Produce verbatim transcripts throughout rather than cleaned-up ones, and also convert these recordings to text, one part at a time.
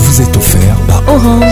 vous est offert par Orange.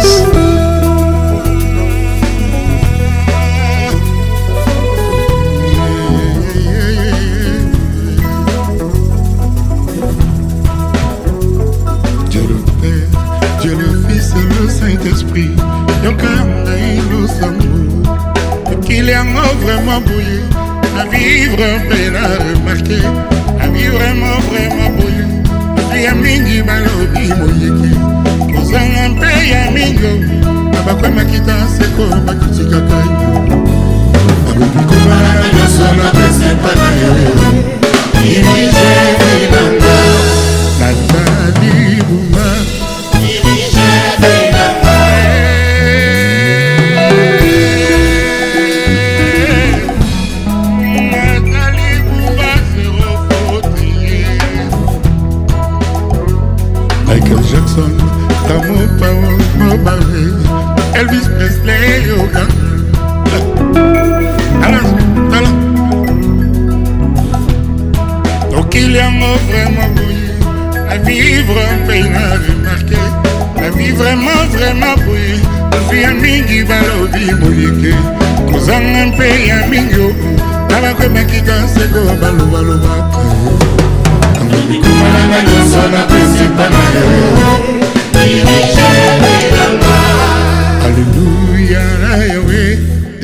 Dieu le Père, Dieu le Fils et le Saint-Esprit, nous sommes qu'il y a vraiment bouilli, à vivre un peu à remarquer, à vivre vraiment vraiment bouilli. Je suis ami du malobi moyeki, nous avons un peu à mingo, à quoi ma quitte c'est quoi ma critique à caillou. Comment la sola c'est pas la il est génial. La tadi bouma, il est génial. Michael Jackson, Tamo Pao, Mobile, Elvis Presley, Yoga. Alors, alors. Donc il y a un mot vraiment bouilli, la vie vraiment peine à remarquer, la vie vraiment vraiment bouilli. Je suis un mingi balobi bouillé, nous avons un pays à mingo, la va comme qui danse go balo balo ba. Kumana na sona principal. Alléluia, Yahweh.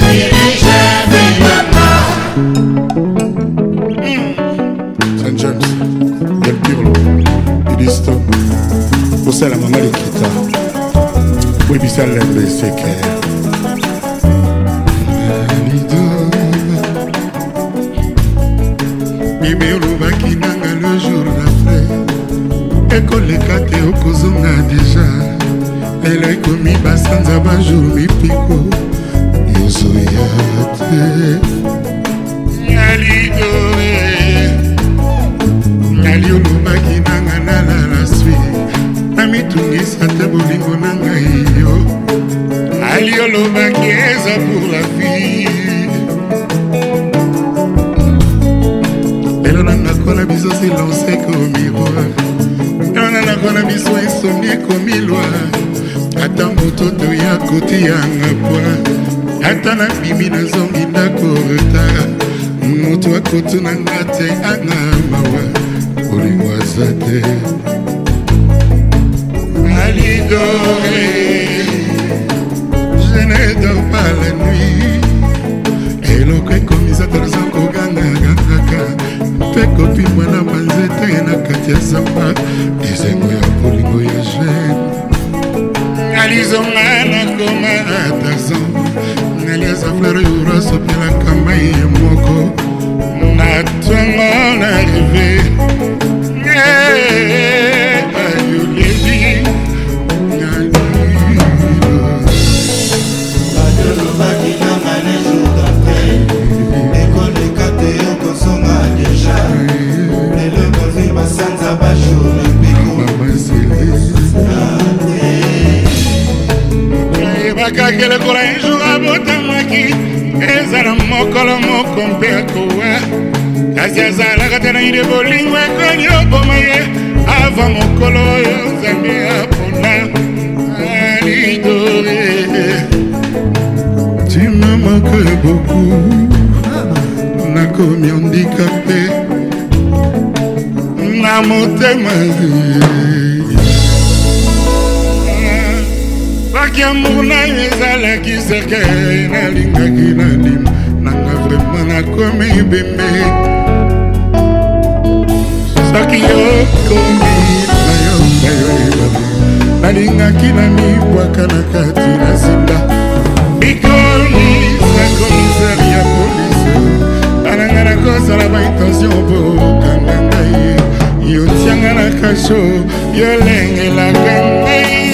Saint James, Del Pirlo, Edisto, Osa la maman Likita, Webisa Lembe Seke. Bibé Olubaki nanga le jour d'après. Ekoleka te okozonga déjà. Lelo ekomi basanza bajour mipiko. Yozoya te. Nyalidore. Nyali Olubaki nanga nala la suite. Namitungisa te bolingo nanga iyo. Ali Olubaki eza pour la vie. Nakona biso silence comme miroir. Nakona biso insomnie comme miroir. Ata mototo ya koti yanga poa. Ata na bimi na zongi ndako retard. Moto akoto na ngate anga mawa. Olimwaza te. Alidore. Je ne dors pas la nuit. Eloko ekomisa torzako ganga ganga. Peko pi mwana manzete na kati ya zamba. Dizengo ya polingo ya jen. Alizonga na koma atazan. Naliaza fleur yura sopela kama ye moko. Na tongo na rive. Ayo levi. Kakele kola un jour à botamaki ezala mokolo moko mpe akowa kasi azalaka te na ide bolingo ekoni oboma ye ava mokolo oyo nzambe apona alidore. Tu me manques beaucoup, nakomi handicapé na motema. Baki amour na ezalaki seke nalingaki nalim nanga vraiment nakomi bembe. Soki yokomi na yo nayo ebabe nalingaki na mibwaka na kati na zinda. Bikomi na komisari ya polisi ananga na kosala baintention po kanga ngai yo tianga na kasho yo lengelaka ngai.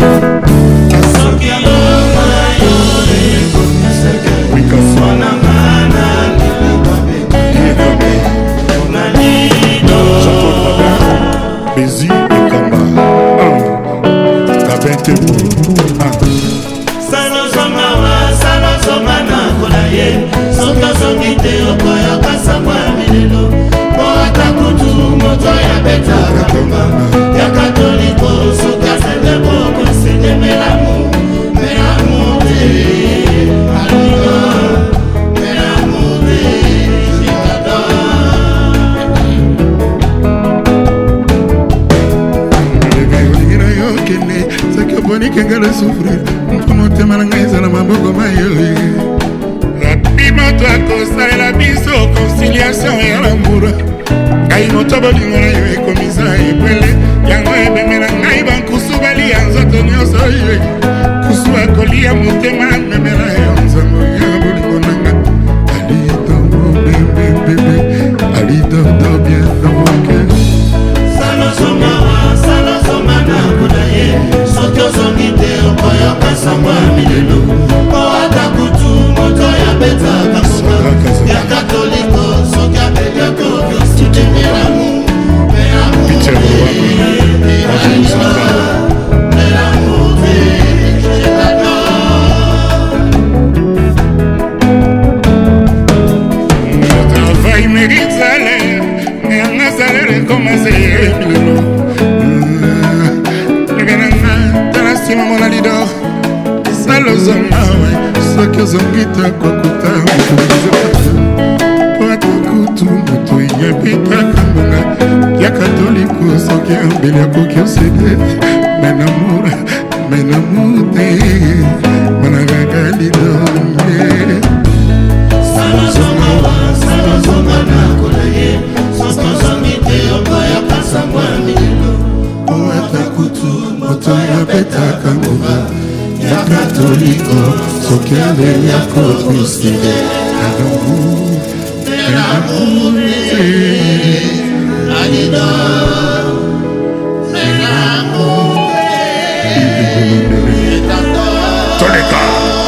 Bézi et Kamba Kabente Salo Zongawa, Salo Zongana Kolaye, Soka Zongite Okoyoka Samwa Milelo, Moata Kutu, Moto ya Beta Kakoma, Ya Katoliko, Soka Sendebo égale souffrir mpo motema na ngai eza na maboko mayoye rapi moto akosalela biso conciliation ya lamour ngai moto bolingo na yo ekomisa ebwele yango ebemela ngai bankusu balia nzoto nyonso ye kusu akolia motema memela yo nzango ya bolingo na nga alidodo bebebebe alidodo bien dans mon cœur salozongawa salozongana kuna ye soki ozongi te okoyoka sango ya milelo po ata kutu moto ya betaka moka ya katoliko soki abeliako okiosidemelamu melamu travail mérite salaire mais un salaire commencé milelo lebenanga tala sima mona lidor salozonga we soki ozongi takwakuta po ata kutu moto yabetaka mbonga ya katoliko soki ambeli akoki osede menamour menamour te manakaka lidonge salozongawa salozongana kuna ye soki ozongi te okoyoka sango ya milelo po ata kutu moto yabetaka ngoma ya katoliko soki abeli akoki osede menamour te alidor menamour te Toleka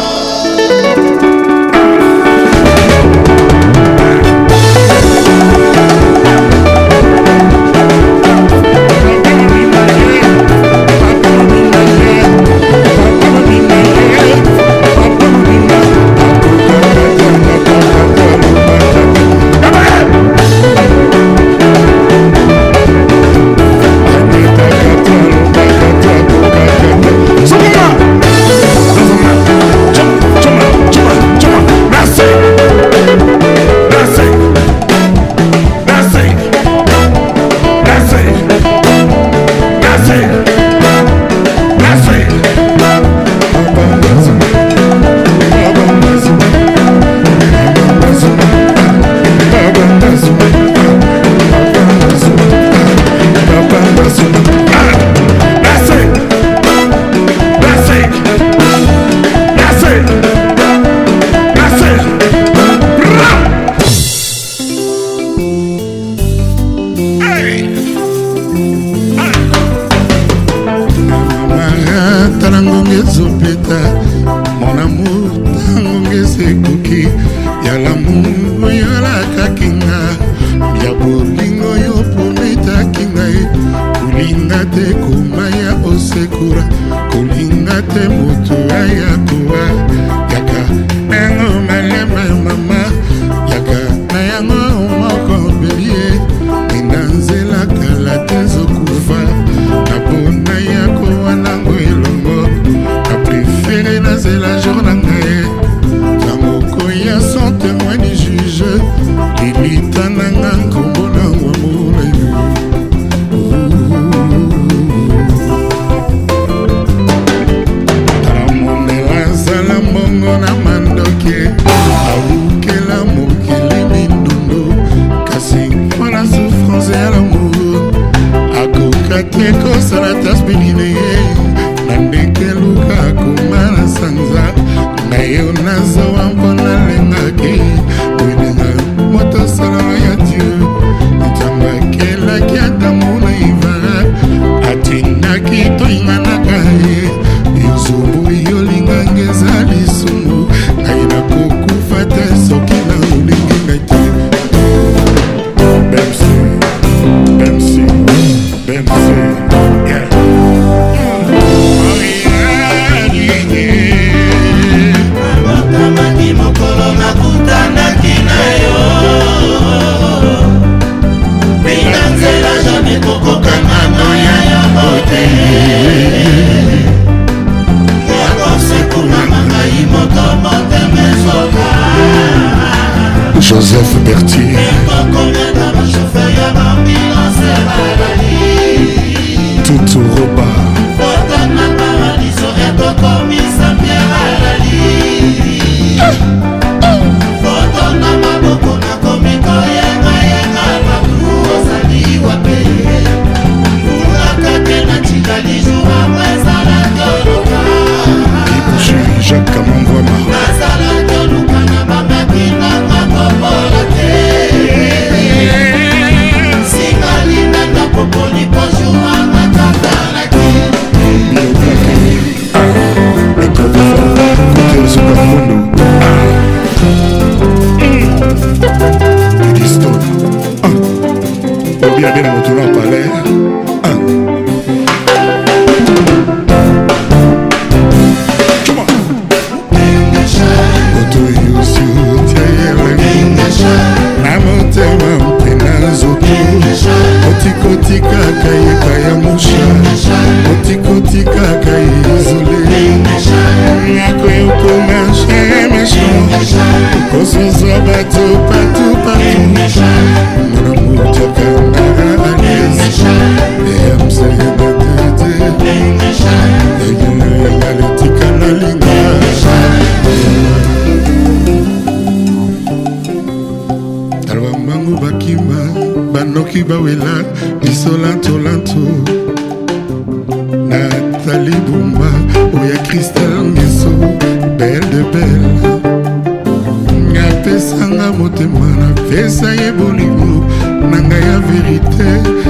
mon amour tangonge sekoki ya lamour oyolakaki nga ya bolingo yo prometaki ngai kolinga te komaya osekura kolinga te moto ayakowa yaka nango malema mama yaka na yango moko belie ina nzela kala te zokufa napona yako wanango elongo na préféré nazela jour na ngai yamoko ya sans témoin ni juge lilita nanga nkombo nango amolai amonela azala mbongo na mandoke awukela mokili mindundo kasi mpona souffrance ya lamour akoka te kosala taspeline ye na ndenge luka akoma na sanza na yo nazowa mpona lengaki olinga moto salama ya dieu ntambakelaki adamu na ivara atindaki toinganaka ye yozobu yolingange eza lisumu ngai nakokufa te soki na olingi ngai te bemsi bemsi bemsi yeah. soki bawela biso lantolanto Nathalie Bumba oya Christelle Ngeso belle de belle apesanga motema napesa ye bolingo na ngai ya verite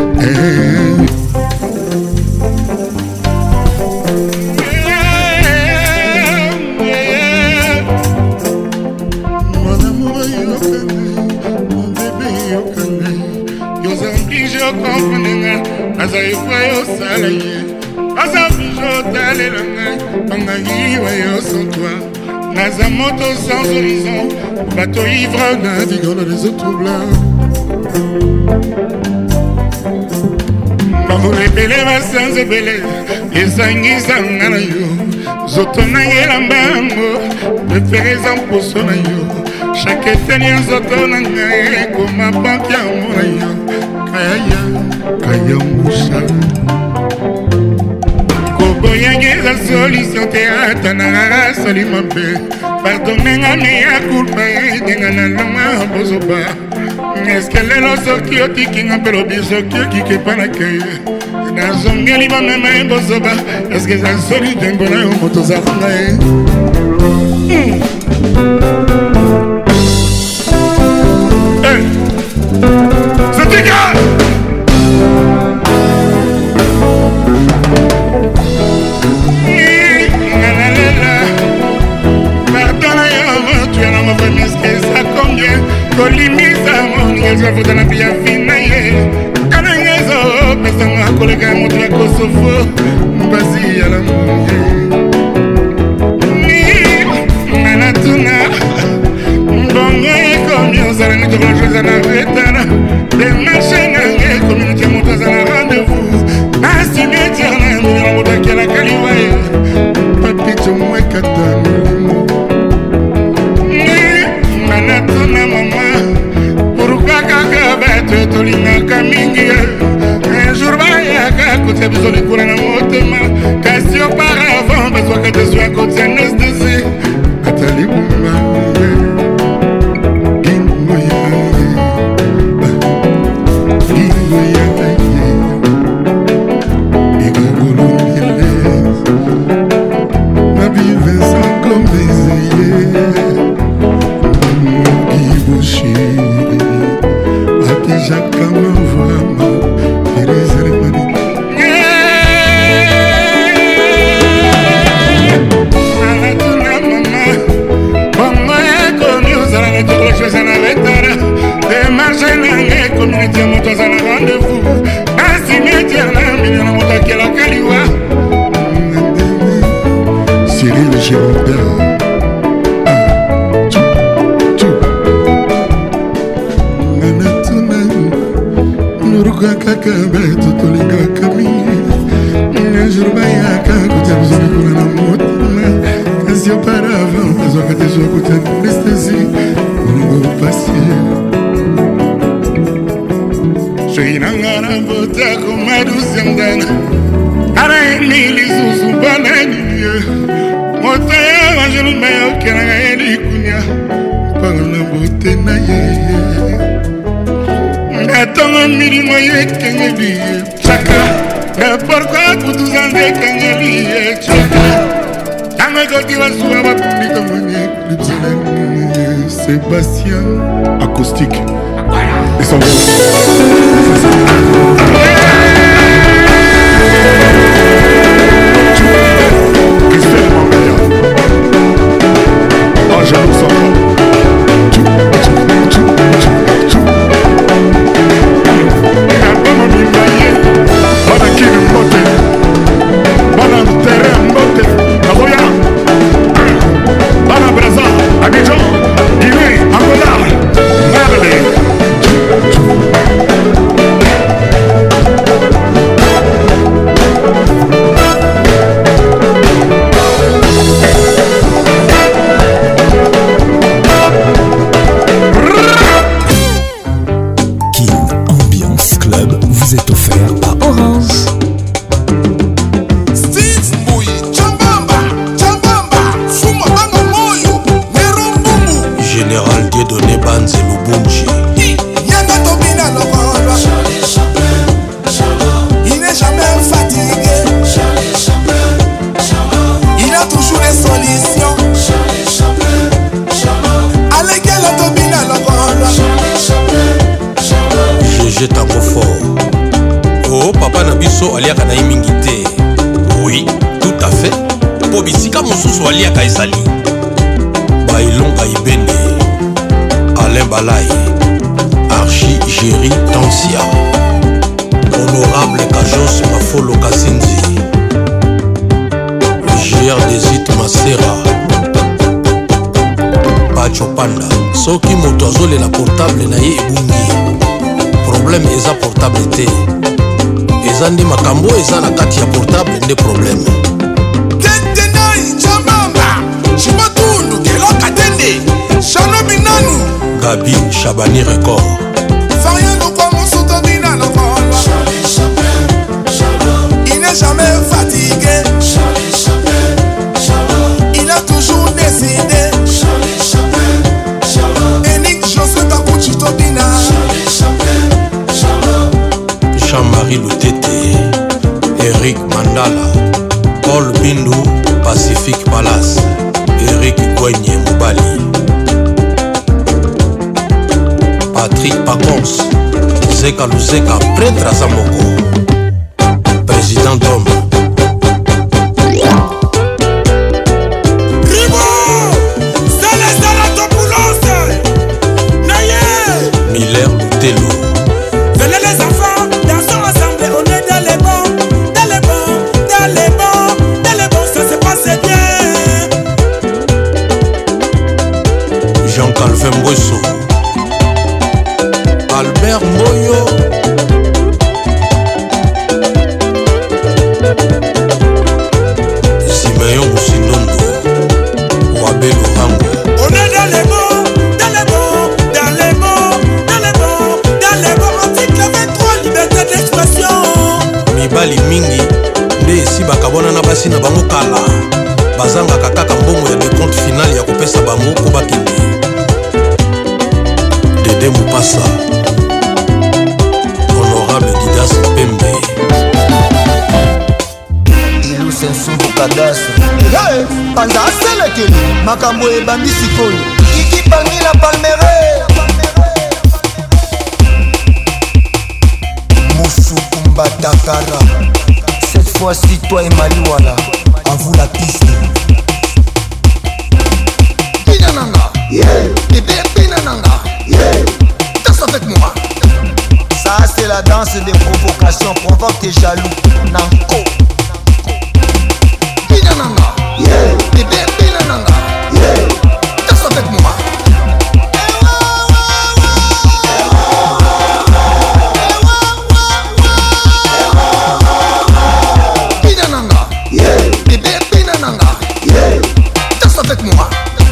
mon amour yoka ngai mon bébé yoka ngai yoza oblige okomprendre nga naza efwa yosala ye naza oblige otalela ngai bangangiwa yo sans toi naza moto sans horizon bateau ivre naviguant dans les eaux troubles bambula ebele basanza ebele ezangisanga na yo zoto na ye lambango prefereza mposo na yo chaque eteni ya nzoto na ngai ekoma banke yango na yo kayaya kayangusha koboyange eza solution te ata nanga sali mabe pardonenga meya kulpa edenga na longa bozoba eske lelo soki otikinga mpe lobi soki okike epa na keye nazongeli bamema ye bozoba eske eza soli te mpona yo moto ozakonga ye zotika kolimisa moningezo afuta na pia fina ye kanangezo pesanga koleka moto ya kosofo mbasi ya la munge ni manatuna mbongo ekomi ozala nitokolo choza na vetana demarche nange communauté moto azala rendez-vous asimetiere na mbongo moto akela kaliwa ye papito mwekata molimo manatuna mama tolingaka mingi un jour bayaka kotia biso likula na motema kasi auparavant bazwaka te zwa kotia anesthésie Nathalie Bumba gingo yaye gingo yaye igogolongele Babi Vincent Gomezeye Iboshi Jacques Kamavama, Thérèse Remani. Anatuna mama, bongo yako ni uzala netokolo choza na vetara. Demarche nange communauté moto azala rendez-vous. Asimetiere na mbino na moto akela kaliwa. Cyril Girondin. Kaka beto tolingaka mingi un jour bayaka kotia biso likula na motema kasi auparavant bazwaka te zwa kotia anesthésie olingo pasi soki nanga na bota komadusi ya mdana ana emi lisusu mpona ninie moto ya banjelumba yokelanga ye likunia mpanga na bote na ye Attends milimo ye kengeli chaka na pourquoi pour tous en kengeli chaka tanga koti wasuwa bapundika mwenye lipselen Sébastien acoustique et son oh j'avoue ça biso aliaka na ye mingi te. Oui, tout à fait. Po bisika mosusu aliaka ezali bailonga ibende Alain Balai Archi Géry Tansia Honorable Kajos Mafolo Kasinzi G R Desit Masera Pacho Panda. Soki moto azolela portable na ye ebungi, problème eza portable te, eza nde makambo eza na kati ya portable nde problème. Tetenai Chamamba Chimatundu Keloka Tende Shano Minanu Gabi Chabani Record Fariano kwa Monsoto Bina la voix. Charlie Chaplin, Charlot. Il n'est jamais fatigué. Charlie Chaplin, Charlot. Il a toujours décidé. Charlie Chaplin, Charlot. Enik José Kakuchi Tobina. Charlie Chaplin, Charlot. Jean-Marie Lutete Eric Mandala Paul Bindu Pacific Palace Eric Gwenye Mobali Patrick Pacons Zeka Luzeka prêtre à Zamoko président d'homme Ribo Célestin Latopoulos Naye Miller Lutelo. Venez les enfants, dansons ensemble, on est dans les bons, dans les bons, dans les bons, dans les bons, ça se passe bien. Jean-Calvin Mbosso Albert Moyo Simeon Moussinondo Wabe Lorango. On est dans les bons, dans les bons, dans les bons, dans les bons, dans les bons, article vingt-trois, liberté d'expression. Mibali mingi nde esi bakabona na basi na bango kala bazangaka kaka mbongo ya decompte final ya kopesa bango po bakende. Dede Mupasa Honorable Didas Pembe Ilu Sensubu Kadastre hey, Panza aselekeli makambo ebandi sikoyo Kiki Pangi la Palmere Moussoukou Mbatakara. Cette fois-ci toi et Maliwala, à vous la piste. Pinananga, yeah. Bébé Pinananga, yeah. Danse avec moi. Ça c'est la danse des provocations, provoque tes jaloux. Nanko. Pinananga, yeah. Bébé Pinananga, yeah. Danse avec moi. Pinananga, yeah. Bébé Pinananga, yeah. Danse avec moi.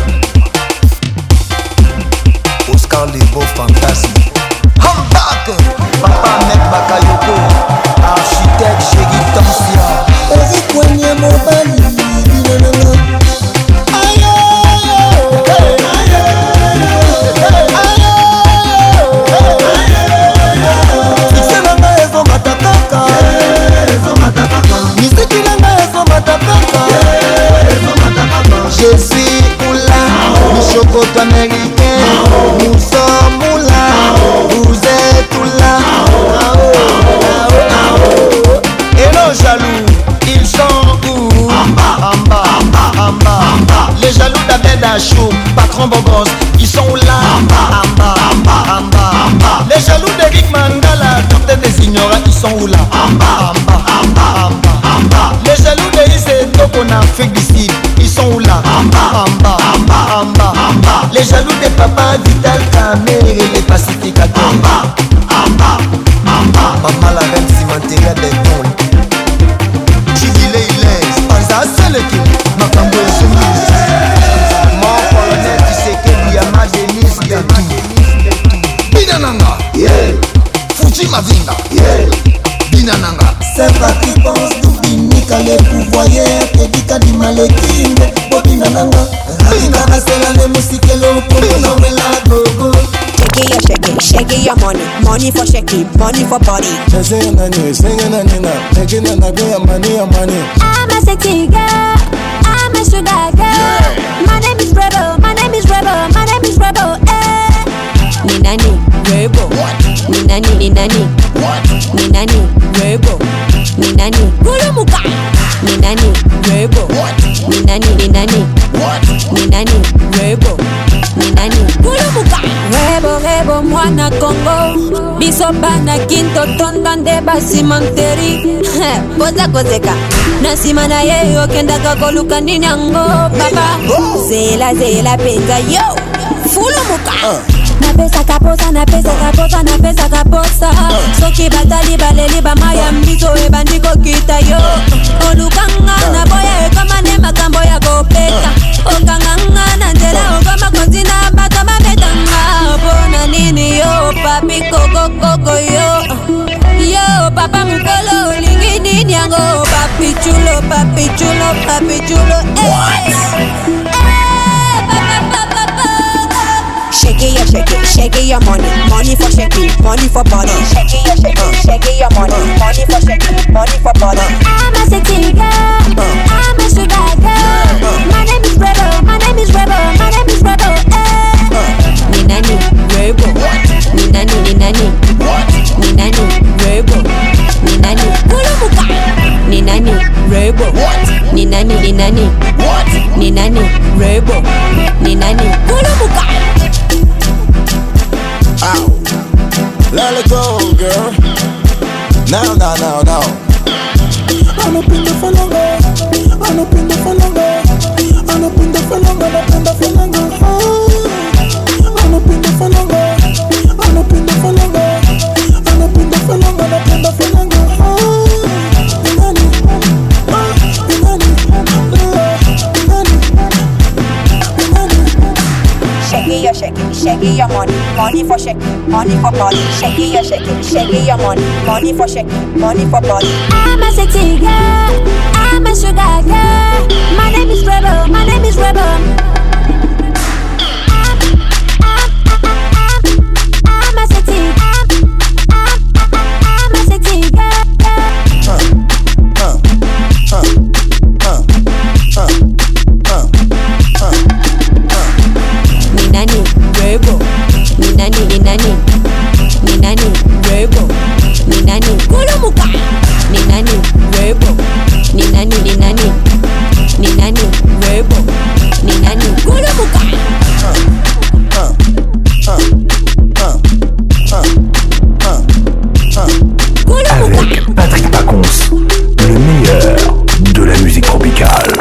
Oscar Lebo Fantasme. Hambak, Papa Mek Bakayoko, architecte Géry Tansia. Eric Wanye Mobali, Binananga. Aïe, aïe, aïe, aïe. Fixé nanga ezo matakaka. Misiki nanga ezo matakaka. Je suis Oula, Michokoto américain. Nous sommes Oula, vous êtes Oula. Et nos jaloux, ils sont où? Amba, Amba, Amba, Amba. Les jaloux d'Abed Achou, patron Bogos, ils sont où là? Amba, Amba, Amba, Amba. Les jaloux d'Eric Mandala, docteur des ignorants, ils sont où là? Amba, Amba, Amba, Amba. Les jaloux de Issé Toko en Afrique du Sud, ils sont où là? Amba, Amba, Amba, Amba. Les jaloux des papas Vital Kamer et les pacificateurs. Amba, Amba, Amba. Maman la reine cimenteria des tons. Chivile Ilaise, Panza Seleki, Makambo et Soumise. Mon colonel qui sait que Yama Denis Gatou. Binananga, yeah. Fuji Mavinga, yeah. Binananga. Saint-Patrick pense Dubinika, les pouvoyeurs, Kedika di Malekinde, Bobinananga. Binananga, c'est la musique et l'eau pour nous la gogo. Shake your shake, shake your money, money for shake, money for body. Singing and you singing and you know, taking and I get money, money. I'm a sexy girl, I'm a sugar girl. Yeah. My name is Rebel, my name is Rebel, my name is Rebel. Eh. Ninani, Rebel. What? Ninani, Ninani. What? Ninani, Rebel. Ninani, Gulumuka. Ninani, Rebo. Ninani, Ninani. Ninani, Rebo. Ninani, Gulumuka. Rebo, Rebo, mwana Congo. Bisobana kinto tondande basi manteri. Poza kozeka. Nasimana ye okenda kakoluka ninyango papa. Zela zela penza yo. Fulumuka. Na pesa kaposa, na pesa kaposa, na pesa kaposa. Soki batali baleli ba maya mbizo e bandiko kita yo. Olukanga na boya e kama ne makambo ya kopeta. Okanganga na njela o kama konzina bata mabetanga. Bona nini yo papi koko koko yo. Yo papa mkolo lingi nini yango. Papi chulo, papi chulo, papi chulo. Eh. Shake it, yeah, shake it, shake it, your money, money for shaking, money for body. Shake it, yeah, shake it, shake it, your money, money for shaking, money for body. I'm a sexy girl, I'm a sugar girl. My name is Rebel, my name is Rebel, my name is Rebel. Ninani, Rebel, Ninani, Ninani, Ninani, Rebel, Ninani, Gulumuka, Ninani, Rebel, Ninani, Ninani, Ninani, Rebel, Ninani, Gulumuka. Ow. Let it go, girl. Now, now, now, now. I'm up in the falanga. I'm up in the falanga. I'm up in the falanga. I'm up in the falanga. I'm up in the falanga. I'm up in the falanga. I'm up in the falanga. I'm up in the falanga. Shake it, yeah, shake it, shake it, your money, money for shaking, money for body. Shake it, yeah, shake it, shake it, your money, money for shaking, money for body. I'm a sexy girl, I'm a sugar girl. My name is Rebel, my name is Rebel. I'm, I'm, I'm, I'm a sexy, I'm, I'm, I'm a sexy girl. Huh, huh, huh, huh, huh, huh, huh. Ninani, Rebel, Ninani, Ninani, Ninani, Rebel, Ninani, Gulumuka, Ninani, Rebel, Ninani, Ninani, Ninani, Rebel, Ninani, Gulumuka. Huh, huh, huh, huh, huh, huh. Avec Patrick Pacons, le meilleur de la musique tropicale.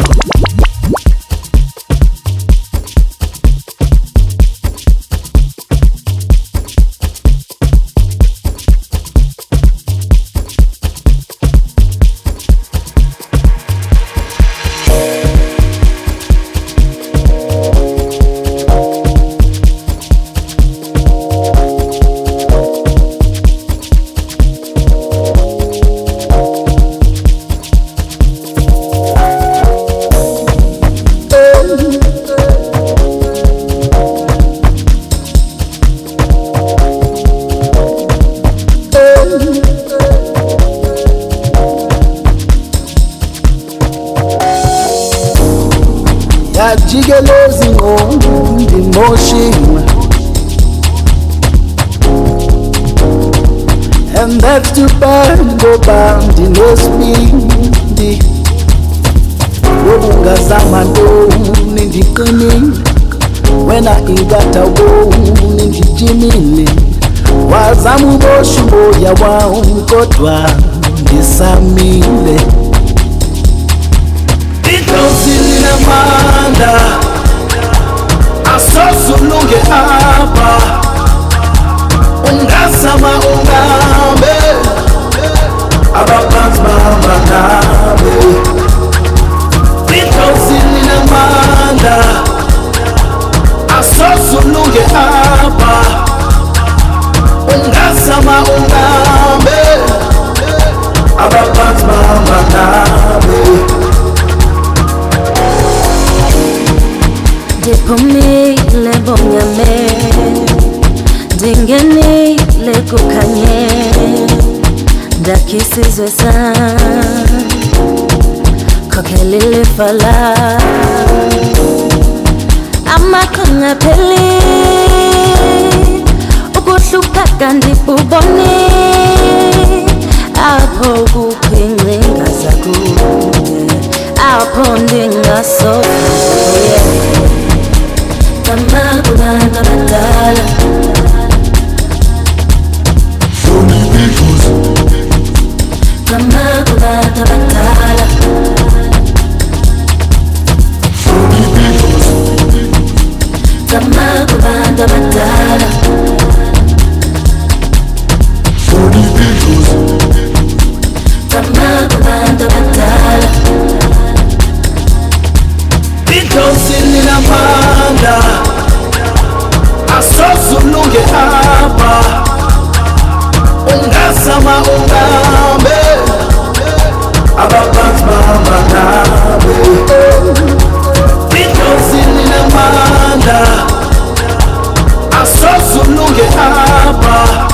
Jigelozi ngombi motion, and that's too bad. Go bound in no speed. Wobunga zamando nindi coming. When I got a wo nindi jimini. Wazamu boshubo ya wao kotwa ndisamile. Itozilina manda asosulunge apa ungasama ungambe abapans mama nabe. Itozilina manda asosulunge apa ungasama ungambe abapans mama nabe. Dipumi le bonyame, dingeni le kukanye, dakisizwe san, kokeli le fala, amakonga peli, ukuhluka kandi buboni, apho kuphincinga zakuye apho ndingasokuye kama kubantu abadala kama kubantu abadala kama kubantu abadala kama kubantu abadala Because ninamanda asozulunge hapa ungasama ungambe ababantu bamanabe Because ninamanda asozulunge hapa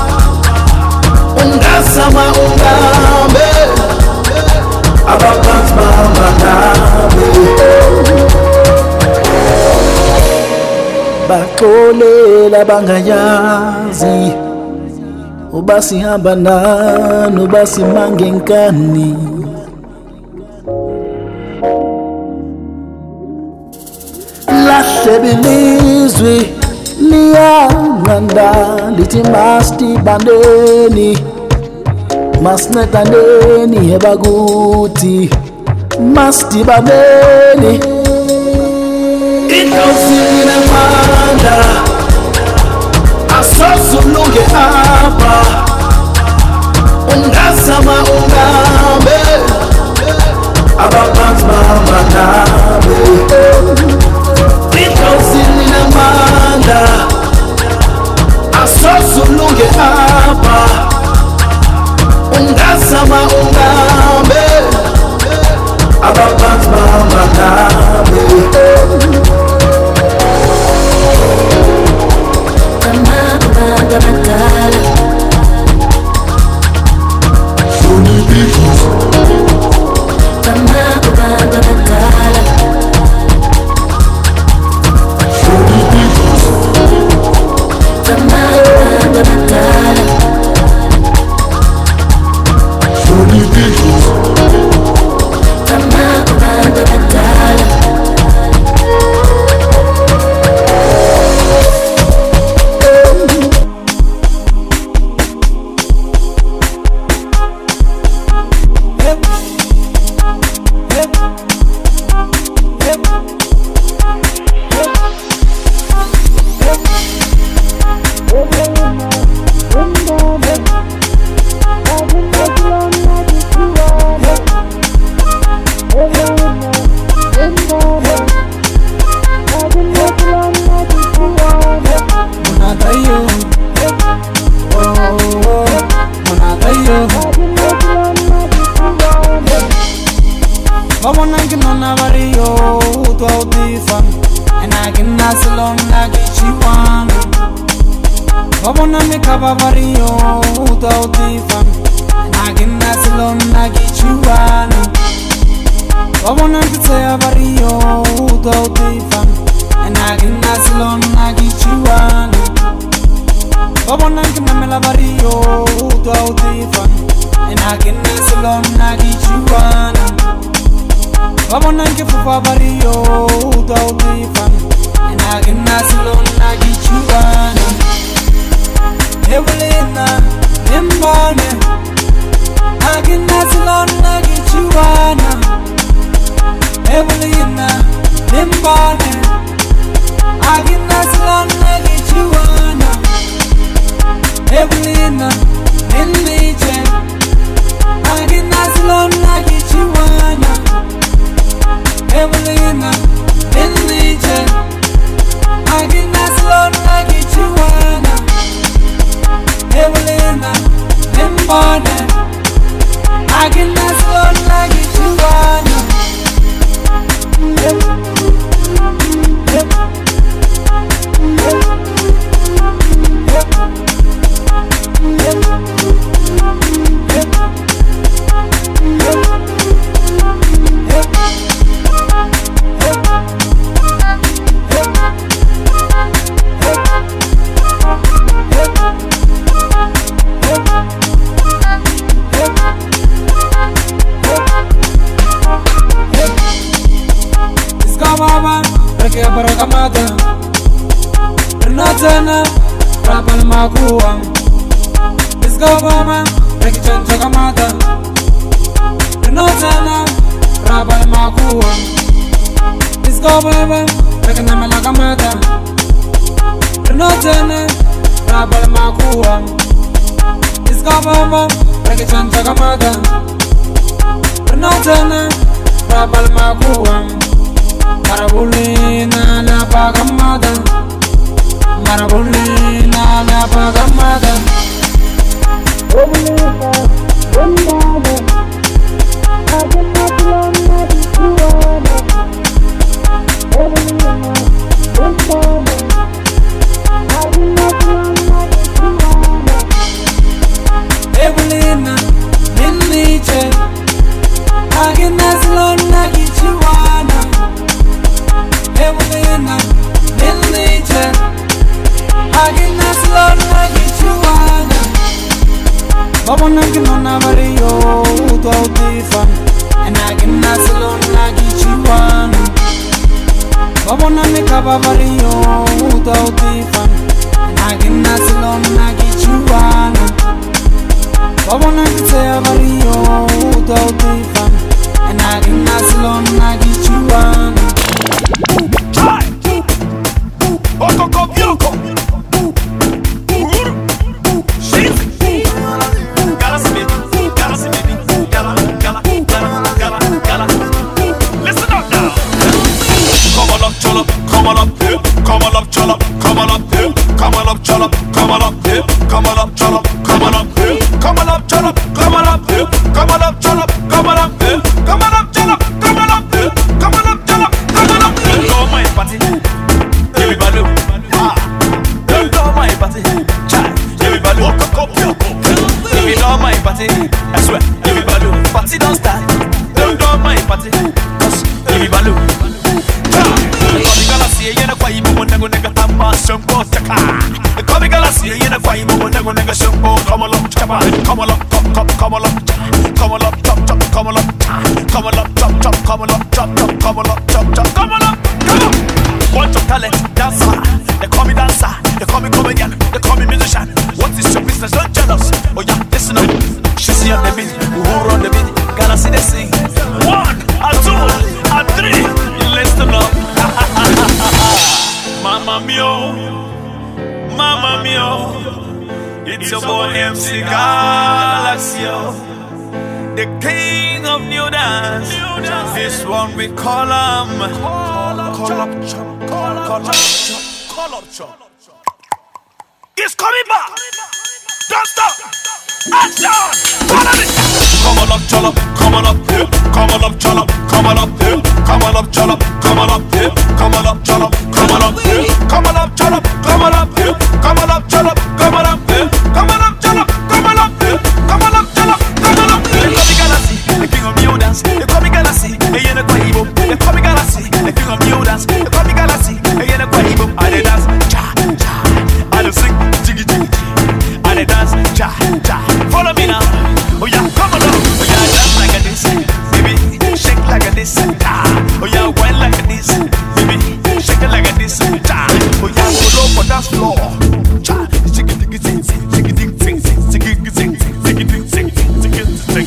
ungasama ungambe ababantu bamanabe baxolela bangayazi uba sihamba nani uba simange nkani lahle bilizwi liyanqanda lithi masdibandeni masnetaneni ebakuthi masdibandeni Inkosi ninamanda asozulunge hapa ungasama ungambe ababantu bamanabe Inkosi ninamanda asozulunge hapa ungasama ungambe ababantu bamanabe kama kubantu abadala kama kubantu abadala kama kubantu abadala kama kubantu abadala I can barakamata Renatana Rabal Makuam Isgabama Rekichan Chakamata Renatana Rabal Makuam Isgabama Rekanama Lakamata Renatana Rabal Makuam Isgabama Rekichan Chakamata Renatana Rabal Makuam Marabulina la pagamada Marabulina la pagamada Obulina, Obulina Agena Kulona Dikuana Obulina, Obulina Agena Kulona Dikuana Obulina, Minniche Agena Kulona Dikuana Evelina, Minniche Agena Kulona Dikuana Babona kinona vario uto autifan and agena Kulona Dikuana Babona mikaba vario uto autifan and agena Kulona Dikuana Babona kitea vario uto autifan and agena Kulona Dikuana Oko kopioko Uru Shizi Gala baby Gala baby Gala Gala Gala Gala Gala Listen up now Come on up cholo Come on up here Come on up cholo Come on up here Come on up cholo Come on up here Come on up cholo Come on up here Come on up cholo Come on up here Come on up cholo Come on up here Come on up cholo Come on up here Come on up cholo Come on up here Go my party Everybody, ah, don't do my party, child. Everybody, walk a cup, walk up. If you do my party, I swear, everybody, party don't start. Don't do my party, cause everybody, child. The comic galaxy, you know why you want to go nigga tama shumpo taka. The comic galaxy, you know why you want to go nigga shumpo. Come along, chapa, come along, come, come, come along, come along, chop, chop, come along, come along, chop, chop, come along, chop, chop, come along, chop, chop, come along, come on. Bunch of talent, dancer. They call me dancer, they call me comedian, they call me musician. What is your business? Don't jealous. Oh yeah, listen up. She see on the beat, who run the beat? Gotta see they sing. One, a two, a three. Listen up. Mamma mio, mamma mio. It's your boy M C Galaxio, the king of new dance. This one we call him. Call up, chop, call up, chop, call up, chop. He's coming back. Don't stop. Action. Follow me. Come on up, chop, come on up here. Come on up, chop, come on up here. Come on up, chop, come on up here. Come on up, chop, come on up here. Come on up, chop, come on up here. Come on up, chop, come on up here. Come on up, chop, come on up here. Come on up, chop, come on up here. They call me Galaxy, the king of new dance. They call me Galaxy, the yen of Quaibo. They call me Galaxy, the king of new dance. They call me Galaxy, the yen of Quaibo. I dey dance, cha cha. I dey sing, jiggy jiggy. I dey dance, cha cha. Follow me now. Oh yeah, come on up. Oh yeah, dance like a this, baby. Shake like a this, cha. Oh yeah, wine like a this, baby. Shake it like a this, cha. Oh yeah, go low for dance floor, cha. Jiggy jiggy sing, jiggy jiggy sing, jiggy sing, jiggy jiggy sing, jiggy sing.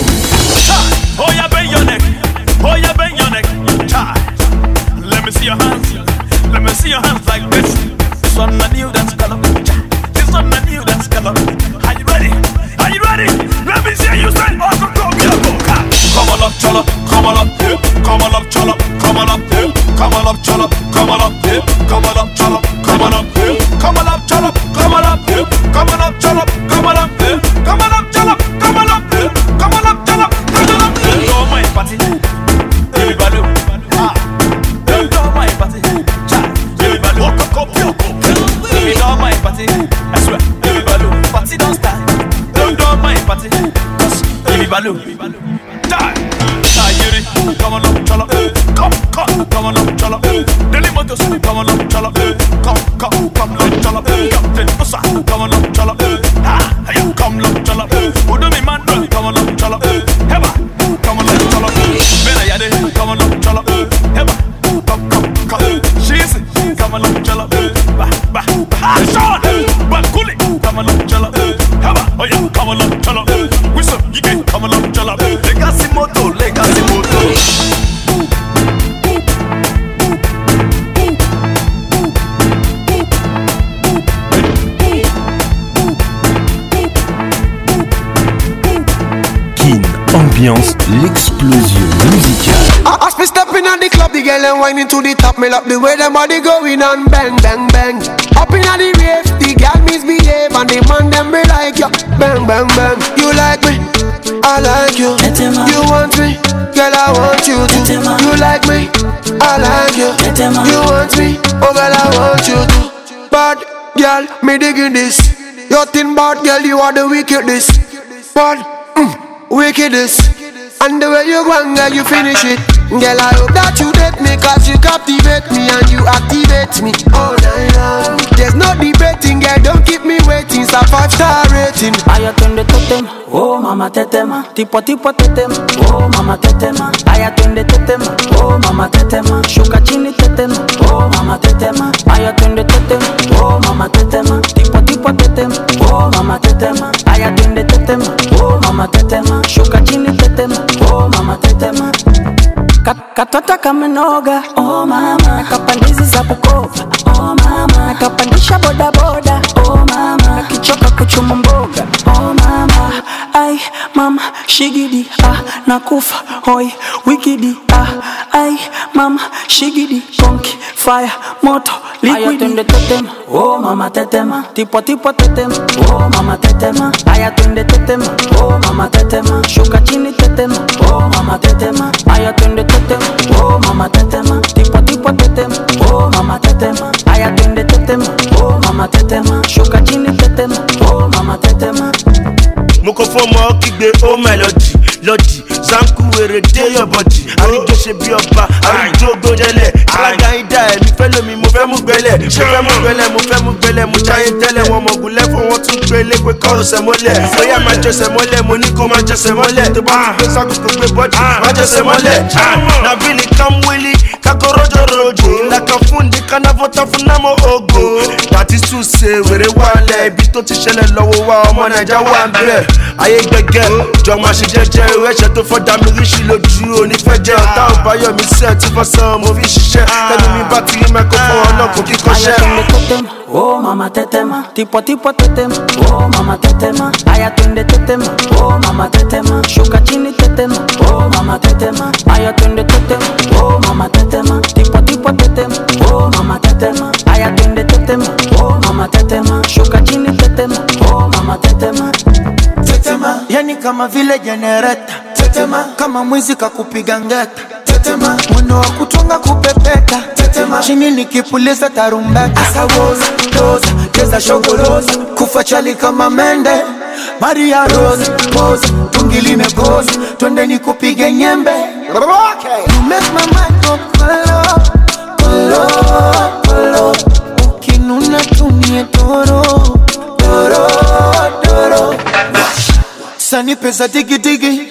Oh yeah, bend your neck. Oh yeah, bend your neck. Cha. Let me see your hands. Let me see your hands like this. This one a new dance color. Cha. This one a new dance color. Are you ready? Are you ready? Let me see you say, oh, go, go, go, go. Come on up, cholo. Come on up here. Come on up, cholo. Come on up here. Come on up, cholo. Come on up here. Come on up, cholo. Come on up here. Come on up, cholo. Come on up here. Come on up, cholo. Come on up here. Come on up, cholo. Come on up here. Come on up, cholo. Come on up here. Go my party. Everybody, ah. Go my party. Cha. Everybody, walk up, up, up. Everybody, go my party. I swear, everybody, party don't start. Don't do my party. Cause everybody, die. Ayiri, come on up, cholo. Come, come, come on up, cholo. Daily Motors, come on up, cholo. Come, come, come up, cholo. Captain Usa, come on up, cholo. Ah, you come up, cholo. Udumi man, come on up, cholo. Heba, come on up, cholo. Bena Yade, come on up, cholo. Heba, come, come, come. She Legacy moto, legacy moto. Kin ambiance l'explosion musicale. As me stepping on the club, the girl and whining to the top. Me love the way them body going on, bang, bang, bang. Up in the rave, the girl misbehave and the man them be like you, bang, bang, bang. You like me, I like you. You want me, girl I want you too. You like me, I like you. You want me, oh girl I want you too. Bad girl, me digging this. You thin bad girl, you are the wickedest. Bad, mm, wickedest. And the way you go and girl, you finish it. Girl, I hope that you date me, cause you captivate me and you activate me all night long. There's no debating, girl, don't keep me waiting. It's a five star rating. Aya twende tetema, oh mama tetema. Tipo tipo tetema, oh mama tetema. Aya twende tetema, oh mama tetema. Shuka chini tetema, oh mama tetema. Aya twende tetema, oh mama tetema. Tipo tipo tetema, oh mama tetema. Aya twende tetema, oh mama tetema. Shuka chini tetema, oh mama tetema. Katota kamenoga, oh mama. Nakapandizi za Bukoba, oh mama. Nakapandisha boda boda, oh mama. Nakichoka kuchuma mboga, oh mama. Ay mama, shigidi, ah, nakufa, hoi, wikidi, ah. Ay mama, shigidi, konki, fire, moto, liquidi. Aya twende tetema, oh mama tetema. Tipo tipo tetema, oh mama tetema. Aya twende tetema, oh mama tetema. Shuka chini tetema, oh mama tetema. Aya twende tetema, oh mama tetema. Tipo tipo tetema, oh mama tetema. Aya twende tetema, oh mama tetema. Shuka chini tetema, oh mama tetema. Moko fomo kigbe o melody lodi zanku were dey your body arijo se bi oba arijo gbojele alaga ida e mi fe lomi mo fe mu gbele mo fe mu gbele mo fe mu gbele mo jaye tele won mo gunle fun won tun gbele pe ko se mole oya ma je se mole mo ni ko ma je se mole to ba pe sa ko gbe body ma je se mole na bili kam willy kakorojo rojo la ka fundi kana vota funa mo ogo that is to say were wale ibi to ti sele lowo wa ọmọ Naija wa nbe ayé gbẹgẹ jọ máa ṣe jẹ́jẹ́ ẹ̀ṣẹ̀ tó fọ́dà mi ríṣì lójú onífẹ́jẹ́ ọ̀tá ọ̀báyọ̀ mi sẹ́ẹ̀ tí fọ́sán mo fi ṣiṣẹ́ lẹ́nu mi bá ti rí mẹ́kọ̀ọ́fọ́ ọlọ́kùn kíkọ́ṣẹ́. Oh mama tetema, tipo tipo tetema, oh mama tetema. Aya twende tetema, oh mama tetema. Shuka chini tetema, oh mama tetema. Aya twende tetema, oh mama tetema. Tipo tipo tetema, oh mama tetema. Aya twende tetema, oh mama tetema. Shuka chini tetema, oh mama tetema. Tetema, yani kama vile generator. Tetema, kama mwizi kakupiga ngeta. Tetema, mwendo wa kutonga kupepeta. Tetema, chini nikipuliza tarumbeta. Asawoza, doza, keza shogoloza. Kufa chali kama mende. Maria Rose, pose, tungi limegoza. Twende nikupige nyembe. Okay. You make my mind go kolo, kolo, kolo. Ukinuna tumie toro, toro, toro. Sani pesa digi digi.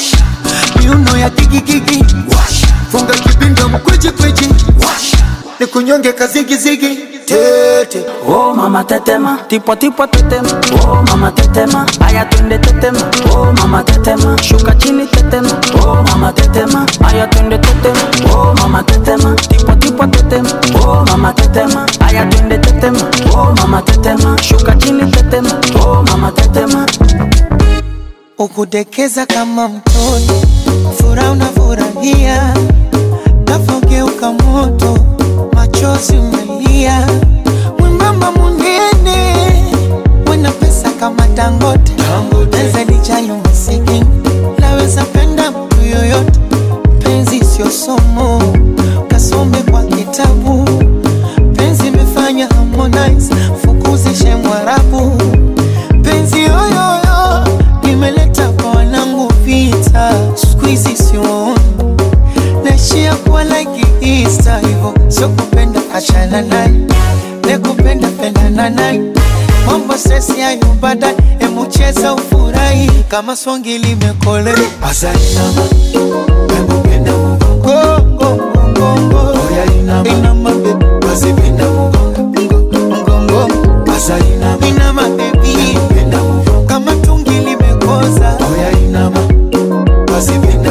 Miuno ya digi gigi. Funga kibinda mkweji kweji. Ni kunyonge kazigi zigi. Tete. Oh mama tetema, tipo tipo tetema. Oh mama tetema, aya twende tetema. Oh mama tetema, shuka chini tetema. Oh mama tetema, aya twende tetema. Oh mama tetema, tipo tipo tetema. Oh mama tetema, aya twende tetema. Oh mama tetema, shuka chini tetema. Oh mama tetema. Ukudekeza kama mtoto, furaha unafurahia, nafogeuka moto, machozi umelia. Mwembamba munene, wena pesa kama Dangote, naweza lijayo masikini, naweza penda mtu yoyote. Penzi sio somo, kasome kwa kitabu. Penzi imefanya Harmonize, fukuzishe Mwarabu. Penzi yoyoyo, nimeleta kwa wanangu vita. Squeezy sioni, naishia kuwa like Easter. Hivo, sio kupenda achana naye, nekupenda pendana naye. Mambo stress ya yubada, emu cheza ufurahi. Kama swangi limekole Asainama, emu penda mugongo Mugongo, oya inama Inama baby, basi penda mugongo Mugongo, Asainama Inama baby, penda mugongo. Kama tungi limekoza, oya inama basi penda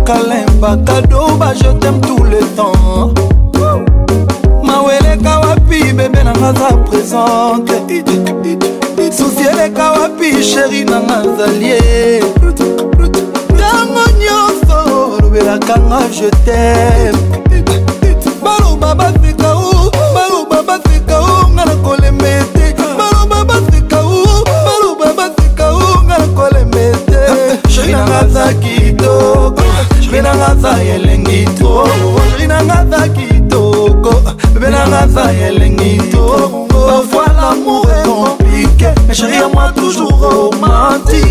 Bakalemba cadeau, bah je t'aime tout le temps. Mawele kawapi, bébé nanga za présente. Souci le kawapi, chéri nanga zalie. Tango nyonso, lobela kanga je t'aime. Balo baba fika ou, balo baba fika ou, ngana kolemete. Balo baba fika ou, balo baba fika ou, ngana kolemete. Chéri nanga za kitoko, chéri nanga za yelengi to, chéri nanga za kitoko, bébé nanga za yelengi to. Parfois l'amour est compliqué, mais chéri à moi toujours romantique.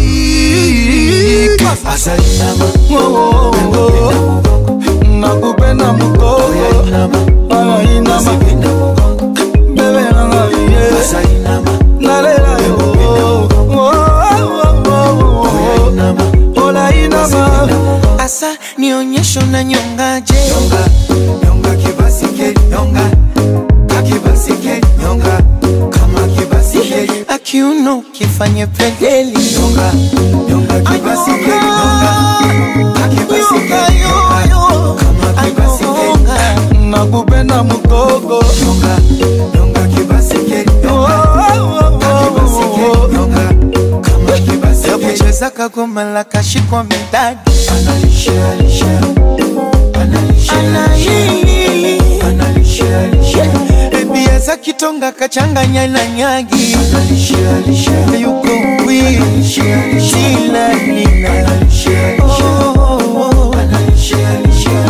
Asalinama, oh oh oh, nakupenda mukoko. Asalinama, bébé nanga ye. Asalinama, nalela yo. Oh oh oh oh, olainama. Asa nionyesho na nyongaje. Nyonga, nyonga kibasike, nyonga. Kakibasike, nyonga. Kama kibasike, akiuno kifanye pedeli. Nyonga, nyonga kibasike, nyonga. Kakibasike, nyonga. Kama kibasike, nakupenda mukoko. Nyonga, nyonga kibasike, nyonga. Kakibasike, nyonga. Kama kibasike, kucheza kagoma la kashikwa midadi. Analisha, alisha. Analisha, analisha. Analisha, Biaza kitonga kachanganya na nyagi. Analisha, alisha. Yuko wii, shila nina. Analisha, alisha. Analisha, alisha.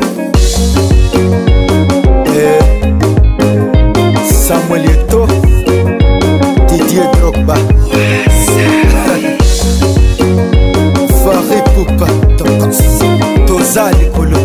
Samuel Eto'o, Didier Drogba, Fari Poupa, Toza Likolo,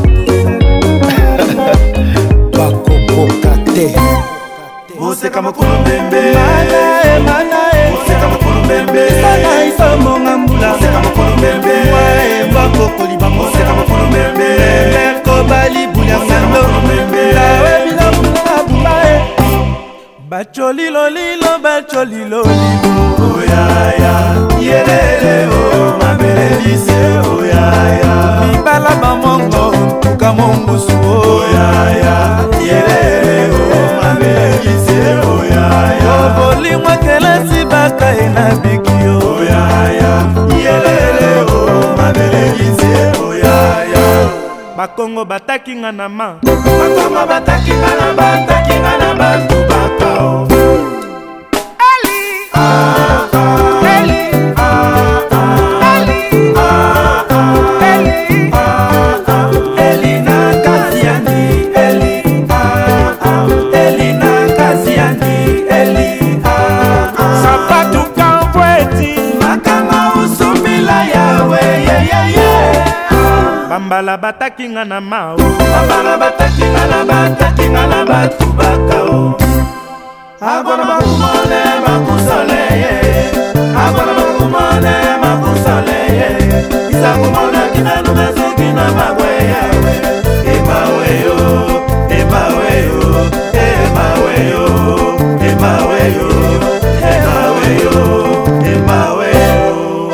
Bakoko Kate. Ose kama kulumbembe, Manae, manae. ose kama kulumbembe, Sana isa monga mbula. ose kama kulumbembe, Wae mbako libango. ose kama kulumbembe, Merko bali bulia sando. Lawe bila mbula bubae. Bacholilo lilo, bacholilo lilo. oyaya, yelele o, mabelelise oyaya, Mibala bamongo, tuka mongo suo. oyaya, yelele o, mabelelise oyaya, Obolimwa kelesi baka ena bikio. oyaya, yelele o, mabelelise oyaya. Bakongo bataki nga na ma. Bakoma bataki ngana bataki ngana bantu bakao. Ali, ah ah, Ali, ah ah, Ali, ah ah, Ali, ah ah, Elina Kaziani, Eli, ah ah, Elina Kaziani, Eli, ah ah. Sapatu kamweti, Makama usumila yawe, ye ye ye. Bambala bataki nga na ma. Bambala bataki ngana bataki ngana batu bakao. Agwana makumone makusole ye, agwana makumone makusole ye. Isa kumona kina numezo kina magwe yawe. Emawe yo, emawe yo, emawe yo, emawe yo, emawe yo, emawe yo.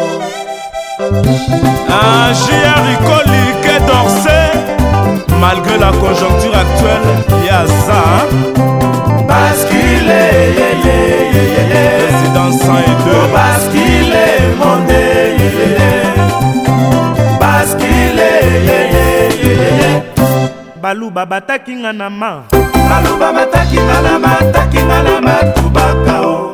Un J R Icoli Quai d'Orsay. Malgré la conjoncture actuelle, il y a ça, hein? Bascule, ye ye ye ye ye. Président cent deux. Oh, bascule, monde, ye ye ye. Bascule, ye ye ye ye. Baluba bataki nga na ma. Baluba bataki nga na ma, bataki nga na ma, tubakao.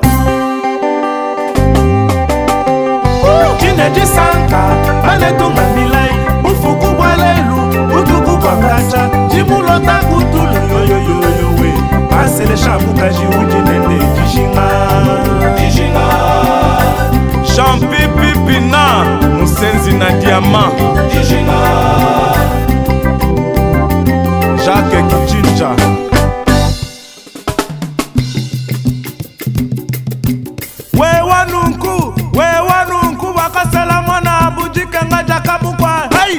Kineji sanka, manetunga milai. Ufuku bwalelu, utuku kwa kacha. Jimulota kutulu yo yo yo yo we. Pase le shabuka jiuji nende kijinga. Kijinga. Champi pipina, musenzi na diamant. Kijinga. Jacques Kijinja. Wewa nunku, wewa nunku wakasela mwana abujike nga jakamukwa. Hey!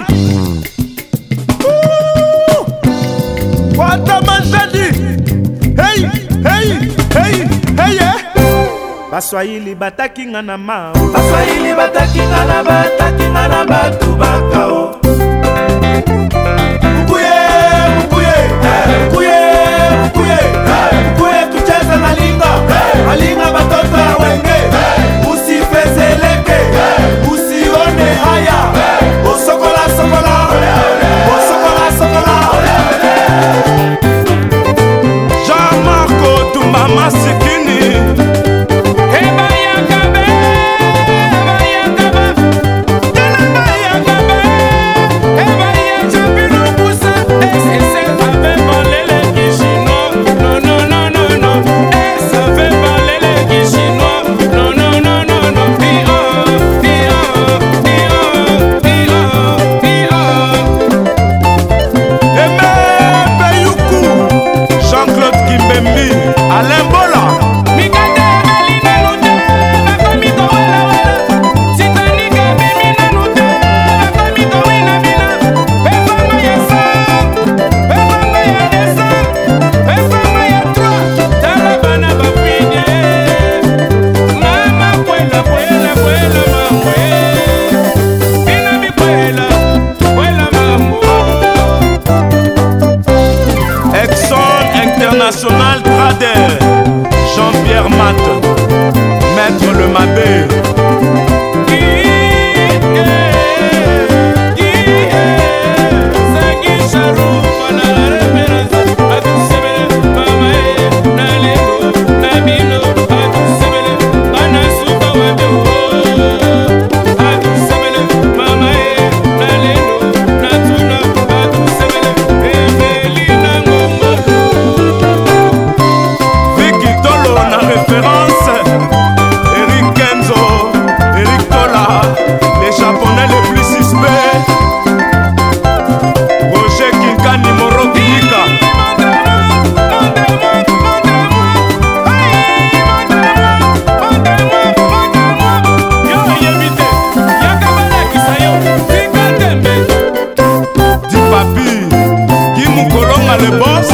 Wata manjadi. Hey, hey, hey, hey, eh. Baswahili bataki nga na ma. Baswahili bataki nga na bataki nga na batu bakao. Mkuye, mkuye, mkuye, mkuye, mkuye tucheze malinga, malinga batoto ya wenge, usifezeleke, usione haya, osokola sokola, osokola sokola. Jean-Marco Tumama Sikini. Eba yakabe, eba yakaba, eba yakabe, eba yachapino busa, ese se fait parler les chinois, non non non non non, ça fait parler les chinois, non non non non non, pia, pia, pia, pia, pia. Aimé Peyoukou, Jean-Claude Kimbembi, Alain Bola. Exxon International Trader, Jean-Pierre Mat, Maître Le Mabé. Vicky Tolo na référence, Eric Kenzo, Eric Tola, les japonais les plus suspects, Roger Kinkani Moro Kika. Di Papi, Guy Moukolonga le boss.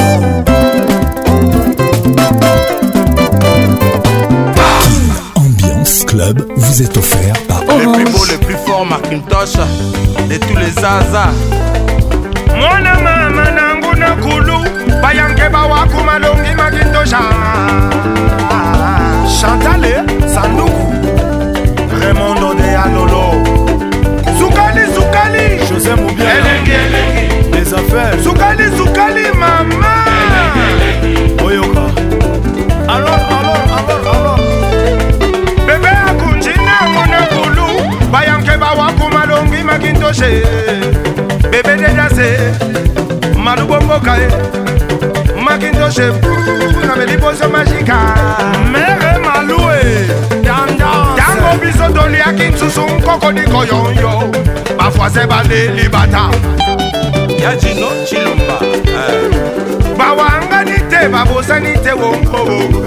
Ambiance Club vous est offert par Les plus beaux, les plus forts, Macintosh, de tous les Zaza. Mwana mama nangu na kulu bayanke bawaku malongi Makintosha. Chantale, Sanduku, Raymond de Anolo, Zukali Zukali José Moubia, Elengi Elengi les affaires, Zukali Zukali mama Oyoka. Alors, alors, alors, alors. Bebe akunjina mwana kulu bayanke bawaku malongi Makintosha. Bebe dedase malubomboka Makintosha na meliposo magika Mere Maloué, Dandan, Dango biso doli akinsusu nkoko diko yonyo Bafwa se bale libata Yajino Chilumba. Bawanga nite babosa nite wonko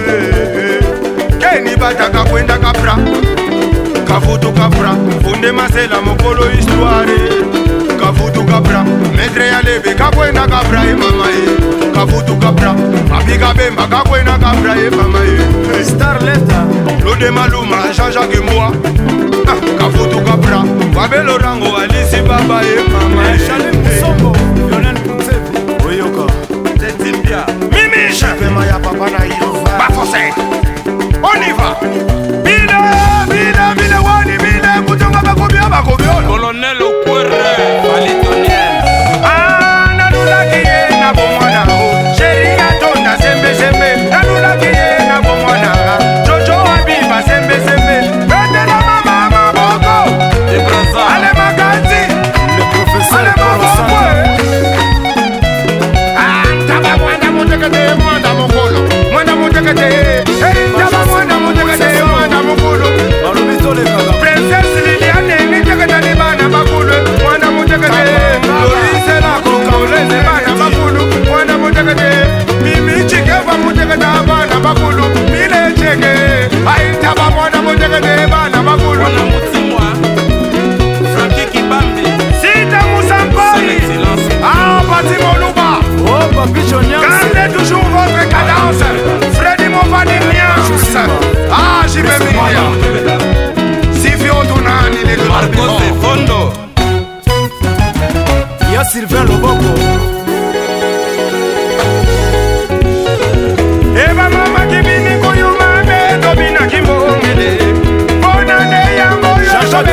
Keni bataka kwenda kapra Kafutu kapra Funde masela mokolo histoire Kafutu kapra Metre ya lebe kakwenda kapra e mama e Kafutu kapra Abiga bemba kakwenda kapra e mama e Starletta, Lode maluma Jean-Jacques Mboa Kafutu kapra Babelo rango Alisi baba e mama e Chalim Musombo, Lionel Kunzebu, Oyoka, Tetimbia. Mimiche Pema ya papa na Ilova, Bafose On y va Bile, bile, bile wani bile Kutunga bakubia bakubia Colonel Okwere, Valitonienne. Ah, nanula kiye na bomwana Chéri atonda sembe sembe Nanula kiye na bomwana Jojo abiba sembe sembe Pete na mama maboko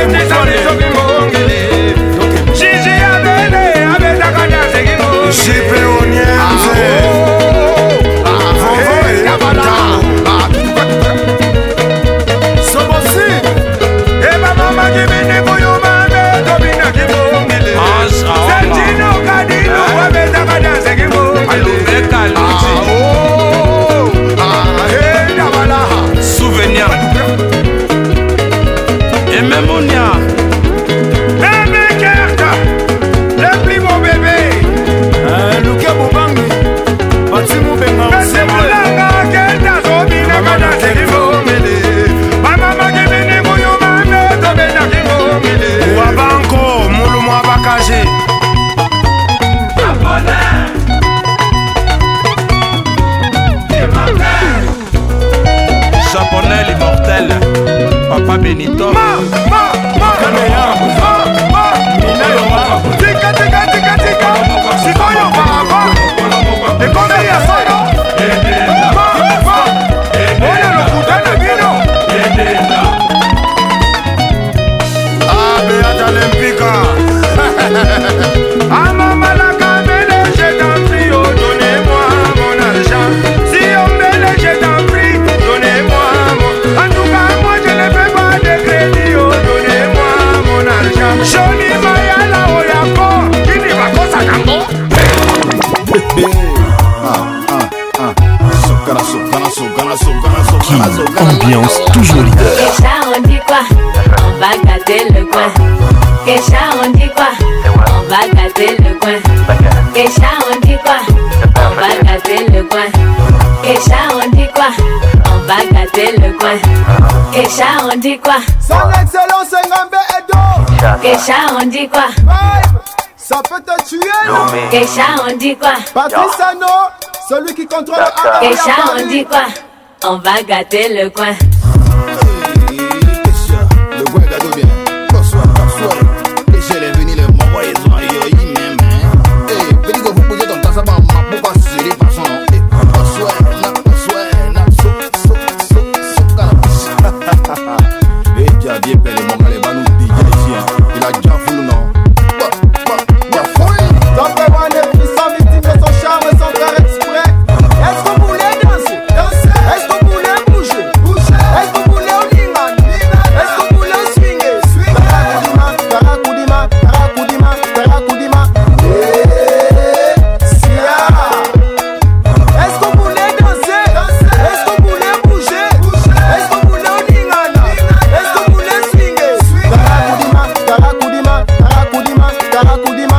Japonais l'immortel, Papa Benito. Ma, ma, ma, ma, ma, tika, tika, tika, tika. Si voglio papa, e come io sono. Ma, ma, vogliono puttana vino. Ah, Beata Olympica. Ah, maman la camelle, je t'en prie, oh, donnez-moi mon argent. Si on me le je t'en prie, donnez-moi mon. En tout cas, moi je ne fais pas de crédit, oh, donnez-moi mon argent. Johnny Mayala, oh, yako, qui n'y va pas ça tango. Ambiance toujours leader. Kesha, on dit quoi? On va gâter le coin. Kesha, on dit quoi? On va gâter le coin. Kesha, on dit quoi? On va gâter le coin. Kesha, on dit quoi? On va gâter le coin. Kesha, on dit quoi? Son excellence Ngambe Edo. Kesha, on dit quoi? Ça peut te tuer, non? Kesha, on dit quoi? Patrice Ano, celui qui contrôle le Kesha, on dit quoi? On va gâter le coin. Le coin gâteau bien. Bonsoir, bonsoir. Et j'ai les venus les mamans, ils ont aïe, même. Eh, petit que vous posez ton temps, ça va m'appeler pas sur les façons. Eh, bonsoir, bonsoir, so, so, so, so, cannabis. Eh, j'ai bien payé les mamans, les banous, D J ici. Il a déjà voulu, non? Top one est puissant, victime de son charme et son cœur exprès. Est-ce que vous voulez danser? Danser. Est-ce que vous voulez bouger? Bouger. Est-ce que vous voulez olingan? Est-ce que vous voulez swinguer? Swinguer. Tarakudima, tarakudima, tarakudima, tarakudima. Sia. Est-ce que vous voulez danser? Danser. Est-ce que vous voulez bouger? Bouger. Est-ce que vous voulez olingan? Est-ce que vous voulez swinguer? Swinguer. Tarakudima, tarakudima, tarakudima, tarakudima.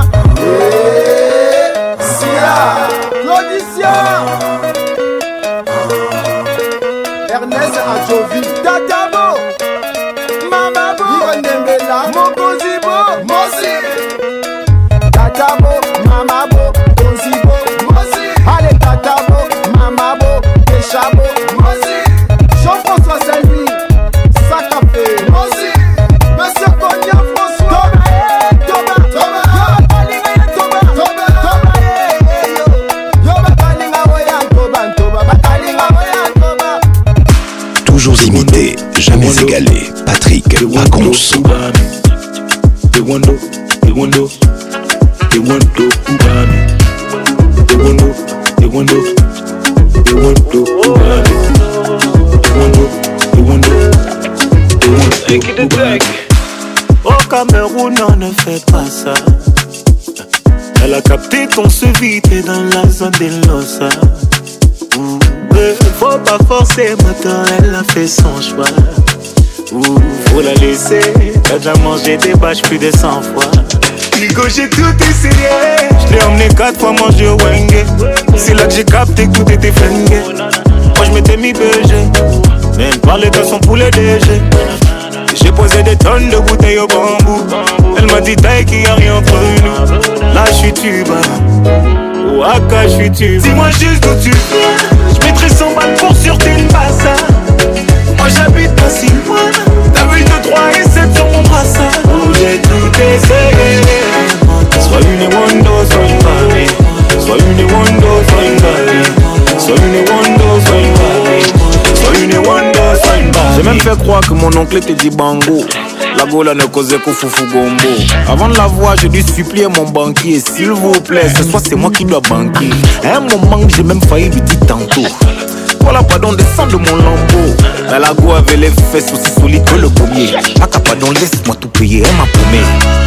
Ernest Adjovi, Tatabo, Mamabo, Irendembela, Mokozibo, Mosi, Tatabo, Mamabo, Mozibo, Mosi, allez Tatabo, Mamabo, Keshabo, Mosi, Jean-François Saint-Louis, Sacapé, Mosi, Monsieur Konya François, Thomas, Thomas, Thomas, Thomas, Thomas, Thomas, Toujours imité, jamais égalé. Patrick Pacons. They wonder, they wonder, they wonder who got me. They wonder, they wonder, they wonder who got me. They wonder, they wonder, they wonder who got me. Au Cameroun, on ne fait pas ça. Elle a capté qu'on se vide dans la zone des Losa. Faut pas forcer, moteur, elle a fait son choix. Ouh, faut la laisser, t'as déjà mangé des bâches plus de cent fois. Nico, j'ai tout essayé. Je l'ai emmené quatre fois manger au Wenge. C'est là que j'ai capté que tout était flingué. Moi je m'étais mis B G, même parler de son poulet D G. J'ai posé des tonnes de bouteilles au bambou. Elle m'a dit taille qu'il y a rien entre nous. Là je suis tuba, Ouaka je suis tuba. Dis-moi juste d'où tu viens, je mettrai cent balles pour sur une bassa. Moi j'habite pas si loin, t'as vu deux, trois et sept sur mon brassard. Où j'ai tout essayé. Soit une Wando, soit une Barbie. Soit une Wando, soit une Barbie. Soit une Wando, soit une Barbie. Soit une Wando, soit une Barbie. J'ai même fait croire que mon oncle était dit bango. La gola ne causait qu'au foufou gombo. Avant de la voir, je dû supplier mon banquier. S'il vous plaît, ce soir c'est moi qui dois banquer. À un moment, j'ai même failli lui dire tantôt. Voilà, pardon, descends de mon lambeau. Mais la go avait les fesses aussi solides que le pommier. Aka, pardon, laisse-moi tout payer, elle m'a paumé.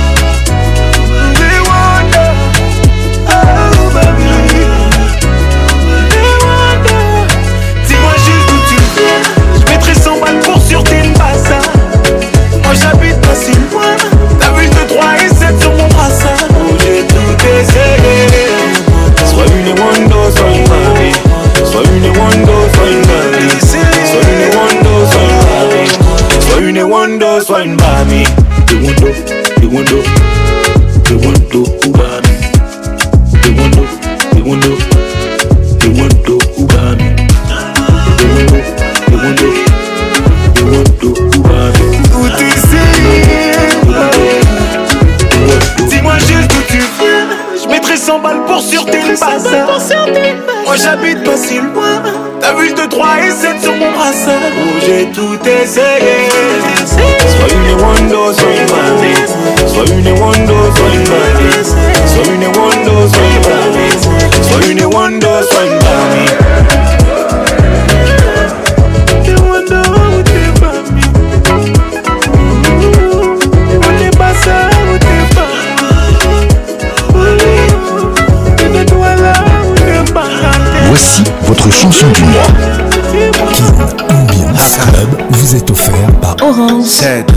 J'habite pas si loin. T'as vu de trois et sept sur mon brassard. Oh, j'ai tout essayé. Soit une Wando, soit une Barbie. Soit une Wando, soit une Barbie. Soit une Wando, soit une Barbie. Soit une Wando, soit une Barbie. The Wando, the Wando, the Wando, Barbie. The Wando, the Wando, the Wando, Barbie. The Wando, the Wando, the Wando, Barbie. Dis-moi juste où tu viens. Je mettrai cent balles pour sûreté le bazar. Moi j'habite pas si loin. T'as vu de trois et sept sur mon brassard. Oh, j'ai tout essayé. Soit une Wando, soit une Barbie. Soit une Wando, soit une Barbie. Soit une Wando, soit une Barbie. Soit une Wando, soit une Barbie. Voici votre chanson du mois. King Ambiance Club vous est offert par Orange.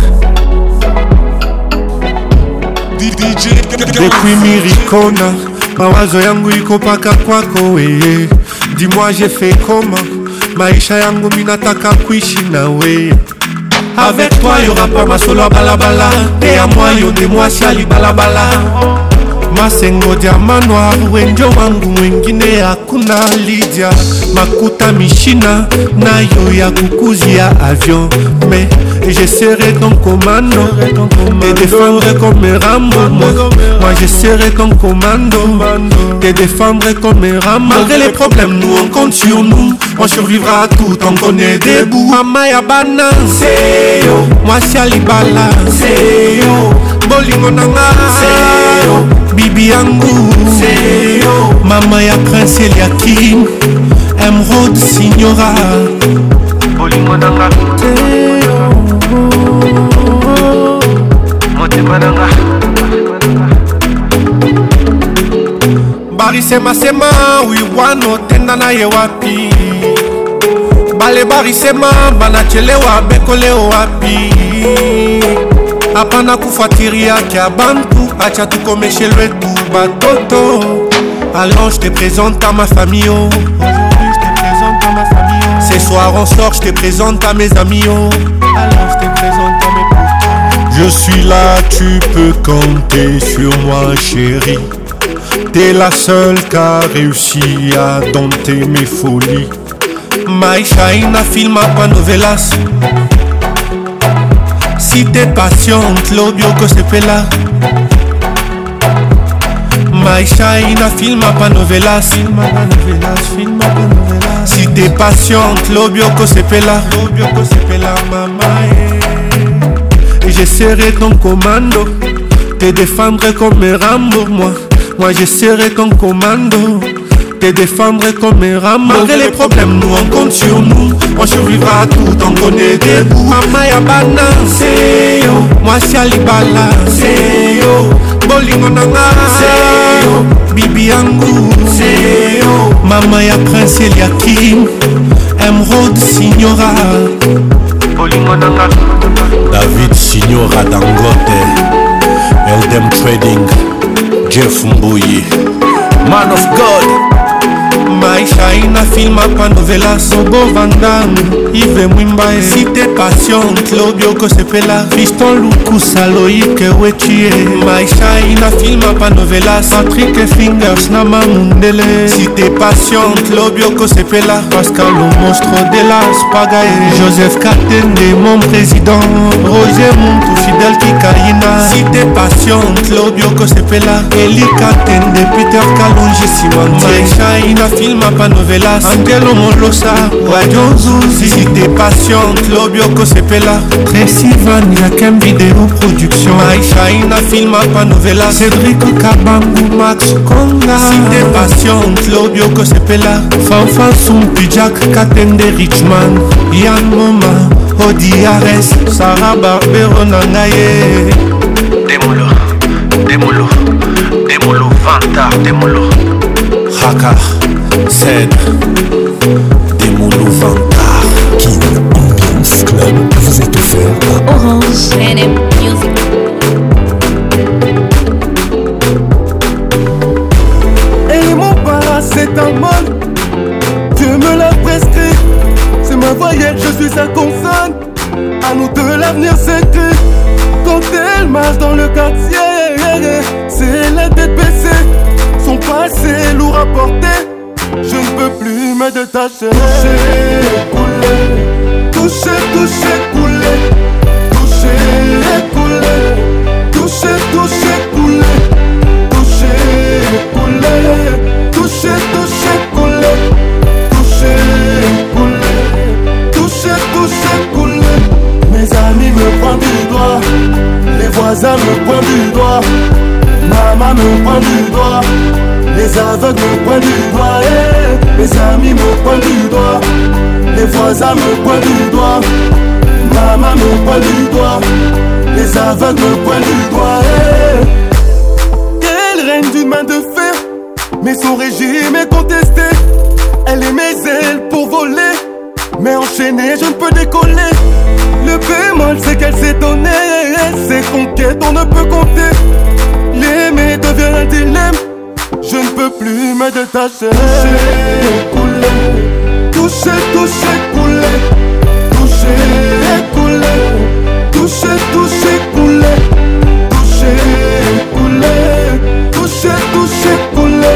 Depuis Miricona, mawazo yangu iko paka kwako weye. Dis-moi j'ai fait comment, maisha yangu minataka kuishi na weye. Avec toi y'aura pas ma solo balabala. Et à moi yo de moi siali balabala. Masengo diama noir, wenjo wangu mwengine hakuna Lydia. Makuta mishina, nayo ya kukuzia avion. Mais je serai ton commando, te défendre comme Rambo. Moi je serai ton commando, te défendre comme Rambo. Malgré les problèmes, nous on compte sur nous. On survivra à tout tant qu'on est debout. Mama ya bana, c'est yo. Moi si alibala, c'est yo. Bolingo nanga, c'est yo. Bibi yangu, c'est yo. Mama ya Prince Eliakim, Emerald Signora. Bolingo nanga, c'est yo. Motema nanga. Bari sema sema, wiwano tenda na ye wapi. Bale bari sema, banachelewa bekoleo wapi. Hapana kufuatilia kia bantu, acha tukomeshe lwetu batoto. Allons, je te présente à ma famille, oh. Aujourd'hui je te présente à ma famille, oh. Ce soir on sort, je te présente à mes amis, oh. Allons, je te présente à mes potes. Je suis là, tu peux compter sur moi chérie. T'es la seule qui a réussi à dompter mes folies. Maisha ina filma pa novelas. Si t'es patiente, l'obioko se pela. Maisha ina filma pa novelas. Filma pa novelas, filma pa novelas. Si t'es patiente, l'obioko se pela. L'obioko se pela, mama. Et je serai ton commando, te défendre comme Rambo, moi. Moi je serai ton commando, te défendre comme Rambo. Malgré les problèmes, nous on compte sur nous. On survivra à tout tant qu'on est debout. Mama ya bana, c'est yo. Moi si alibala, c'est yo. Bolingo nanga, c'est yo. Bibi yangu, c'est yo. Mama ya Prince Eliakim, Emerald Signora. Bolingo nanga. David Signora Dangote, Eldem Trading, Jeff Mbuyi, Man of God. Maisha ina filma pa novela. Sobo Vandam, Yves Mwimbae. Si t'es patiente, l'obioko se pela. Fiston Luku Saloike Wechie. Maisha ina filma pa novela. Patrick Fingers Nama Mundele. Si t'es patiente, l'obioko se pela. Pascal le monstre de la Spagae. Joseph Katende, mon président. Roger Muntu Fidel Kikaina. Si t'es patiente, Lobioko sepela Elika tende, Peter Kalonji Simonte Maisha ina filma pa novelas Angelo Molosa, Radio Zuzi. Si t'es patiente, Lobioko sepela Tracy Van, Yakem Vidéo Production Maisha ina filma pa novelas Cédric Kabangu, Max Konga. Si t'es patiente, Lobioko sepela Fanfan Sumpi, Jack Katende Richman Yann Moma, Odi Ares, Sarah Barbero Nangaye. Démolo, démolo, démolo, Vanta, démolo. Haka, Zed, démolo, Vanta. Kin Ambiance Club vous est offert par Orange N M Music. Et mon paracétamol, Dieu me l'a prescrit. C'est ma voyelle, je suis sa consonne. À nous deux l'avenir s'écrit. Quand elle marche dans le quartier, c'est la tête baissée. Son passé lourd à porter, je ne peux plus me détacher. Toucher, couler, toucher, toucher, couler. Toucher, couler, toucher, toucher, couler. Toucher, couler, toucher, toucher, couler. Toucher, couler, toucher, toucher, couler. Mes amis me pointent du doigt, les voisins me pointent du doigt, maman me pointe du doigt, les aveugles me pointent du doigt, hey. Mes amis me pointent du doigt, les voisins me pointent du doigt, maman me pointe du doigt, les aveugles me pointent du doigt, hey. Elle règne d'une main de fer, mais son régime est contesté. Elle est mes ailes pour voler, mais enchaînée je ne peux décoller. Le bémol c'est qu'elle s'est donnée, ses conquêtes on ne peut compter. L'aimer devient un dilemme, je ne peux plus me détacher. Toucher, couler, toucher, toucher, couler. Toucher, couler, toucher, toucher, couler. Toucher, couler, toucher, toucher, couler.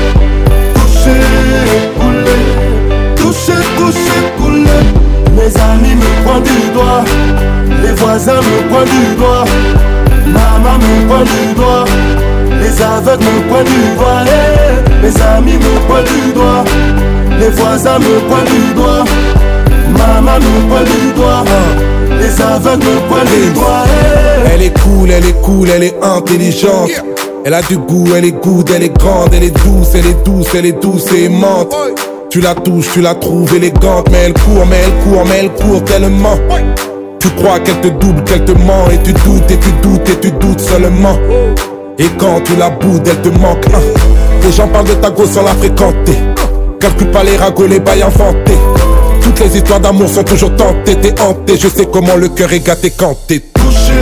Toucher, couler, toucher, toucher, couler. Mes amis me pointent du doigt, les voisins me pointent du doigt, maman me pointe du doigt, les aveugles me pointent du doigt, hey. Mes amis me pointent du doigt, les voisins me pointent du doigt, maman me pointe du doigt, les aveugles me pointent du doigt, hey. Elle est cool, elle est cool, elle est intelligente. Elle a du goût, elle est good, elle est grande, elle est douce, elle est douce, elle est douce et aimante. Tu la touches, tu la trouves élégante, mais elle court, mais elle court, mais elle court tellement. Tu crois qu'elle te double, qu'elle te ment, et tu doutes, et tu doutes, et tu doutes seulement. Et quand tu la boudes, elle te manque. Hein. Les gens parlent de ta go sans la fréquenter. Calcule pas les ragots, les bails inventés. Toutes les histoires d'amour sont toujours tentées, t'es hanté. Je sais comment le cœur est gâté quand t'es touché.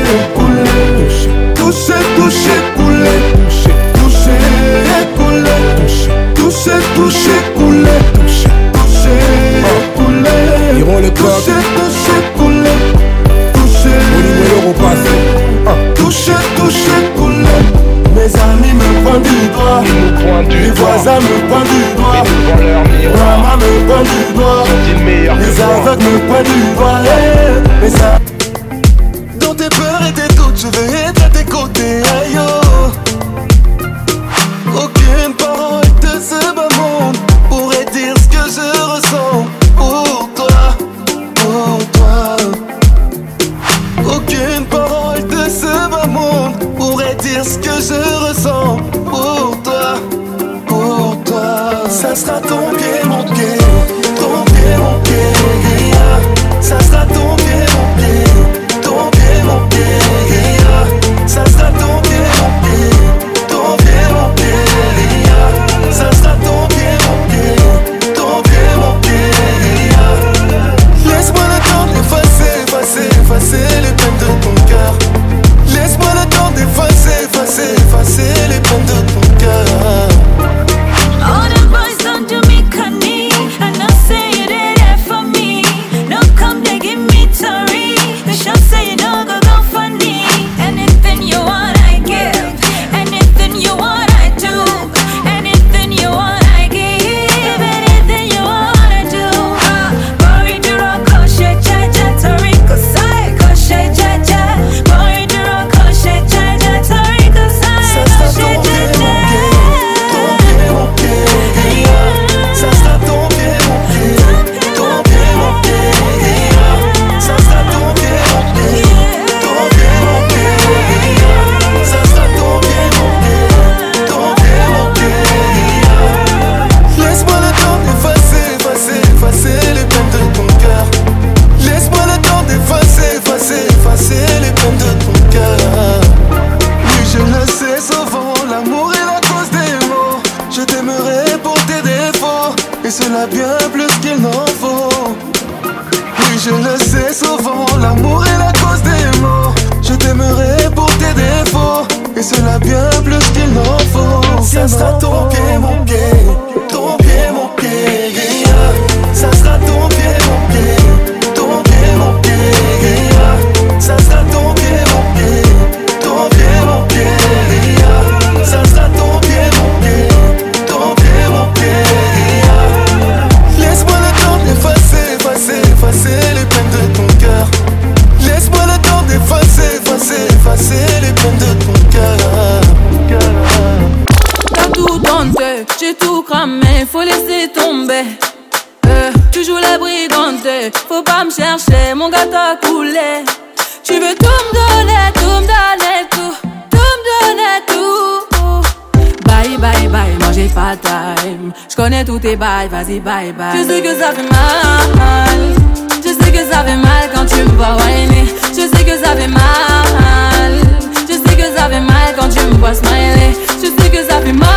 Toucher, toucher, toucher, couler. Toucher, toucher, couler. Toucher, toucher, couler. Toucher, toucher, couler. Ils le code. Toucher, toucher, couler. Toucher, l'euro passé. Toucher, toucher, couler. Mes amis me pointent du doigt, les voisins me pointent du doigt, maman me pointe du doigt, les aveugles me pointent du doigt, hey. Mais ça, dans tes peurs et tes doutes, je vais être à tes côtés, aïe oh. Aucune parole de ce bas monde pourrait dire ce que je ressens pour toi, pour toi. Aucune parole de ce bas monde pourrait dire ce que je ressens pour toi, pour toi. Ça sera ton pied, mon pied, ton pied, mon pied, yeah. Ça sera ton pied, mon pied, ton pied, mon pied, yeah. Ça sera ton pied, mon pied, ton pied, mon pied, yeah. Ça sera ton pied, mon pied, ton pied, mon pied, yeah. Laisse-moi le temps d'effacer, effacer, effacer les peines de ton cœur. Laisse-moi le temps d'effacer, effacer, effacer les peines de ton cœur. All the boys don't do me honey. et cela bien plus qu'il n'en faut. Ça sera ton pied, mon pied, ton pied, mon pied, yeah. Ça sera ton pied, mon pied, ton pied, mon pied, yeah. Ça sera ton pied, mon pied, ton pied, mon pied, yeah. Ça sera ton pied, mon pied, ton pied, mon pied, yeah. Laisse-moi le temps d'effacer, effacer, effacer les peines de ton cœur. Laisse-moi le temps d'effacer, effacer, effacer les peines de ton cœur. T'as tout tenté, j'ai tout cramé, faut laisser tomber. Euh, tu joues la brigante, faut pas me chercher, mon gars t'a coulé. Tu veux tout me donner, tout me donner, tout, tout me donner, tout. Bye, bye, bye, moi j'ai pas time. J'connais tous tes bails, vas-y, bye, bye. Je sais que ça fait mal, je sais que ça fait mal quand tu me vois whiner. Je sais que ça fait mal, je sais que ça fait mal quand tu me vois smiler. Je sais que ça fait mal,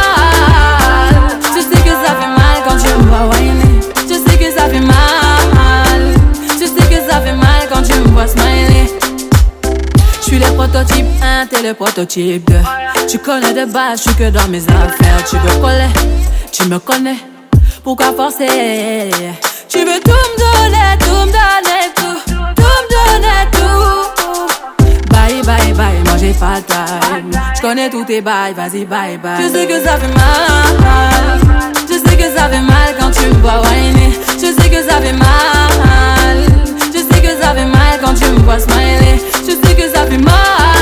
je sais que ça fait mal quand tu me vois whiner. Je sais que ça fait mal, je sais que ça fait mal quand tu me vois smiler. Je suis le prototype un, t'es le prototype deux. Tu connais de base, je suis que dans mes affaires. Tu veux coller, tu me connais, pourquoi forcer? Tu veux tout me donner, tout me donner, tout, tout me donner, tout. Bye, bye, bye, moi j'ai pas time. Je connais tous tes bails, vas-y, bye, bye. Je sais que ça fait mal, je sais que ça fait mal quand tu me vois whiner. Je sais que ça fait mal, je sais que ça fait mal quand tu me vois smiler. Je sais que ça fait mal,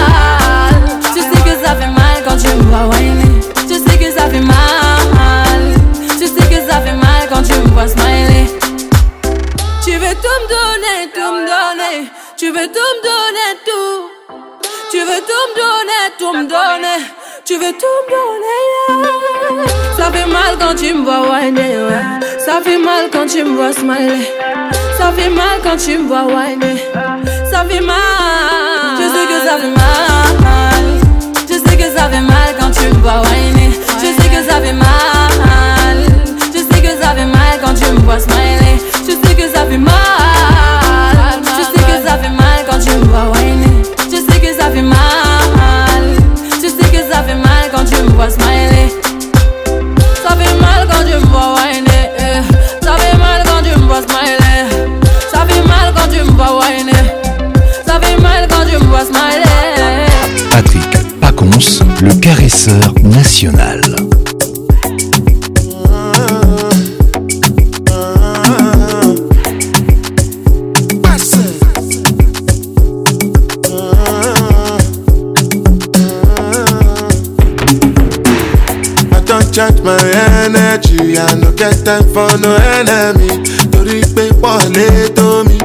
je sais que ça fait mal quand tu me vois whiner. Je sais que ça fait mal, je sais que ça fait mal quand tu me vois smiler. Tu veux tout me donner, tout me donner. Tu veux tout me donner, tout. Tu veux tout me donner, tout me donner. Tu veux tout me donner, yeah. Ça fait mal quand tu me vois whiner, ouais. Ça fait mal quand tu me vois smiler. Ça fait mal quand tu me vois whiner. Ça fait mal, je sais que ça fait mal. Je sais que ça fait mal quand tu me vois whiner. Je sais que ça fait mal. Je sais que ça fait mal quand tu me vois smiler. Je sais que ça fait mal. Je sais que ça fait mal quand tu me vois whiner. Je sais que ça fait mal. Je sais que ça fait mal quand tu me vois smiler. Ça fait mal quand tu me vois whiner. Ça fait mal quand tu me vois smiler. Ça fait mal quand tu me vois whiner. Ça fait mal quand tu me vois smiler. Patrick Pacons, le caresseur national. Charge my energy, I no get time for no enemy. Torí pé wọlé tó mi.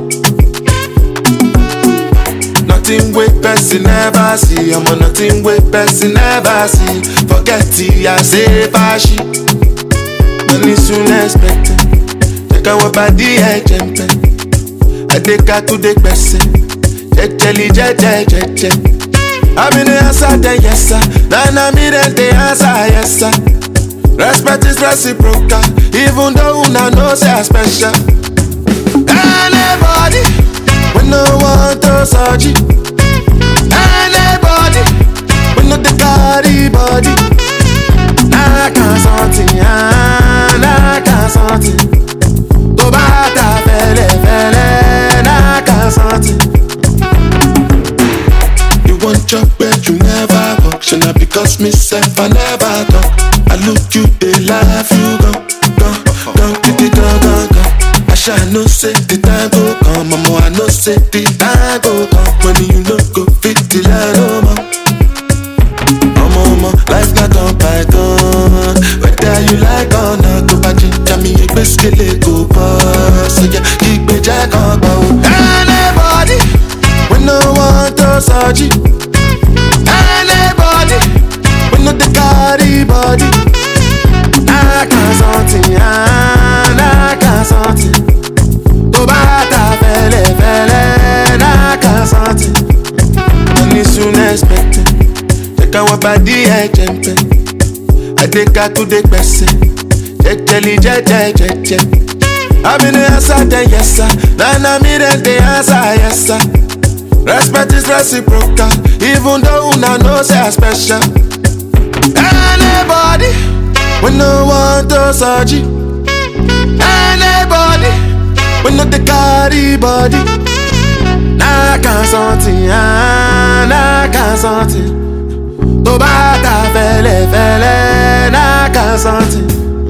Nothing wey person never see, I'm on nothing wey person never see. Forget it, I say fashi. Money soon expected. Check out what body I jump. I take her to the person. Jejeli jeje jeje. I'm in the answer, then yes sir. Now I'm in the answer, yes sir. Respect is reciprocal, even though una know say I special. Anybody, we no want to search it. Anybody, we no the carry body. I can't something, I can't something. To bata fele fele, I can't something. You want your bed, you never walk. Should not because myself I never talk. I look you, they laugh, you go, go, go, go, go, go, go. I shall no say the time go come, mama, I no say the time go come. When you no go fit the line, oh ma. Oh mama, life not on python. Whether you like or not, go back to me, you best kill it, go pass. So yeah, keep me jack on bow. Anybody, we no want to search it. Anybody, we no the carry body. I can't something, I can't something. To bata fele fele, I can't something. Money soon expected. Check out what body I jump. I take her to the person. Jejeli jeje jeje. I'm in the answer, then yes sir. Now I'm in the answer, yes sir. Respect is reciprocal, even though una know say I special. Anybody, we no want to search it. Anybody, we no the carry body. Na can something, ah, na can something. To bata fele fele, na can something.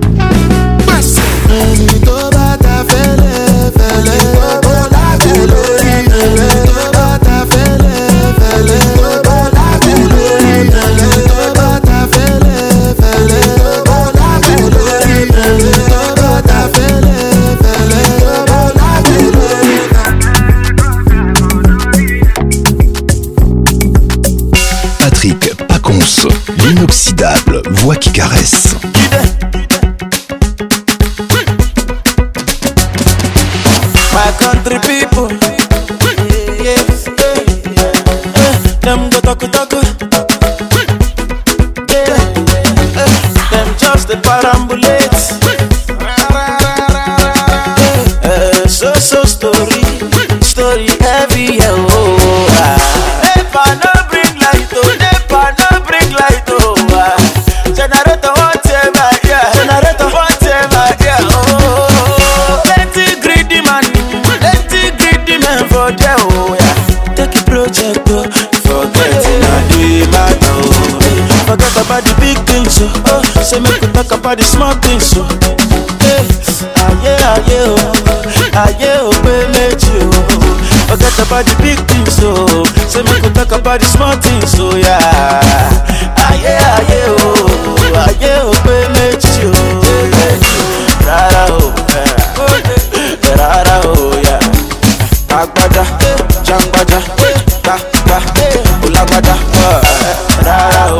To bata fele fele, to bata fele fele, to bata fele fele, to bata fele fele, to bata fele fele, to bata fele fele, to bata fele fele, to bata fele. Patrick Pacons, l'inoxydable voix qui caresse. My country people, yes, yeah, yeah. Them go talk talk, yeah. Them just the parambulate. Uh, so so story, story heavy, oh. Ah. Never no bring light, oh. Never no bring light, oh. Ah. Generator whatever, yeah. Generator whatever, yeah. Oh. Plenty greedy man. For there, oh yeah. Take a project, oh. Forget it, not the matter, oh. Forget about the big things, oh. Oh, say make we talk about the small things, oh. Hey, aye, aye, oh. Aye, oh, baby, oh. Forget about the big things, oh. Say make we talk about the small things, oh yeah. Aye, aye, oh. Aye, oh, baby, oh. Rara, oh, rara, oh, yeah. Agbada, jangbaja, ba ba, ulagbada, rara o,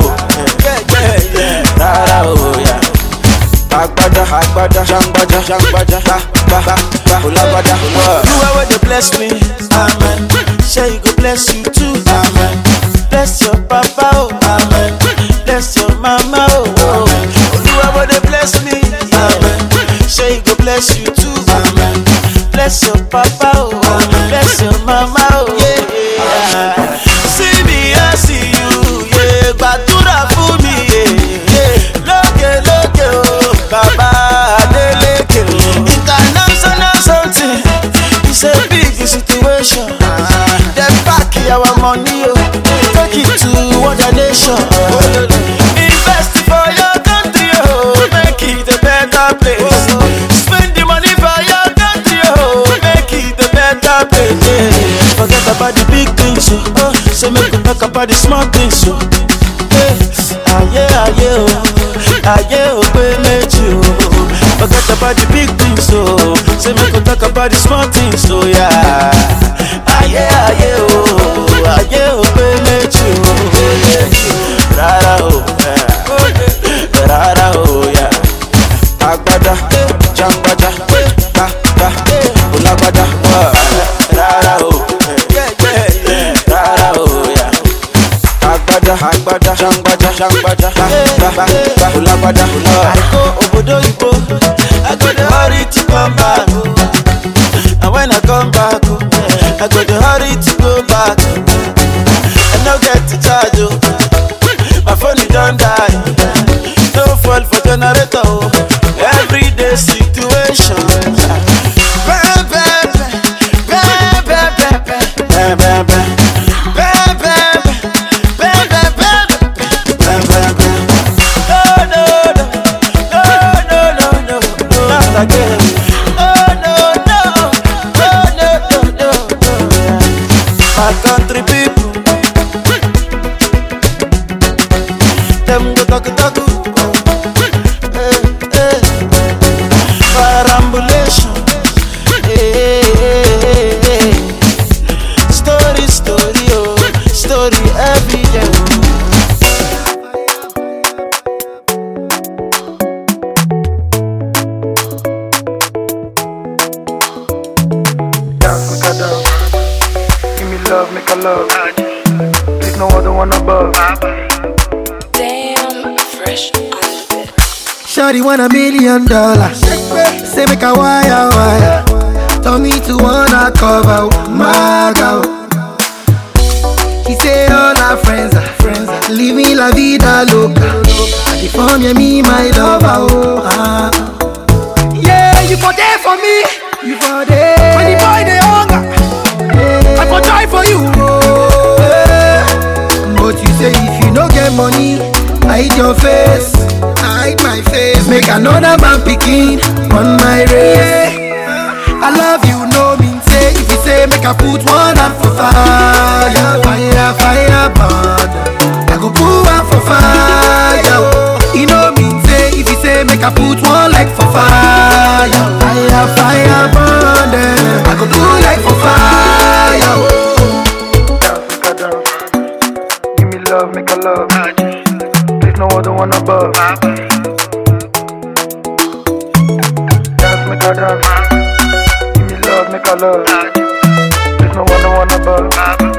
rara o ya. Agbada, agbada, jangbaja, jangbaja, ba ba ba, ulagbada. You are where they bless me, amen. Say you go bless you too, amen. Bless your papa, oh, amen. Bless your mama, oh, amen. You are where they bless me, amen. Say you go bless you too, amen. Bless your papa, oh, bless your mama, oh, yeah, yeah. See me, I see you, yeah. Batura for me, yeah, yeah. Loke, loke, oh, Baba, Adeleke, oh. International something, it's a big situation. They pack our money, oh, take it to other nation. Invest for your country, oh, make it a better place. Spend the money for your forget about the big things, so oh, say make we talk about the small things, so hey, aye, aye, oh, aye, oh, baby, oh. Forget about the big things, so say make we talk about the small things, so yeah. Aye, aye, oh, aye, oh, baby, oh. Rara, oh, rara, oh, yeah. Agbada, jangbaja, ba ba, ulagbada, rara, oh. Agbada, jangbaja, jangbaja, ba ba ba, ulagbada. I go obodo ibo, I go the hurry to come back, and when I come back, I go the hurry to go back. I no get to charge, oh. My phone is done die, no fall for generator, oh. Everyday situation. Bam bam bam bam bam bam bam bam. Again. Oh no no no no no no no. My country people, them go talk talk. Eh eh. Parambulation. Eh eh eh. Story story oh, story every day. Love, make a love. There's no other one above. Damn, fresh on the bed. Shawty want a million dollars. Say make a wire wire. Tell me to wanna cover my girl. She say all our friends are friends are living la vida loca. I dey form yeah, me my lover, oh ah. Yeah, you for there for me, you for there. When the boy dey hunger, yeah. I for try for you, oh yeah. But you say if you no get money, hide your face, hide my face. Make another man picking on my race. I love you, no mean say. If you say make I put one up for fire, fire, fire, burn. I go put one for fire. You know mean say. If you say make I put one like for fire, fire, fire, burn. I go put like for fire. Give me love, make a love. There's no other one above. Dance, make a dance. Give me love, make a love. There's no other one above.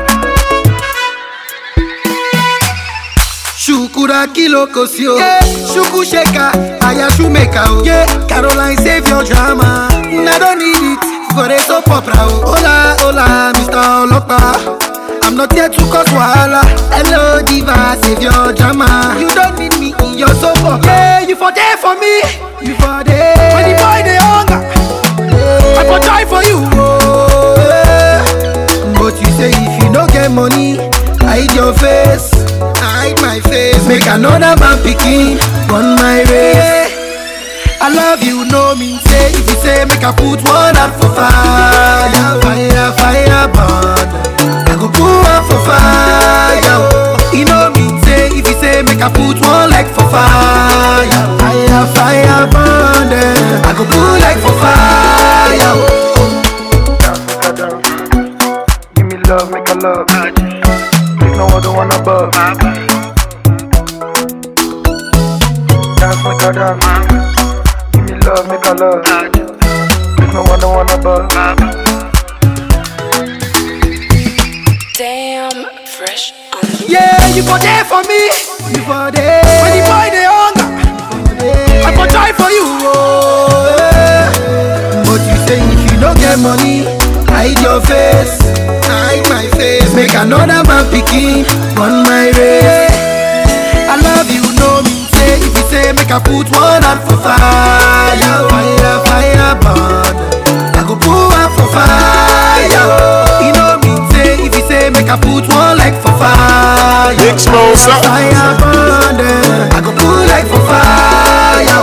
Shukura kilo kosio, yeah. Shuku sheka, aya shumeka, oh. Yeah. Caroline save your drama. I don't need it for a soap opera, oh. Hola, hola, Mister Olopa. I'm not here to cause wahala. Hello diva, save your drama. You don't need me in your soap opera. Yeah, you for there for me, you for there. When the boy dey hunger, yeah. I for try for you, oh yeah. But you say if you no get money, hide your face, hide my face. Make another man picking on my race. I love you, no mean say. If you say make I put one up for fire, fire, fire, burn. I go put one for fire. You know mean say. If you say make I put one like for fire, fire, fire, burn. I go put like for fire. Give me love, make a love. There's no other one above. Dance, make a dance. Give me love, make a love. There's no other one above. Damn, fresh on the yeah, you for there for me, you for there. When the boy dey hunger, I for try for you, oh yeah. But you say if you don't get money, hide your face, hide my face. Make another man picking on my race. I love you, no mean say. If you say make I put one up for fire, fire, fire, burn. I go put one for fire. You know mean say. If you say make I put one like for fire, Explosive. fire, burn. I go put like for fire.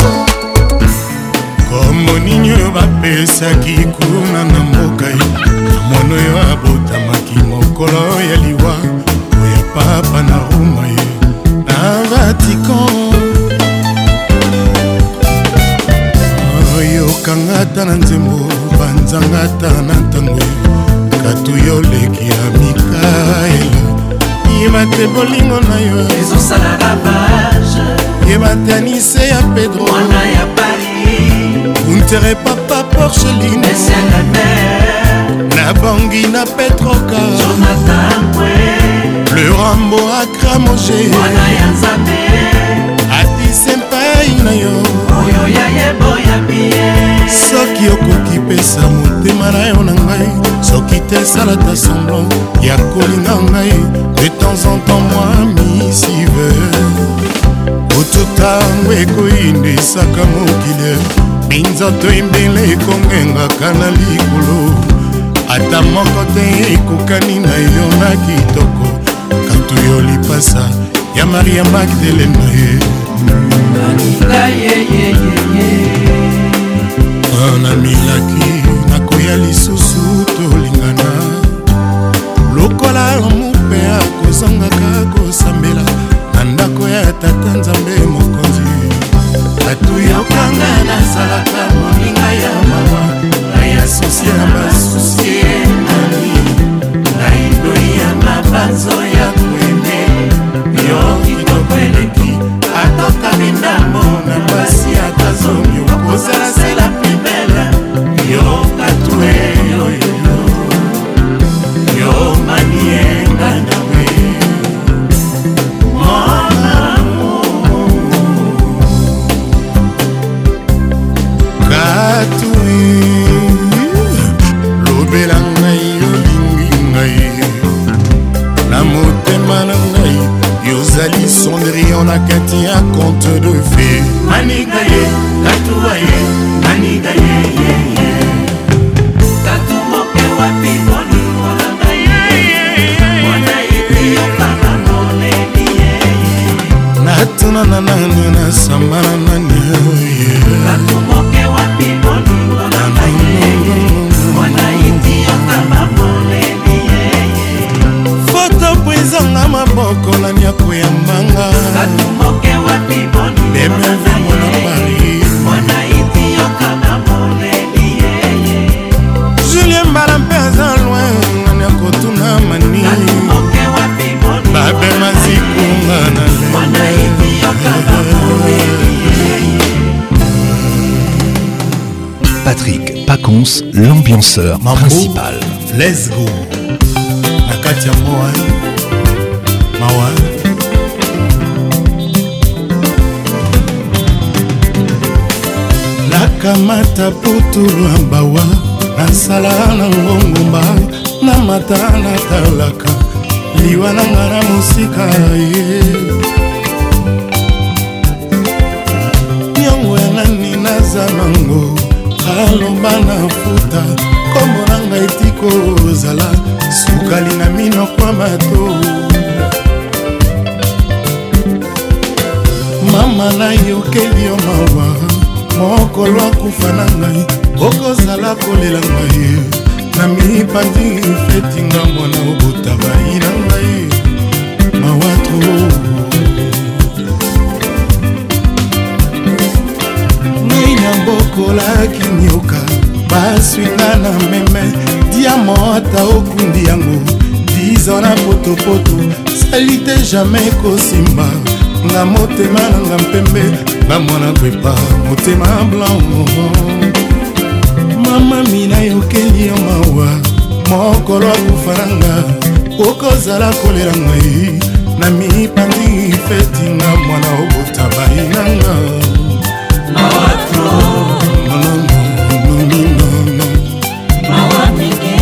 Komo ninyo bapesaki kuna na mboka ye mono yo abotamaki mokolo ya liwa oya papa na Roma ye na Vatican oyokangata na nzembo banzangata na ntango katu yo leki ya Mikaela yeba te bolingo na yo ezosala ravage yeba te anise ya Pedro wana ya Paris untere papa Porceline Messia la mer na Bangui na Petroka Jonathan Kwe le Rambo Akramoje wana ya Nzambe ati senpai na yo oyo ya yebo ya biye soki okoki pesa motema na yo na ngai soki te salata semblant ya kolinga ngai de temps en temps moi misive ototango ekoyindisaka mokili minzoto ebele ekongengaka na likolo ata moko te ekokani na yo na kitoko katu yo lipasa ya Maria Magdalena ye namilaki nakoya lisusu tolingana lokola mope akozangaka kosambela na ndako ya tata Nzambe mokonzi atu yokanga nazalaka moninga ya mawa nayasosie na basusie nani naindoi ya mabanzo ya kwende yo kitoko eleki atokami ndambo na basi atazongi okozala se la plus belle yo katue yo yo yo manienga nawe Cendrillon na kati ya conte de fée. Maniga ye, tatua ye, maniga ye ye ye. Tatu moke wapi boni molanga ye ye. Mwana iti yokana mone ni ye ye. Natuna na nani na samana nani ye. Tatu moke wapi boni molanga ye ye. Mwana iti yokana mone ni ye ye. Foto pwizanga maboko na nyako ya manga. Tatu moke wapi boni molanga ye ye. Mwana iti yokana mone ni ye ye. Julien Mbala mpeza loin ngani akotuna mani. Tatu moke wapi boni babe mazikunga na le. Mwana iti yokana mone ni ye ye. Patrick Pacons, l'ambianceur principal. Let's go. Nakati ya moa mawa. Nakamata putulu ambawa. Nasala na ngongomba. Na mata na talaka. Liwa na ngara musika ye. Nyongo ya nani naza nango. Aloba na futa. Kombo nanga etiko zala. Sukali na mino kwa bato. Mama na yokeli yo mawa. Mokolo akufa na ngai. Okozala kolela ngai. Na mipandi feti ngambo na obota bai na ngai. Mawato ngai na bokola kinyoka. Baswinga na meme. Diamota okundi yango. Dizo na potopoto. Salite jamais kosimba. Nga motema na nga mpembe. Nga mwana kwepa motema blanc. Mama mina yokeli yo mawa. Mokolo akufaranga. Okozala kolela ngai. Na mipandi feti nga mwana obota bai nanga. Mawatro no no no no no no. Mawamike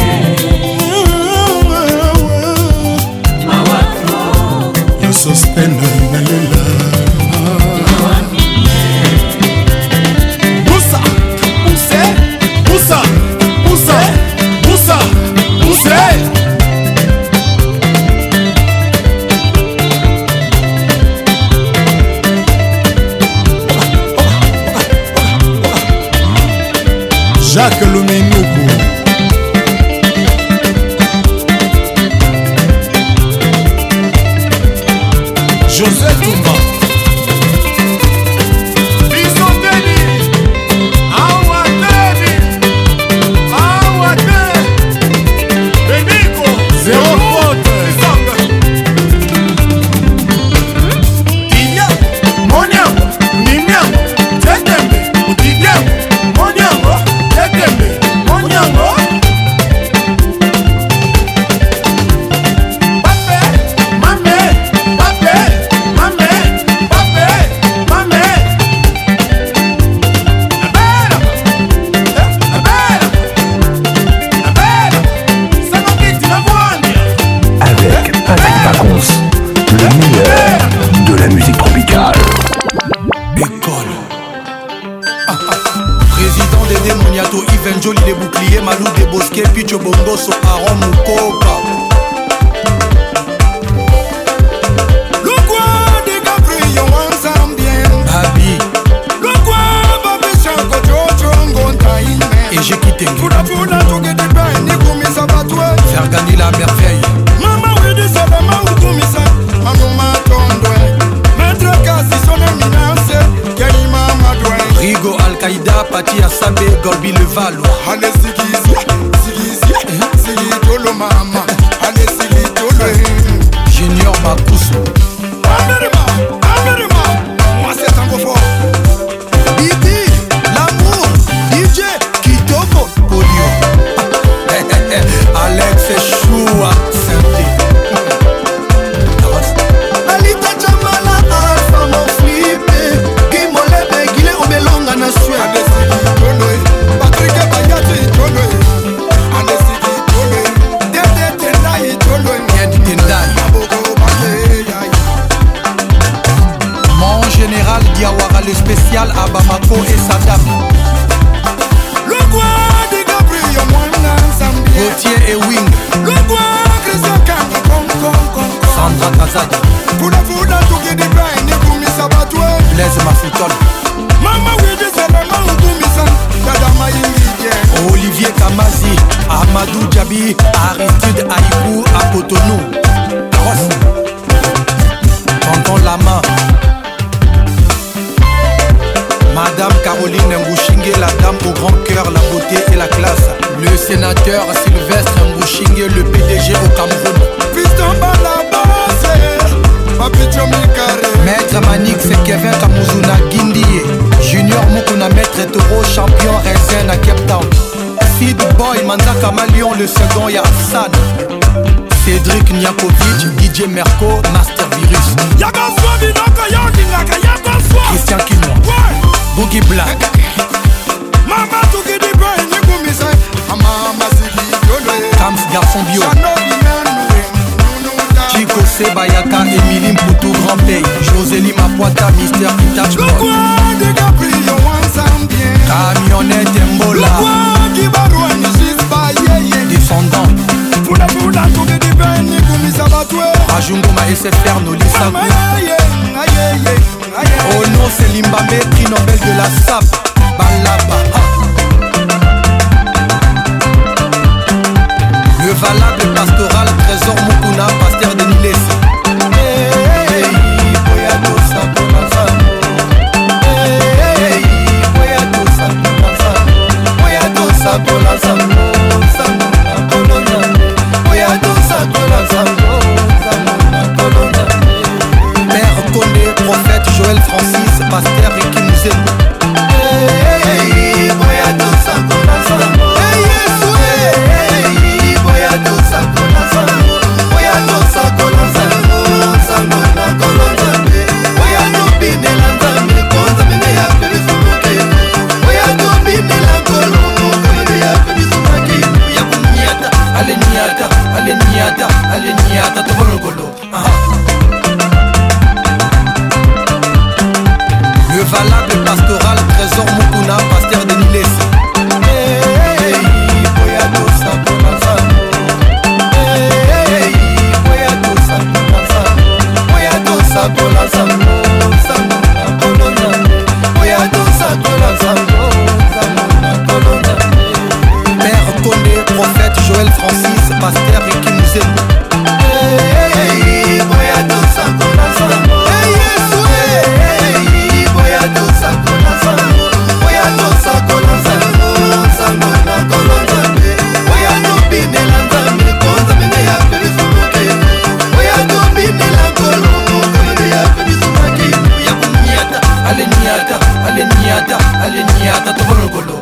Mawatro yo sosteno na lela. Busa Buse Busa Busa Busa Buse. Jacques Lomenoukou. Joseph Toumba. Bisondeni. Awadeni. Awade. Beniko. Zéro faute. Dinya. Moniango. Nimiango. Tetembe. Udidiango. Moniango. Tetembe. Moniango. Joli des boucliers, Malou des bosquets, Picho Bongoso, Aaron Mukoka. Le quoi des Gabriel ensemble bien. Babi. Le quoi Babi Chanko Jojo Ngontaïne. Et j'ai quitté. Fouda Fouda Toge de Bain, Nikoumi Sabatoué. Faire gagner la merveille. Maman oui de Sadama ou Koumisa. Maman Matondoué. Maître Kassi son éminence. Kelima Madoué. Rigo Al-Qaïda, Pati Assabe, Gorbi le Valo. Allez Ziggy Ziggy Ziggy Ziggy Dolo Mama. général Diawara, le spécial à Bamako et Saddam. Le roi de Gabriel Mwana Zambia. Gauthier et Wing. Le roi Christian Kanga Kong Kong Kong. Sandra Kazadi. Pour la foule à tout qui débaine et pour mes sabatoué. Blaise Mafutol. Mama oui de Salama ou Toumissan. Kadama Yingidien. Olivier Kamazi. Amadou Djabi. Aristide Aïkou à Cotonou. Ross. Tonton Lama. Madame Caroline Ngouchingue, la dame au grand cœur, la beauté et la classe. Le sénateur Sylvestre Ngouchingue, le P D G au Cameroun. Piston Balabase, Papicho Mikare. Maître Manix, Kevin Kamuzuna Guindie. Junior Mukuna, Maître Toro, champion Raisin à Cape Town. Sid Boy, Manzaka Malion, le second Yassan. Cédric Niakovic, D J Merco, Master Virus. Christian Kinois. Boogie Black. Mama Touki di Bain, Nikumisa. Mama Zigi Yolo. Kams Garçon Bio. Chico Sebayaka, Émilie Mpoutou, Grand Pays. Josélie Mapoita, Mister Kitach Boy. Le roi de Gabriel Wansambien. Camionnette Mbola. Le roi qui barou un Jisba. Descendant. Fouda Fouda Touki di Bain, Nikumisa Batoué. Rajungoma S F R Nolissa. Oh non, c'est Limbamé, prix Nobel de la S A P. Balaba. Le valable pastoral, trésor Mukuna, pasteur de Nilesi. Hey, Boyado Sakonazamo. Hey, Boyado Sakonazamo. Boyado Sakonazamo. Samona Kolonane. Boyado Sakonazamo. Samona Kolonane. Père Condé, prophète Joël Francis, pasteur et qui nous aime. Hey, Boyado Sakonazamo. Hey, Hey, Boyado Sakonazamo. Boyado Sakonazamo. Samona Kolonane. Boyado Binelanzame. Konza mene ya Felisumuke. Boyado Binelanzolo. Konza ya Felisumuke. Ya Bunyata. Ale Niata. Ale Niata. Ale Niata. Tobologolo. Le valable pastoral, trésor Mukuna, pasteur de Nilesi. Hey, Boyado Sakonazamo. Hey, Boyado Sakonazamo. Boyado Sakonazamo. Samona Kolonane. Boyado Sakonazamo. Samona Kolonane. Père Condé, prophète Joël Francis, pasteur et qui nous aime. Hey, Boyado Sakonazamo. Hey, Boyado Sakonazamo. Boyado Sakonazamo. Samona Kolonane. Boyado Binelanzame. Konza mene ya Felisumuke. Boyado Binelangolo. Konza ya Felisumuke. Ya Bunyata. Ale Niata. Ale Niata. Ale Niata. Tobologolo.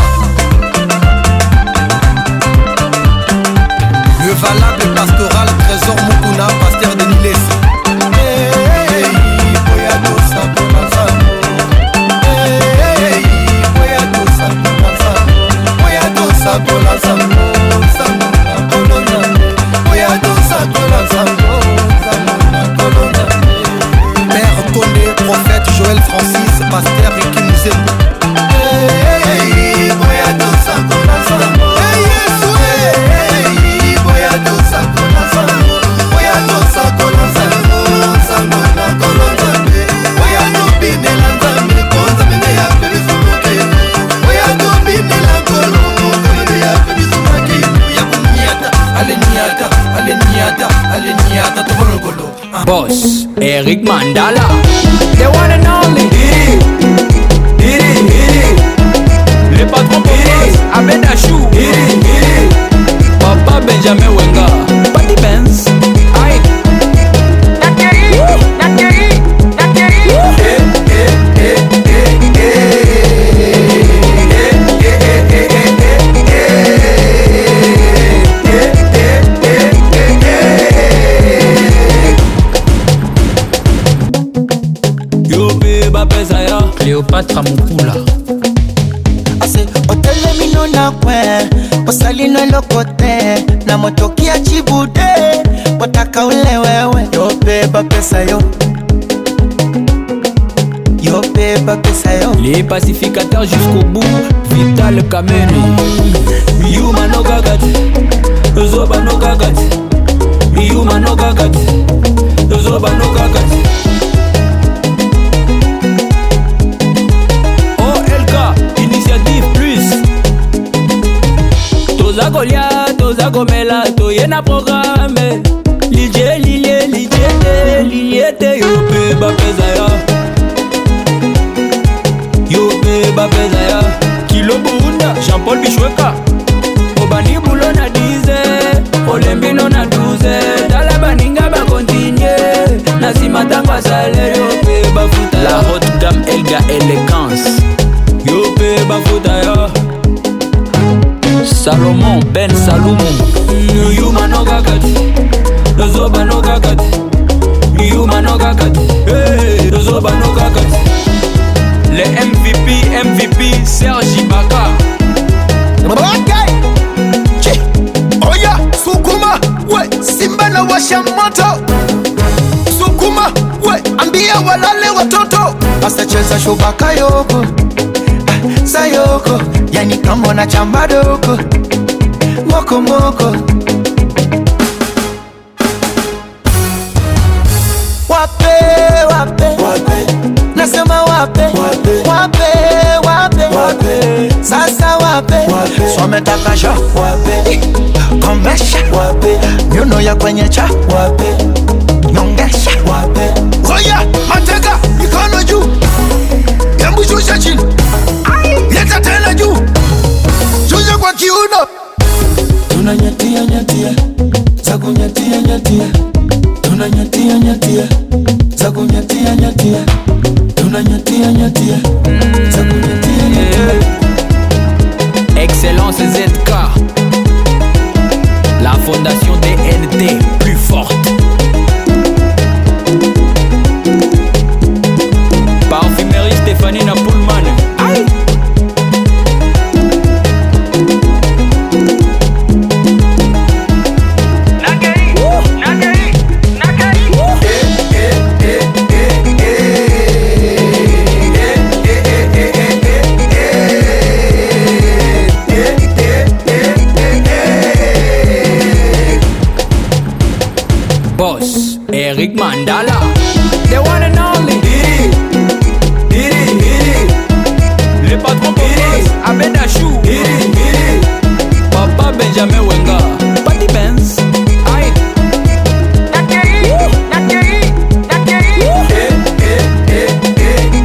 Le valable pastoral, trésor Mukuna, pasteur de Nilesi. Hey, Boyado Sakonazamo. Hey, Boyado Sakonazamo. Boyado Sakonazamo. Samona Kolonane. Boyado Sakonazamo. Samona Kolonane. Père Condé, prophète Joël Francis, pasteur et qui nous aime. Hey, Boyado Sakonazamo. Hey, Boyado Sakonazamo. Boyado Sakonazamo. Samona Kolonane. Boyado Binelanzame. Konza mene ya Felisumuke. Boyado Binelangolo. Konza ya Felisumuke. Ya Bunyata. Ale Niata. Ale Niata. Ale Niata. Tobologolo. Boss, Eric Mandala. The one and only. Diri, Diri, Diri. Le patron Boss, Ahmed Achou. Diri, Diri. Papa Benjamin Wenga. Patty Benz. Aïe. Nakeri, Nakeri, Nakeri. Eh, eh, eh, eh, eh. Cléopatra Mukula. Ase otelemino na kwe osalino lokote na motoki ya chibude wataka ule wewe yobeba pesa yo Les pacificateurs jusqu'au bout, Vital Kameni. Yuma no gagati, Zoba no gagati. Yuma no gagati, Zoba no gagati. O L K, Initiative Plus. Toza Golia, Toza Gomela, Toyena programme. Lilie, lilie, lilie, lilie, te yope bapezaya. Yope bapezaya. Kilo Bunda, Jean-Paul Bichweka. Obani Boulon na dize, Olembino na douze. Dala baninga ba continue, Nasima tangwa sale yope bafuta. La haute gamme Elga Elegance. Yope bafuta ya. Salomon Ben Salomon. Yuma no gagati, Zoba no gagati. Yuma no gagati, hey, Zoba no gagati. Les M V P, M V P, Serge Ibaka. Ok, Chi, Oya, Sukuma, we, Simba na washa moto. Sukuma, we, ambia walale watoto. Basta cheza shubaka yoko, ah, sayoko, yani kama na chamba doko. Moko moko. Wape, wape, wape. Nasema wape, wape, wape, wape, wape. Sasa wape, wape. Swametaka sha, wape. Komesha, wape. Nyuno ya kwenye cha, wape. Nyongesha, wape. Oya, mateka, mikono juu. Yambu shusha chini. Leta tena juu. Shusha kwa kiuno. Tunanyatia, nyatia. Zaku nyatia, nyatia. Tunanyatia, nyatia. Zaku nyatia, nyatia. Tunanyatia, nyatia. Zaku nyatia, nyatia. Excellence Z K. La fondation D N T plus forte. Parfumerie Stéphanie Napoulman. Aïe. Boss, Eric Mandala, the one and only. Diri, Diri, Diri. Le patron Boss, Abeda Chou. Diri, Diri. Papa Benjamin Wenga, Patty Benz. Aïe. Nakeri, Nakeri, Nakeri. Eh, eh, eh, eh,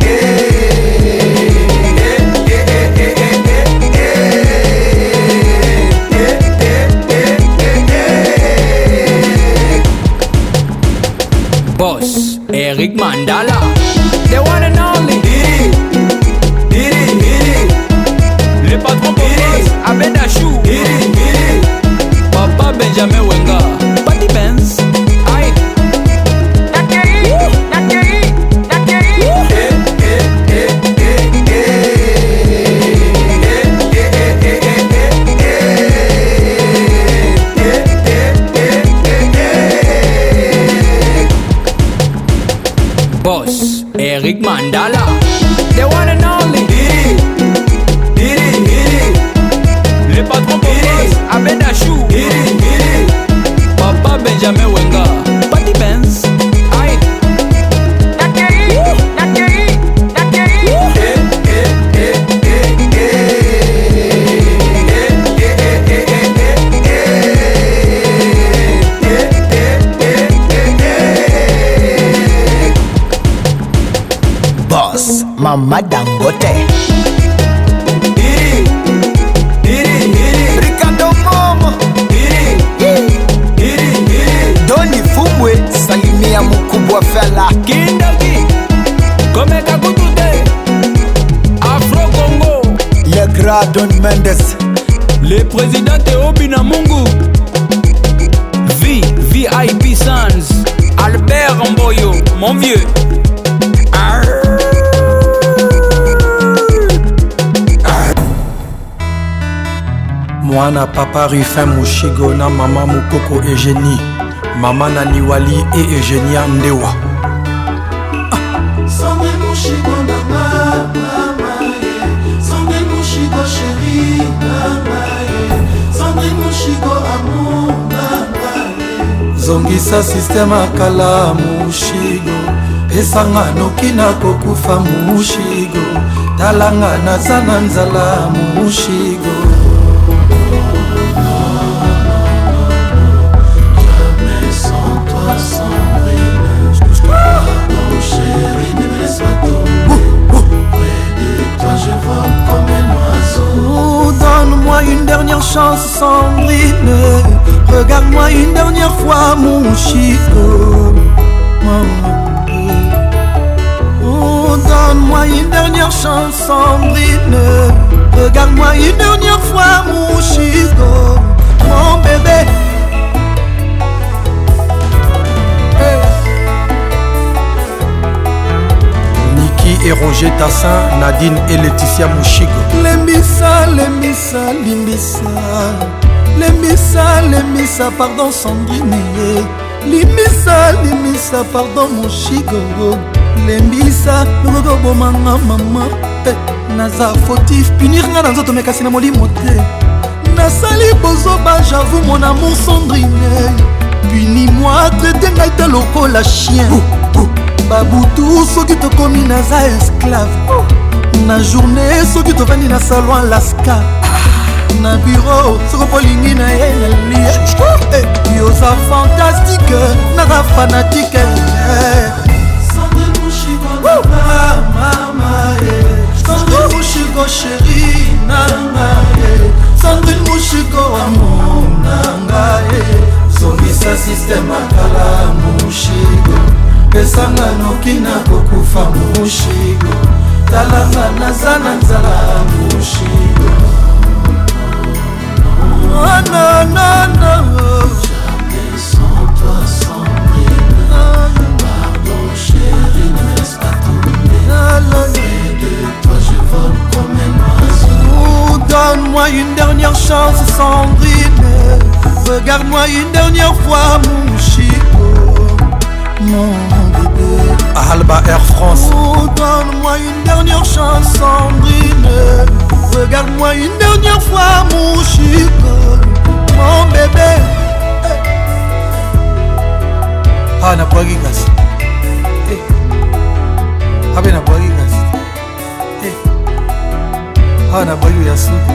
Boss, Eric Mandala, the one and only. Diri, Diri, Diri. Le patron Boss, Abeda Chou. Diri, Diri. Papa Benjamin Wenga, Patty Benz. Aïe. Nakeri, Nakeri, Nakeri. Eh, eh, eh, eh, Boss, Eric Mandala, the one and only. Diri, Diri, Diri. Le patron Boss, Abeda Chou. Diri, Diri. Papa Benjamin Wenga, Patty Benz. Aïe. Nakeri, Nakeri, Nakeri. Eh, eh, eh, eh, Boss, Mama Dangote. Diri, Diri, Diri. Ricardo Momo. Diri, Diri, Diri. Doni Fumwe, salimia mkubwa fella. Kindaki, Komeka Kutute. Afro Congo. Le grand Don Mendes. Le président Théo Binamungu. V, V I P Sans. Albert Mboyo, mon vieux. Mwana papa Rufin Mushigo na mama Mukoko Eugénie. Mama Naniwali et Eugénia Ndewa. Same Mushigo na zongisa systeme akala mushigo pesanga noki na kokufa mushigo talanga naza na nzala mushigo. Donne-moi une dernière chance, Sandrine. Regarde-moi une dernière fois, mon chico. Oh, donne-moi une dernière chance, Sandrine. Regarde-moi une dernière fois, mon chico. Mon bébé. Et Roger Tassin, Nadine et Laetitia Mouchigo. Lembissa, lembissa, limbissa. Lembissa, lembissa, pardon Sandrine. Limbissa, limbissa, pardon Mouchigo. Lembissa, logo bomanga mama. Naza fautif, punir nga na nzoto mekasi na molimo te. Nasali bozoba, j'avoue mon amour Sandrine. Punis-moi, traité ngai te lokola chien. Baboutou soki tokomi naza esclave. Na journée soki tovandi na salon Alaska. Na bureau soko polingi na ye na lia. Yoza fantastique naza fanatique. Sandrine Mouchigo mama Sandrine Mouchigo chérie nanga. Sandrine Mouchigo amour nanga. Zongisa système akala Mouchigo pesanga noki na kokufa mushigo talanga naza na nzala mushigo. Oh non non non, jamais sans toi Sandrine. Pardon chérie, ne me laisse pas tomber. Près de toi je vole comme un oiseau. Oh, donne-moi une dernière chance Sandrine. Regarde-moi une dernière fois mushigo. Mon bébé Alba Air France. Oh, donne-moi une dernière chance Sandrine. Regarde-moi une dernière fois mon chico. Mon bébé. Ah na boagi gas. Eh. Habe na boagi gas. Eh. Ah na boagi yasudu.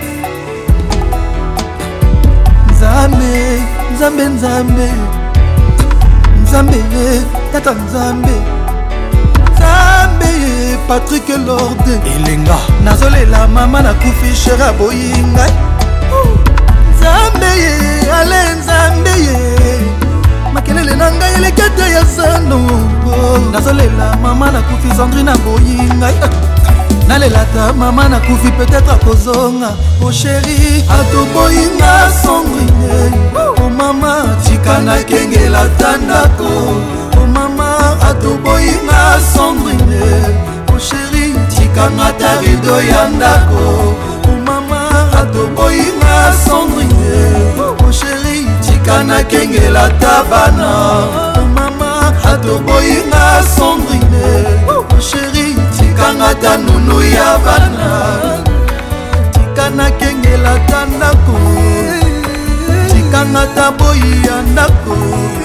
Nzambe, Nzambe, Nzambe. Nzambe, tata Nzambe. Nzambe, Patrick Lorde Elenga nazolela mama na kufi shera boyinga. Nzambe, ale Nzambe, makelele na ngai elekete ya sano. Nazolela mama na kufi Sandrine na boyinga. Nalela ta mama na kufi peut-être akozonga. Oh chéri, atoboyinga Sandrine. Oh mama, tika na kengela tandako. Oh mama, atoboyinga Sandrine. Oh chéri, tika na tarido ya ndako. Oh mama, atoboyinga Sandrine. Oh chéri, tika na kengela tabana. Oh mama, atoboyinga Sandrine. Oh chéri, kanga tanunu ya bana. Tikana kengela tandako. Tikanga taboyi ya ndako.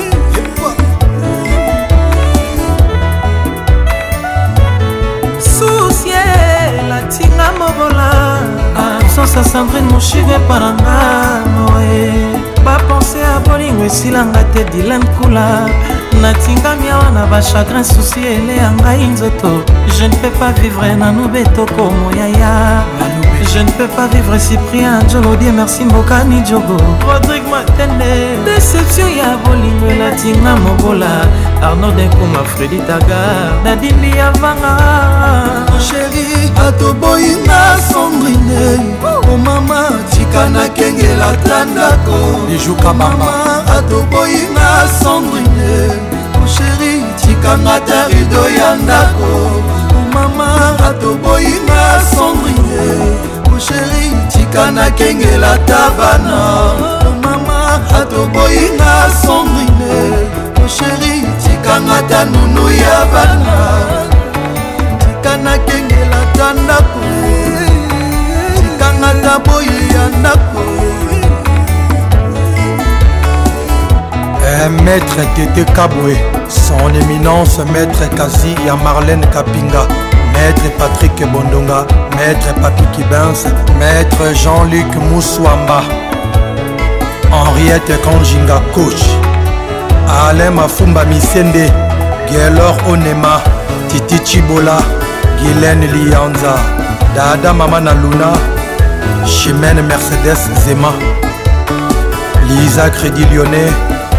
Soucier la tinga mobola. Absence Sandrine Mouchigo paranga moe. Pas penser à bolingo esilanga te Dylan Kula. Natingami awa na ba chagrin souci ele ya ngai nzoto. Je ne peux pas vivre Nanoube Toko Moyaya. Je ne peux pas vivre Cyprien Djolodie merci Mbokani Djogo. Rodrigue Matende. Déception ya bolingo elatinga mobola. Arnaud Denkuma Freddy Tagar Nadine Yavanga. Oh chéri atoboyinga Sandrine. Oh mama tikana kengela tandako. Bijuka mama atoboyinga Sandrine. Oh chéri tikanga tarido ya ndako. Oh mama atoboyinga Sandrine. Oh chéri tikana kengela tabana. Oh mama atoboyinga Sandrine. Oh chéri tikanga tanunu ya bana. Tikana kengela tandako. Tikanga taboyi ya ndako. Maître Tété Kaboué, son éminence Maître Kazi ya Marlène Kapinga, Maître Patrick Bondonga, Maître Papi Kibens, Maître Jean-Luc Moussouamba, Henriette Kanjinga coach, Alain Mafumba Misende, Gaylor Onema, Titi Chibola, Guylaine Lianza, Dada Mamana Luna, Chimène Mercedes Zema, Lisa Crédit Lyonnais,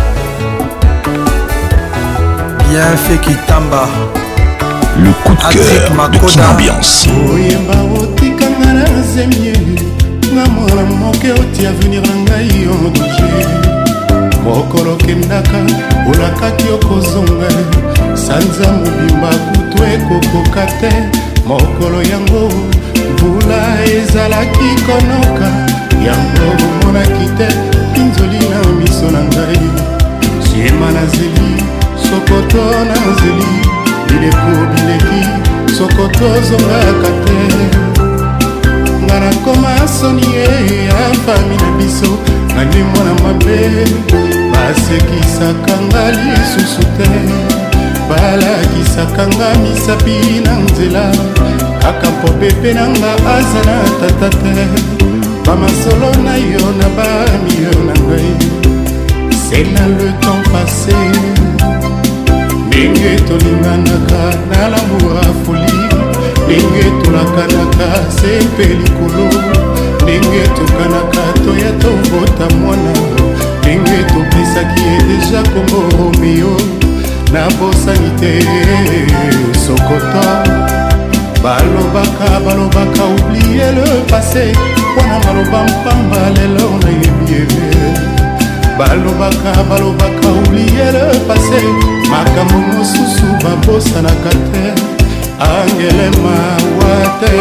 Bienfait Kitamba, le coup de cœur de Kin Ambiance. Oyemba otikanga na zemie nga mwana moke oti avenir na ngai ondoje mokolo kendaka olakaki okozonga sanza mobimba kutu ekokoka te mokolo yango mbula ezalaki konoka yango bomonaki te pinzoli na miso na ngai siema na zeli sokoto na zeli bileko bileki sokoto ozongaka te nga nakoma soni ye ya fami na biso nani mwana mabe basekisaka nga lisusu te balakisaka nga misapi na nzela kaka mpo pepe na nga aza na tata te bamasolo na yo na bamio na ngai c'est na le temps passé ndenge tolinganaka na lamour ya folie ndenge tolakanaka se mpe likolo ndenge tokanaka toya tobota mwana ndenge topesaki ye deja kombo romeo na bosani te sokoto balobaka balobaka oubliye le passé wana maloba mpamba lelo nayebi ebe balobaka balobaka oubliye le passé makambo mosusu babosanaka te angele mawa te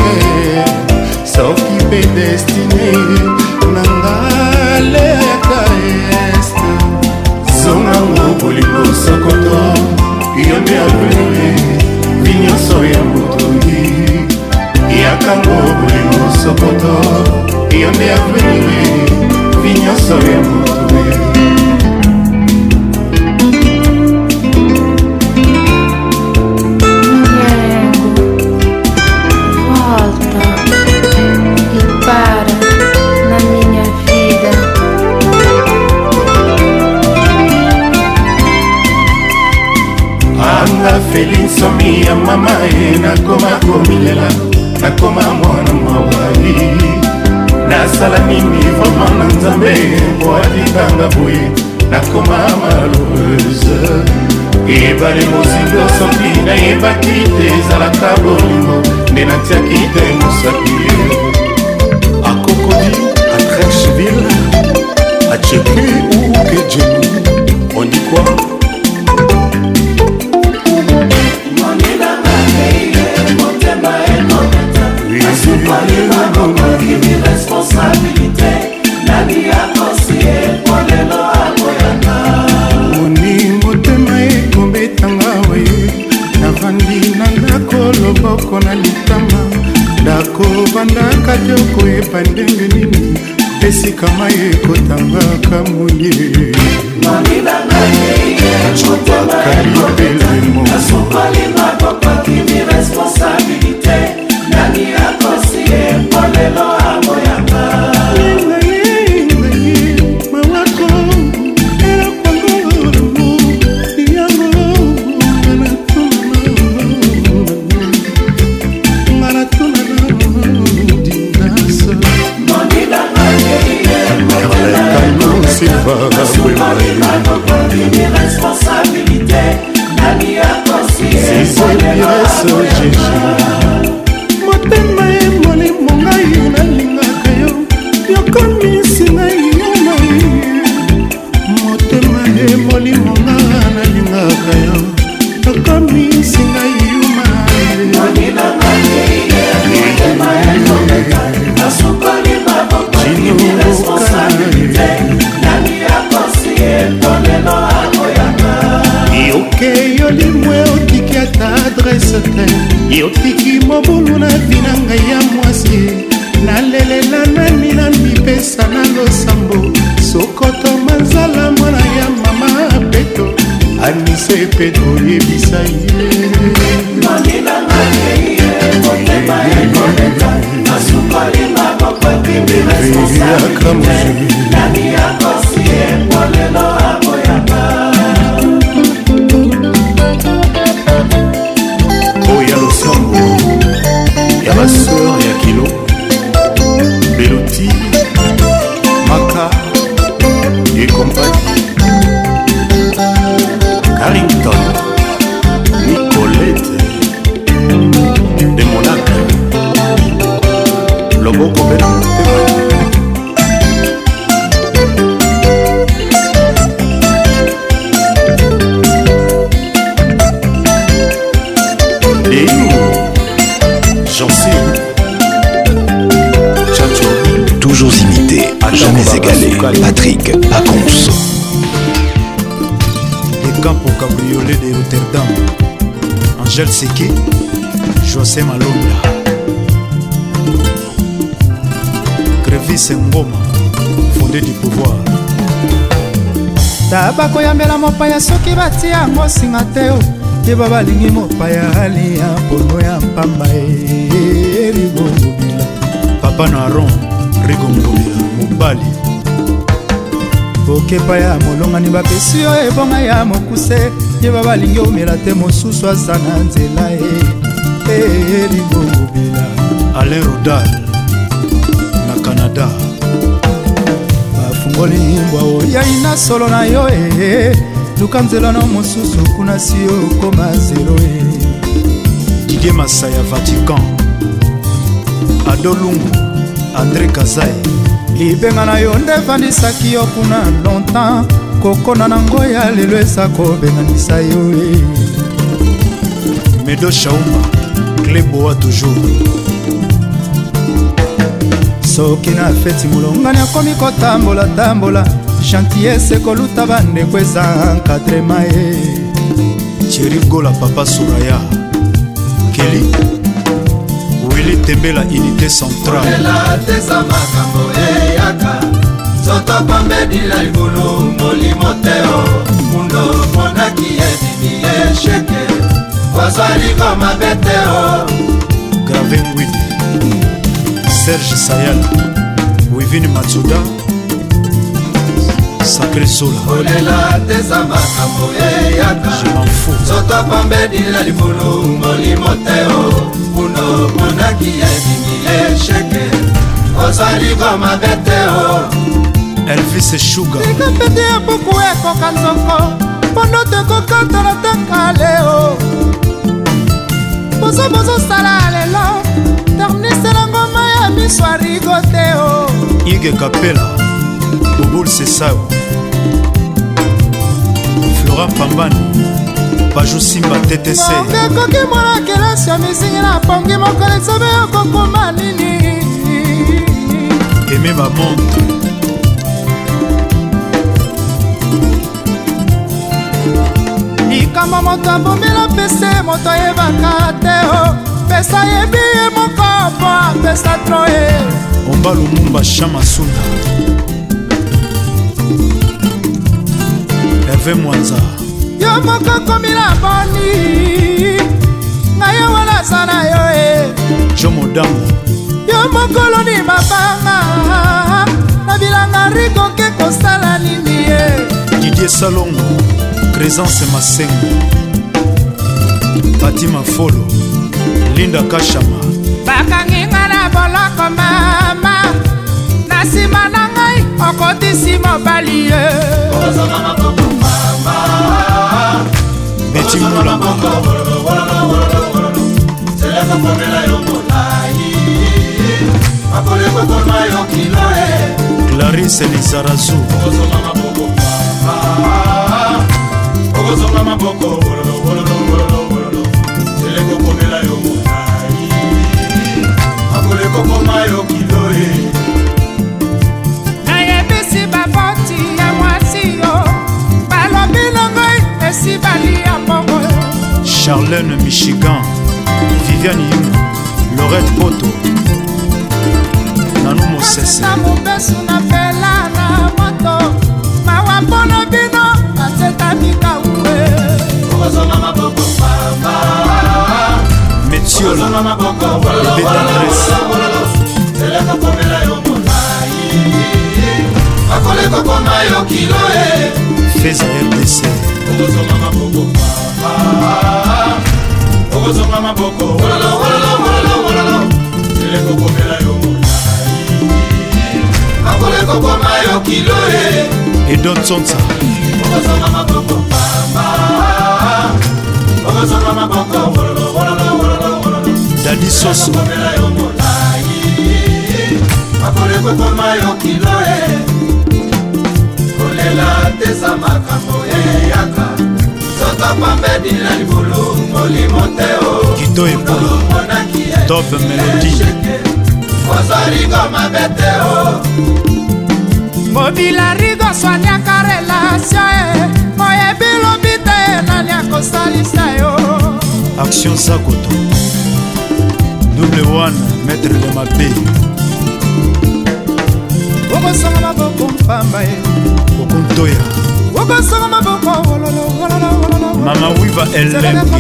soki mpe destine nangaleka este zongango bolingo sokoto yo nde avenue vinyonso ya motoi yakango bolingo sokoto yo nde avenue vinyonso ya motoi. Felinsomi ya mama e nakoma komilela nakoma mwana mawali nasala nini vraimen na nzambe mpo atikanga boye nakoma malheureuse ebale mosindo soki nayebaki te ezalaka bolingo nde natiaki te mosaki akokodi à Trècheville à Tchépi ou Kedjeni on dit quoi? Responsabilité, nani akosie pour lelo akoyanga Oni motema ekobetanga waye navandi na ndako loboko na litama ndako bandaka te okoyeba ndenge nini esika mai ekotangaka moye kalibelemo nasukolinga kokokimi responsabilité nani akosie pour lelo akoyanga responsabilité nani akosie motema emoni mongai nalingaka yo yokomisi ngai yo mai motema emoni monga nalingaka yo yokomisi ngai yo mai yoke yolimwe otiki ata adrese te yotiki mobulu na vina ngai ya mwasi nalelela nani na mipesa na losambo sokoto manzala mwana ya mama peto anise peto yebisa ye oya losambo ya baseur ya kilo Beloti Maka et compagnie Carrington Nicolette de Monac Loboko Beno et j'en sais toujours imité, jamais égalé. Patrick Pacons. Les camps au cabriolet de Rotterdam. Angèle Seke, José Malonda. Crevis Ngoma, fondé du pouvoir. tabako yambela mopaya soki batia yango singa te o yeba balingi mopaya alia mpono ya mpamba erigongobila papa na aron rigongobila mobali okepa ya molongani bapesi yo ebonga ya mokuse yeba balingi omela te mosusu aza na nzela erigongobila alain rodal na canada bafungoli mbwa oyai na solo na yo e luka nzela na mosusu kuna si okoma zero e Didier Masaya Vatican Adolungu André Kazai libenga na yo nde vandisaki yo kuna longtemps kokona nango ya lelo eza kobenganisa yo e Medo Shaumba Kleboa toujours soki na feti molongani akomi kotambola-tambola gentillesse koluta bandeko eza encadrema e Cherigola Papa Suraya Kelly Willy Tembela Unité Centrale Ela tesa makambo eyaka Soto pambedila libulu molimo teo Mundo monaki edini esheke Wazwali koma beteo Graven Willy Serge Sayal Wivini Matsuda Sacré Sola Olela tesa makambo eyaka Je m'en fous Soto pambedila libulu molimo teo Mundo monaki edini esheke Wazwali koma beteo Elvis Sugar likapete ya buku ekoka nzoko mpondo tekokatala tekaleo bozobozosala lelo ternisela ngoma ya miso arigoteo Ige Kapela Bobul Sesao Flora Pambani Bajou Simba T T C ongekoki mwana kelasi ya mizingi na pongi mokolo ezobe okokoma nini Aimé Bamonte likambo moto abomela pese moto ayebaka te o pesa yebi ye moko mpo apesa tro e Omba Lumumba Chama Sunda Hervé Mwanza yo moko komila boni ngai yo wana aza na yo e Jo Modango yo mokolo ni mabanga na bilanga rikoke kosala nini e Didier Salongo Présence Masengo Fatima Folo Linda Kashama bakanginga na boloko mama na nsima na ngai okotisi mobali ye Betty Moulamba Clarisse Lizarazu Okozonga maboko wololo wololo wololo wololo Seleko komela yo motai Akoleko koma yo kiloe nayebisi baboti ya mwasi yo balobi na ngai esi bali ya mbongo Charlène Michigan Viviane Yung Lorette Poto Nanou Mosese na mobesu na pela na moto mawa mpono bino asetami Metiol, bébé d'Andrés. Fais un R D C. Et donne son ça. Daddy Soso. kolela tesa makambo eyaka sota pambedi na libulu molimo teo Kito Epolo Top Melody ozarigo mabeteo mobila rigo swanyaka relasio oyebi lobi te nani akosalisa yo Action Sakoto Double One Maître de Mabé okosonga maboko mpamba ye okontoya okosonga maboko wololo Mama Wiva Elengi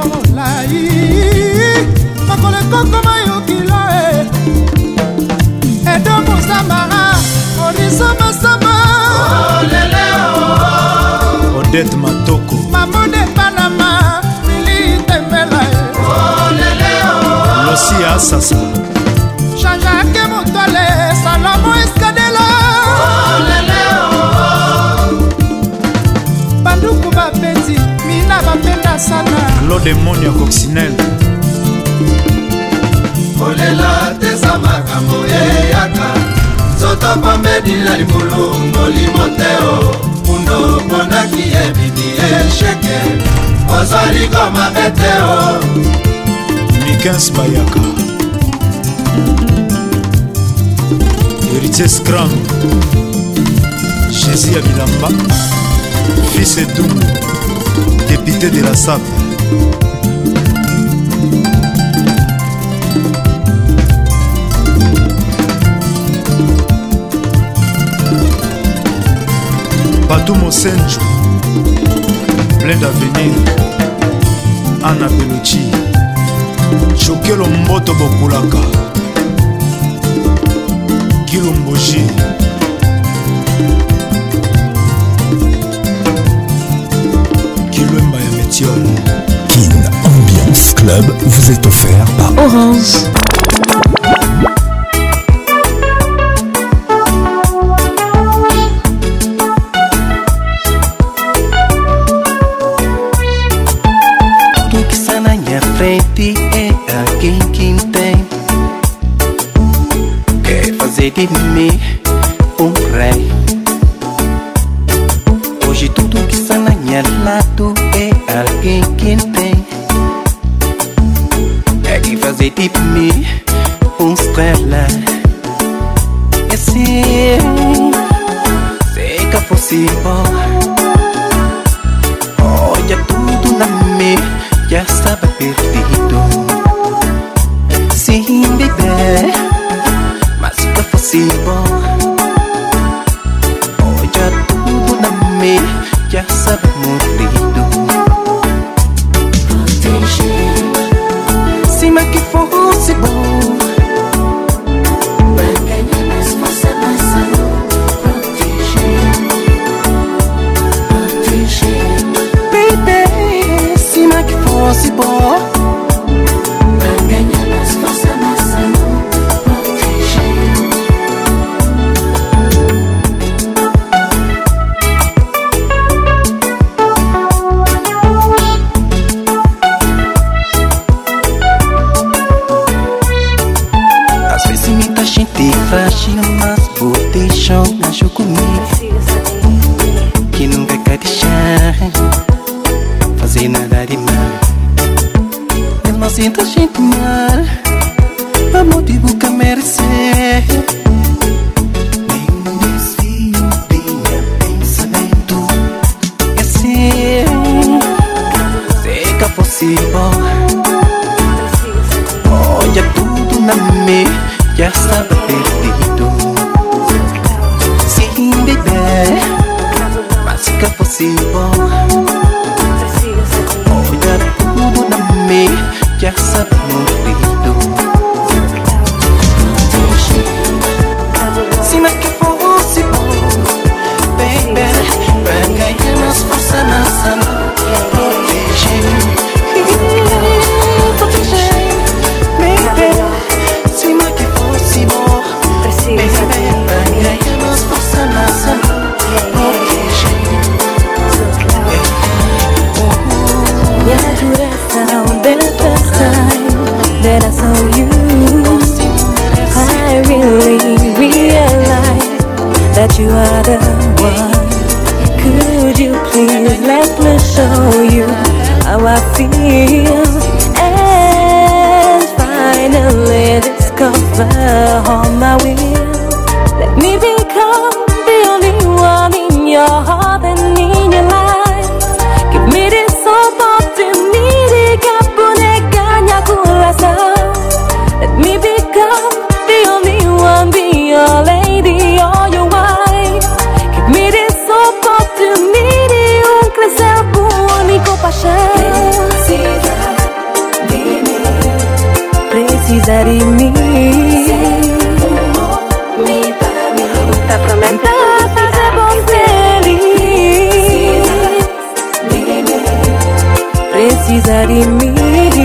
makolekokoma yokilo e edo mosambara oriso masamba Odette Matoko mamode panama mili tembela Losi Asasa Jean-Jacques Moutole Salomo Escadela Banduku Bapeti Mina Bapenda Sana Claude Monia Coccinelle kolela tesa makambo eyaka soto pambedi na libulu molimo teo undo ponaki ebidi esheke ozaligo mabeteo Mikens Bayaka Héritier Scrum Jésus Abilamba Fils Edoum Député de la S A P Patou Mosenjo Plein d'avenir Anna Belucci Chokelo Mboto Bokulaka Kilomboji Kilomba ya Metiol Kin Ambiance Club vous est offert par Orange. Frente é alguém que tem quer fazer de mim um rei. Hoje tudo que está na minha lado é alguém que tem quer fazer de mim um estrela. E se seca possível, olha tudo na minha já estava perdido. Sim, bebê, mas fica possível. Olha tudo na mim, já estava morrido. Sim, mas que fosse bom. Se bom pra ganhar mais força, mais amor, proteger. Às vezes muita gente frágil, mas vou deixar na jogo comigo que nunca quer deixar fazer nada de mal. Mesmo assim tá gente mal, pra motivo que merecer. Nenhum desvio de meu pensamento. E assim, seca possível. Olha tudo na mim, já estava perdido. Sim, bebê, mas seca possível. Olha tudo na mim, já sabe morrer. that I saw you, I really realized that you are the one. Could you please let me show you how I feel and finally discover all my will? Let me become the only one in your heart and in your life. Give me this opportunity, kapuneganya kulasa. Let me become the only one, be your lady or your wife. Give me this opportunity, un crescer único paixão. Precisa de mim. Tá prometendo fazer você feliz. Precisa de mim.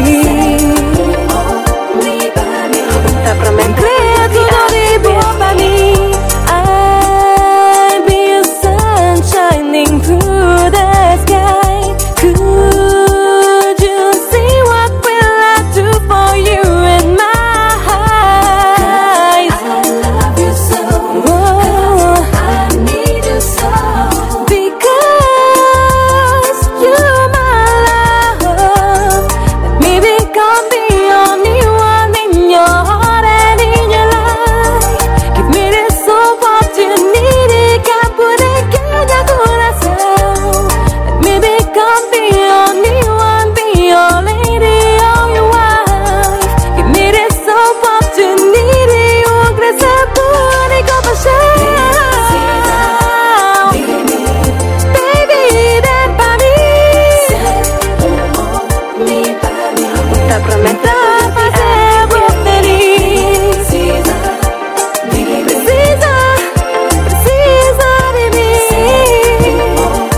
Tá prometendo tudo de bom pra mim. I'll be a sun shining through the sky. Could you see what will I do for you in my eyes? I love you so. Oh, I need you so. Because you're my love. Let me become the only one in your heart and in your life. Give me this opportunity, kapuneganya coração. Let me become the only one, be your lady or your wife. Give me this opportunity, un crescer único paixão. Baby, vem pra mim. Tá prometendo fazer você feliz. Precisa, precisa de mim.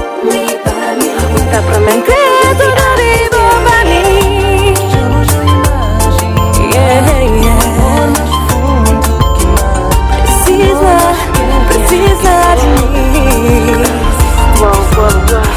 Tá prometendo tudo de bom pra mim. Yeah, yeah. Precisa, precisa de mim. Uau, uau, uau.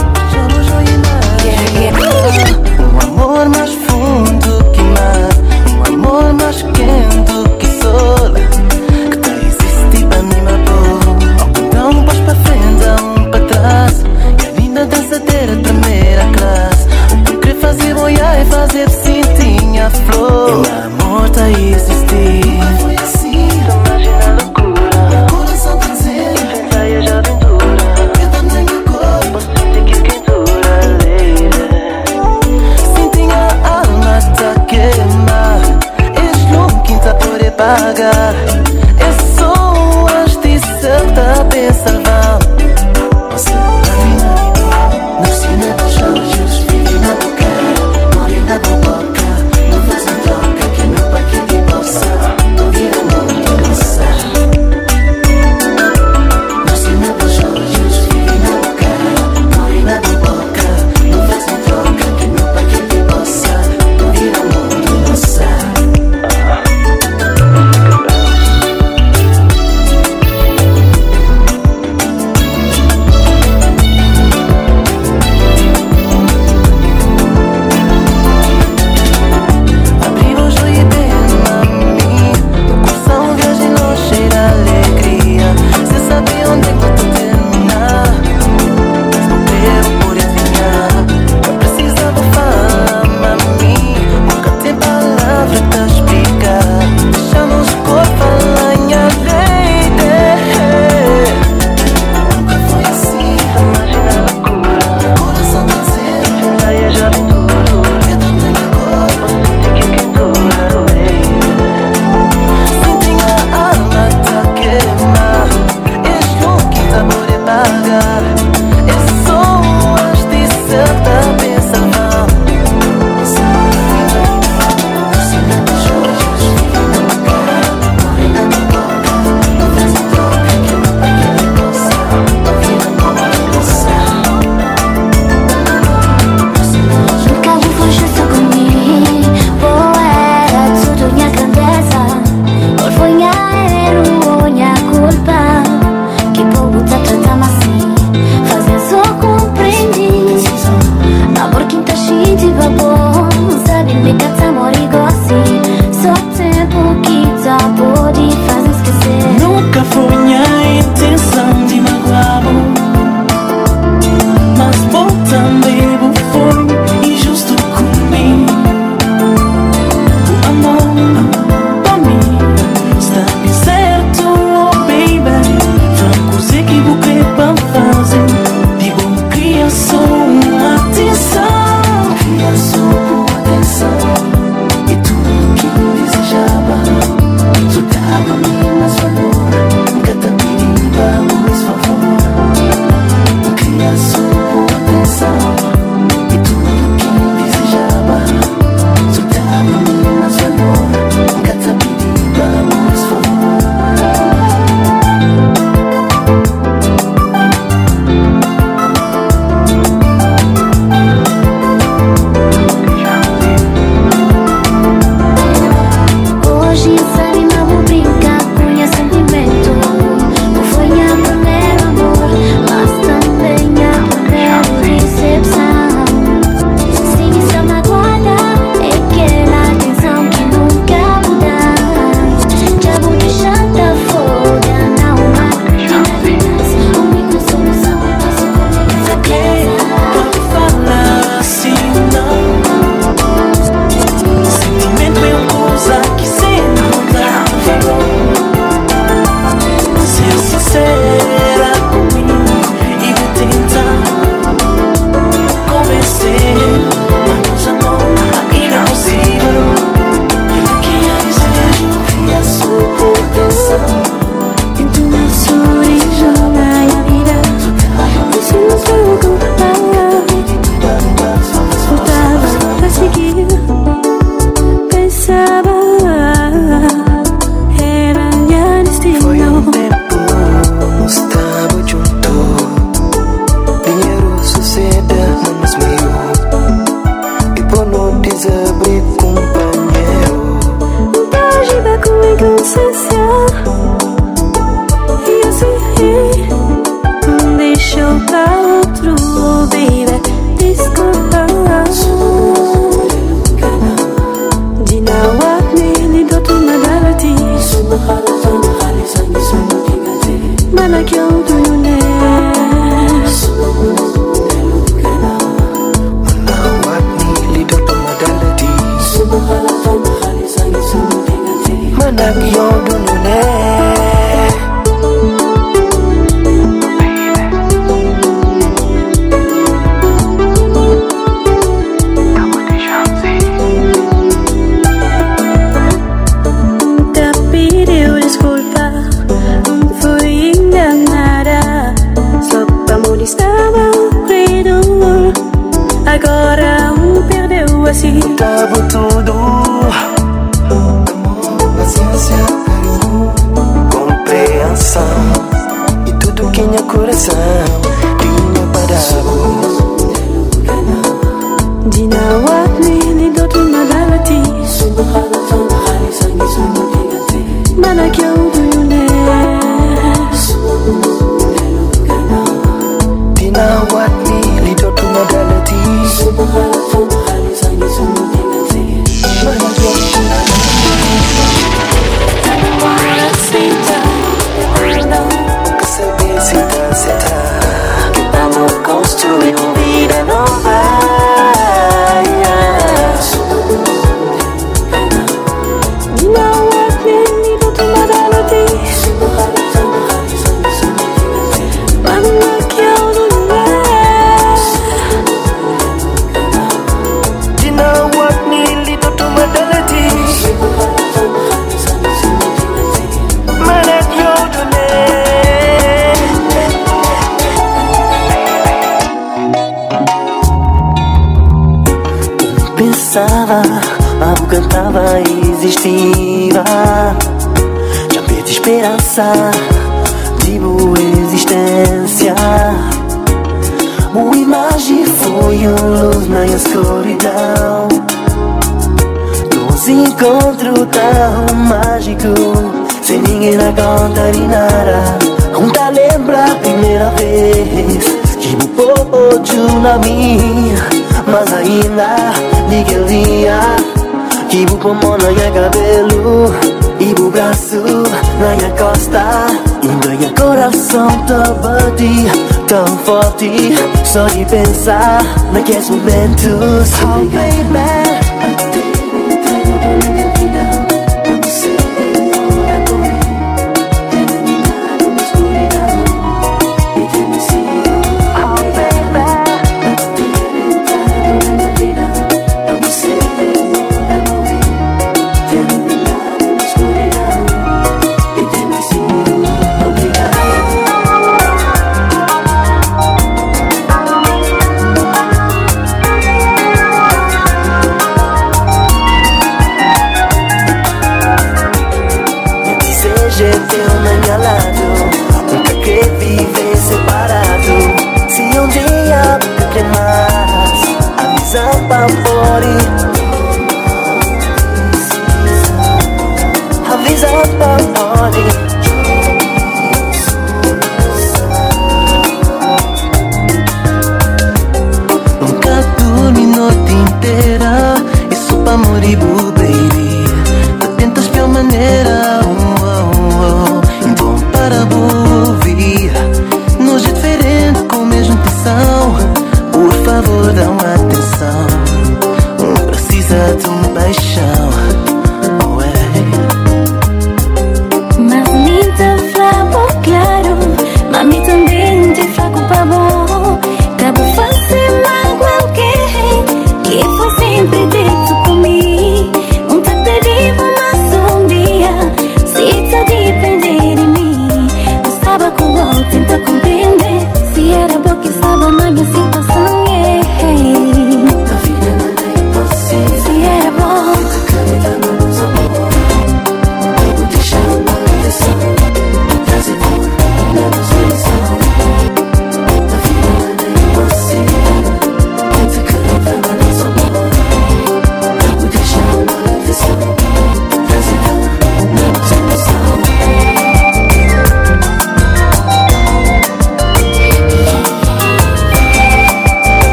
Yeah, yeah. Um amor mais fundo que mar, um amor mais quente que sol, que tá existe pra mim matou. Então um passo pra frente, um pra trás, e a linda dançadeira primeira classe. O que eu queria fazer boiar e fazer sentir a flor. E o amor tá a existir. Foi assim, imagina a loucura. Meu coração tá dizendo, pensa e a jovem dura. Eu também meu corpo, sinto que quentura leve. Sinto a alma tá queimar. És louco, tá por pagar. É só as de certa pensa vão. Você vai na na piscina dos olhos, vive na boca, morre na boca. Não fazem troca que meu pai que te possa. Não vira muito nossa. Na piscina dos olhos, vive na boca, morre na boca. Não fazem troca que meu pai que te possa. Não vira muito nossa. inocência. E assim, deixa eu pra outro, baby. Desculpa. Dinawatni lidotu madalati. Mana kyau dune. Dinawatni lidotu madalati. Mana kyau dune. Agora um perdeu assim. Tava tudo. Amor, paciência, carinho, compreensão. E tudo que tinha coração tinha parado. Dinawatni lidotu madalati. Mana kyau dune. Dinawatni lidotu madalati. Saber se tá certa. Vamos construir uma vida nova. Dinawatni lidotu madalati. Mana kyau dune. Dinawatni lidotu madalati. Mana kyau dune. Pensava, algo cantava e existia. Já perdi esperança de boa existência. Boa imagem foi uma luz na escuridão. Nos encontros tão mágicos, sem ninguém na conta de nada. Junta lembra a primeira vez que me pôde na minha. Mas ainda naquele dia que o pulmão na minha cabelo e o braço na minha costa. E meu coração tão bate, tão forte, só de pensar naqueles momentos. Oh baby, mas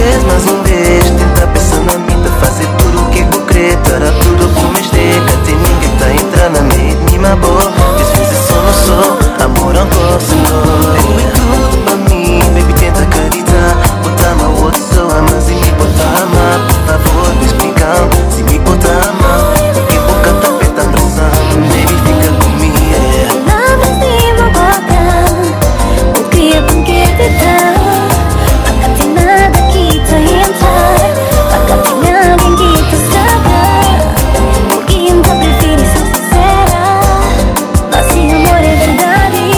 vez, mais um vez. Tenta pensar na mim, te fazer tudo o que eu querer. Para tudo como esteja, tem ninguém que tá entrando na minha minha boa. Disposição não sou, amor não posso, não. É muito tudo pra mim, baby, tenta acreditar. Botar uma outra pessoa, mas se me botar amar, por favor, me explicar. Se me botar amar, porque boca tá petando sangue, baby, fica comigo, yeah. Nada se me bota, o que é com que te dá. Nunca tem nada que te entrar, nunca tem nada que te saber. Porque ainda prefiro ser sincera, nosso amor é verdade.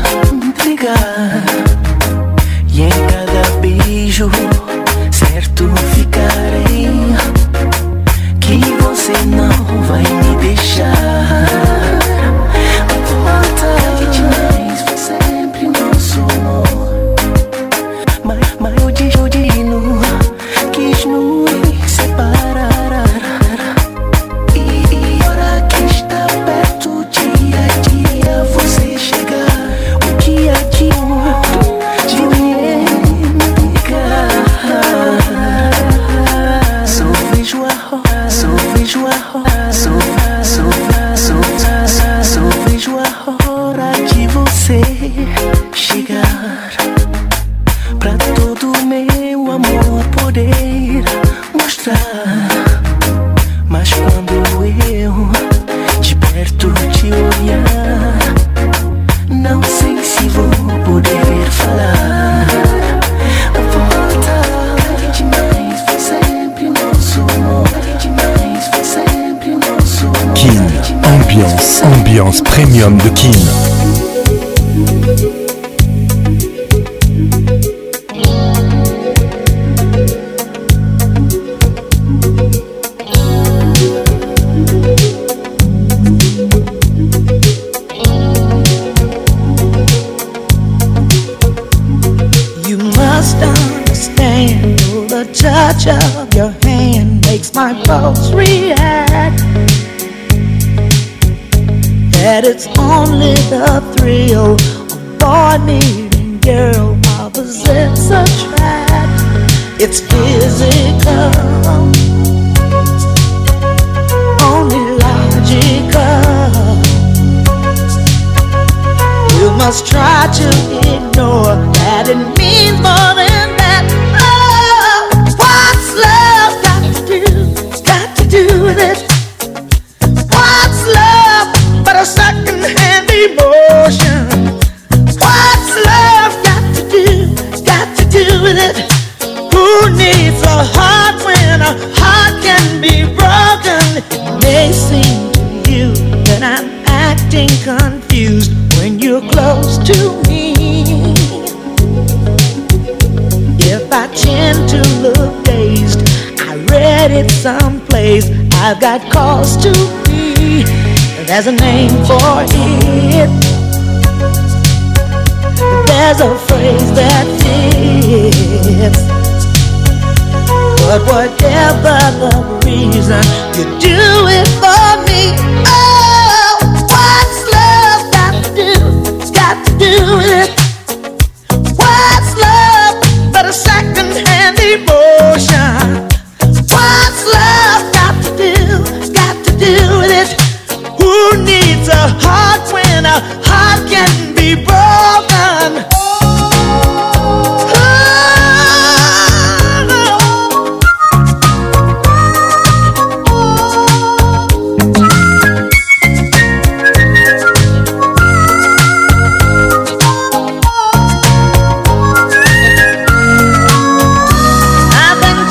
E em cada beijo, certo l'ambiance premium de Kin. Touch of your hand makes my pulse react. That it's only the thrill of boy meeting girl opposites attract. It's physical, only logical. You must try to ignore that it means more than that. Do with it. What's love but a second-hand emotion? What's love got to do, got to do with it? Who needs a heart when a heart can be broken? It may seem to you that I'm acting confused when you're close to me. If I tend to look dazed, I read it someplace, I've got cause to be. There's a name for it. There's a phrase that fits. But whatever the reason, you do it for me. Oh, what's love got to do? It's got to do with it. What's love but a second-hand emotion? What's love got to do, got to do with it? Who needs a heart when a heart can be broken? I've been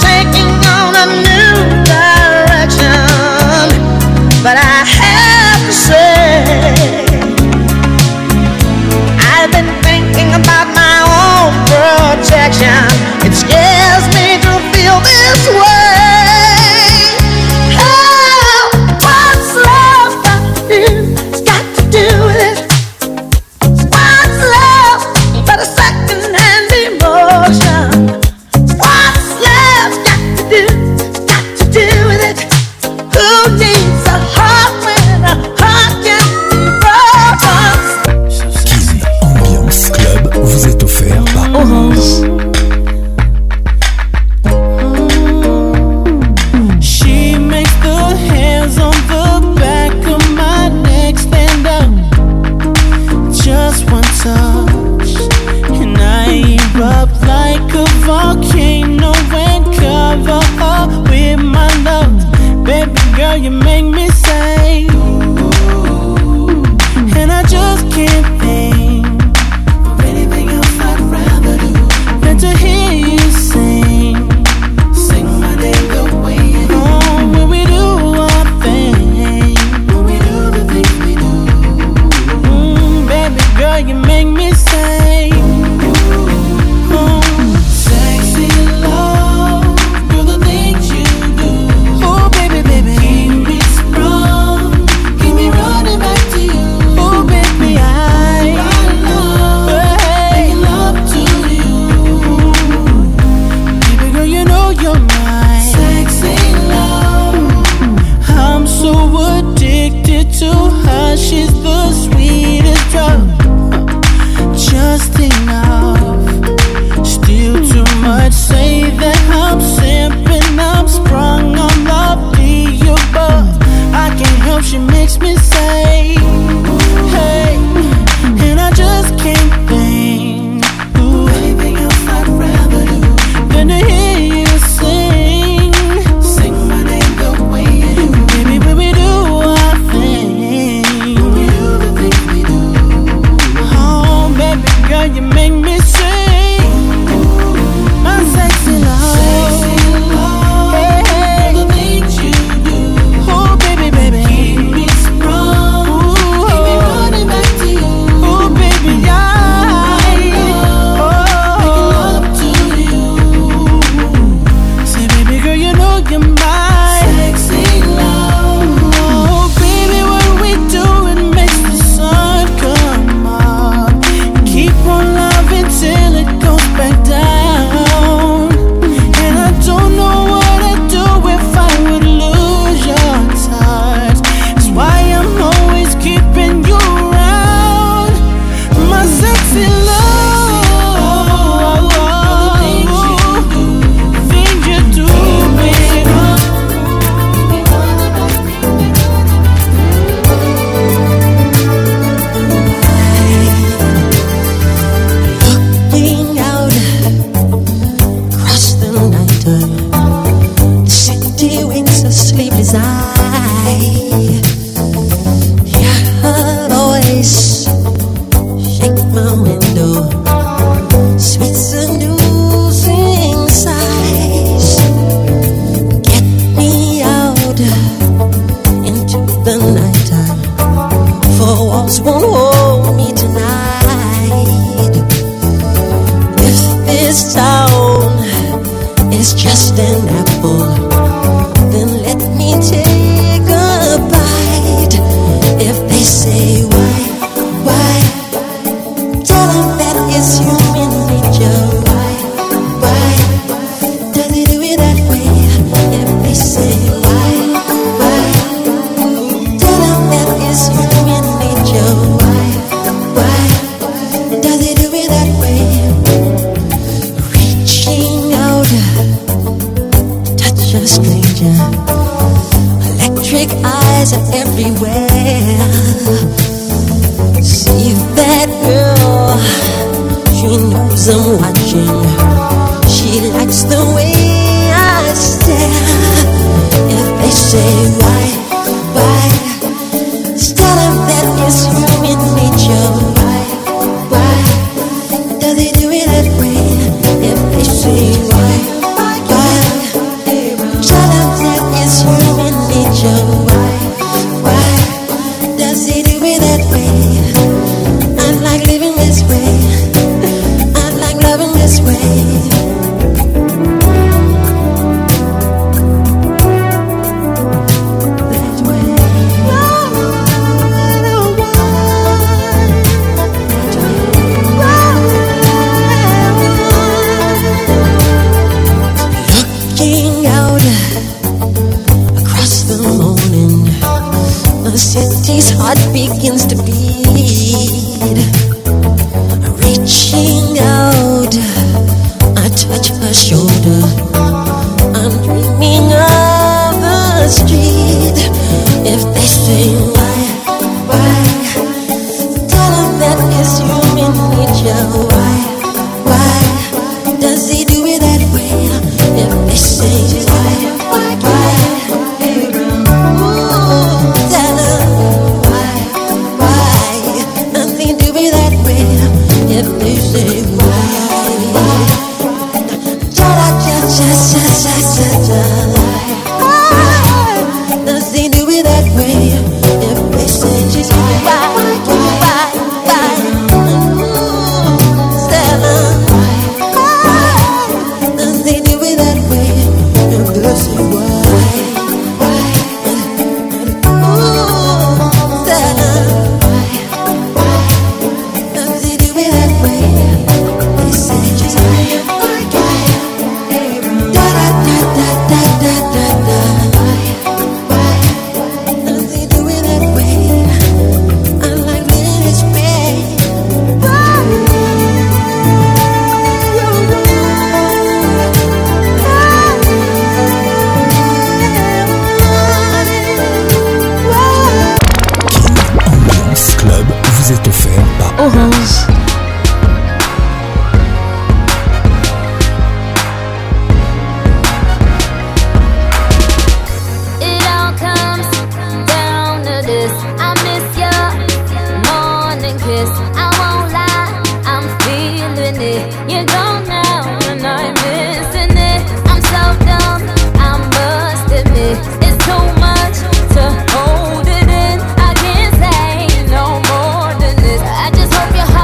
your mind. Sexy love. Oh, baby, what we do, it makes the sun come up. Keep on loving till it goes back down. And I don't know what I'd do if I would lose your touch. That's why I'm always keeping you around. My sexy love. Hope you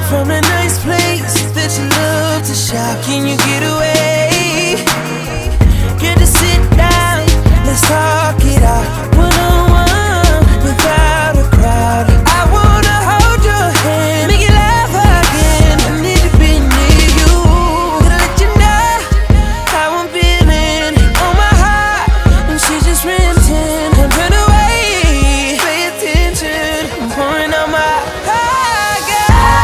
from a nice place that you love to shop. Can you get away? Good to sit down, let's talk it out. One-on-one, without a crowd. I wanna hold your hand, make you laugh again. I need to be near you, gonna let you know how I'm feeling on my heart. And she's just renting, don't turn away, pay attention, I'm pouring out my heart, girl.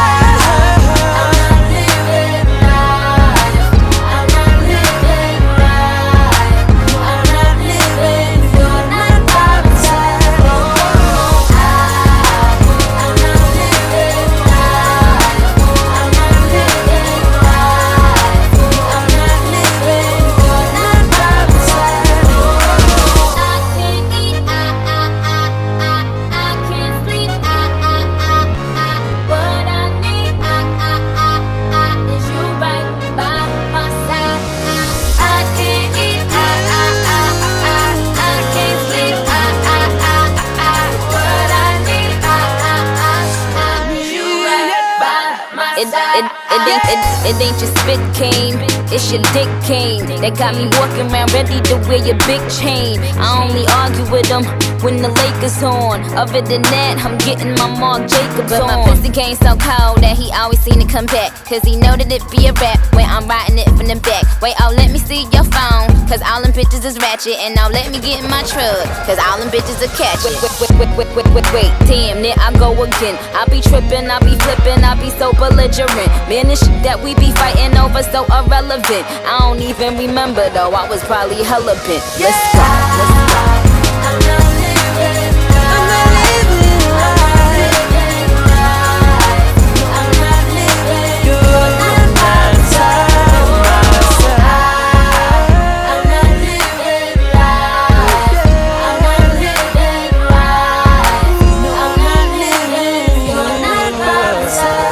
It, it, it, ain't, it, it ain't your spit cane, it's your dick cane. That got me walking around ready to wear your big chain. I only argue with them when the Lakers on. Other than that, I'm getting my Marc Jacobs but on. But my pussy game so cold that he always seem to come back, cause he know that it be a rap when I'm riding it from the back. Wait, oh, let me see your phone, cause all them bitches is ratchet. And now let me get in my truck, cause all them bitches are catch it. Wait, wait, wait, wait, wait, wait, wait, damn, there I go again. I be tripping, I be flipping, I be so belligerent. Man, this shit that we be fighting over so irrelevant. I don't even remember though, I was probably hella bent. Let's go, let's go. I'm not living right. I'm not living right. I'm not living. You're not my side, my side. I'm not living right. I'm not living right. I'm not living. You're not my side.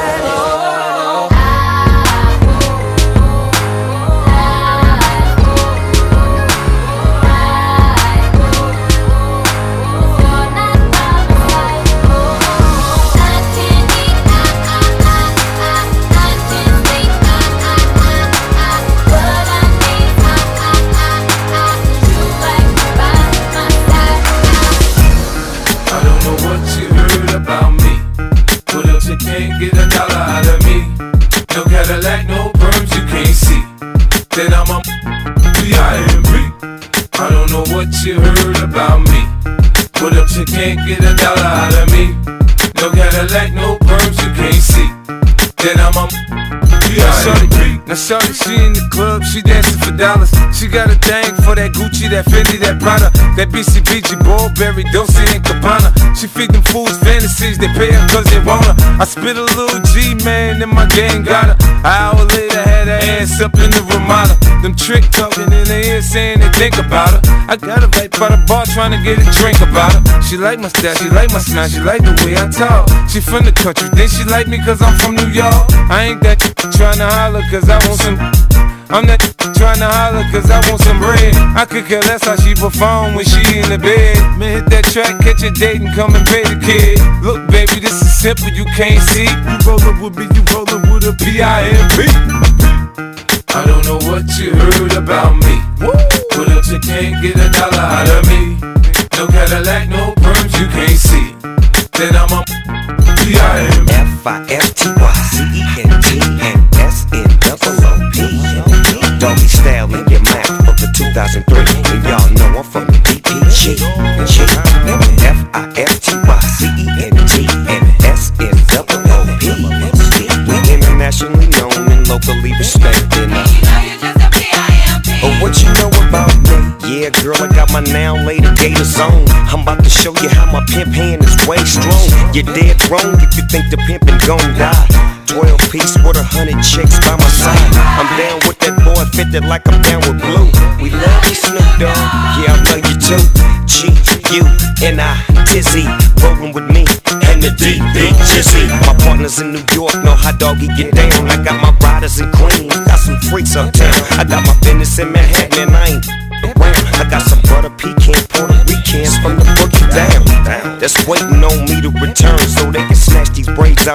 Can't get a dollar out of me. No Cadillac, no perms you can't see. Then I'm a B I M B. I don't know what you heard about me. What up, you can't get a dollar out of me. No Cadillac, no perms you can't see. Then I'm a B I M B. Now shorty, she in the club, she dancing for dollars. She got a thing for that Gucci, that Fendi, that Prada, that B C B G, Burberry, Dolce and Gabbana. She feed them fools fantasies, they pay her cause they want her. I spit a little G, man, and my gang got her. An hour later, had her ass up in the Ramada. Them trick talking in her ear saying they think about her. I got her right by the bar trying to get a drink about her. She like my style, she like my smile, she like the way I talk. She from the country, then she like me cause I'm from New York. I ain't that trying to holler cause I want some. I'm not trying to holler cause I want some bread. I could care less how she perform when she in the bed. Man, hit that track, catch a date and come and pay the kid. Look baby, this is simple, you can't see. You rollin' with me, you rollin' with a B I M B. I don't know what you heard about me. But if you can't get a dollar out of me, no Cadillac, no perms you can't see. Then I'm a B I M B. F I F T Y C E N T and S N O O P. Doggy style in your mouth of the two thousand three. And y'all know I'm from the D P G. F I F T Y C E N T and S N O O P. We internationally known and locally respected. Oh, what you know about me? Yeah, girl, I got my now later gators on. I'm about to show you how my pimp hand is way strong. You're dead wrong if you think the pimpin' gon' die. Twelve piece with a hundred chicks by my side. I'm down with that boy, fitted like I'm down with Blue. We love you, Snoop Dogg. Yeah, I love you too. G, U, N I, Tizzy, rollin' with me and the D, Big Jizzy. My partners in New York know how doggy get down. I got my riders in Queens, got some freaks uptown. I got my business in Manhattan and I ain't around. I got some butter pecan Puerto Ricans from the boogie down. That's waiting on me to return so they can snatch these braids out and put my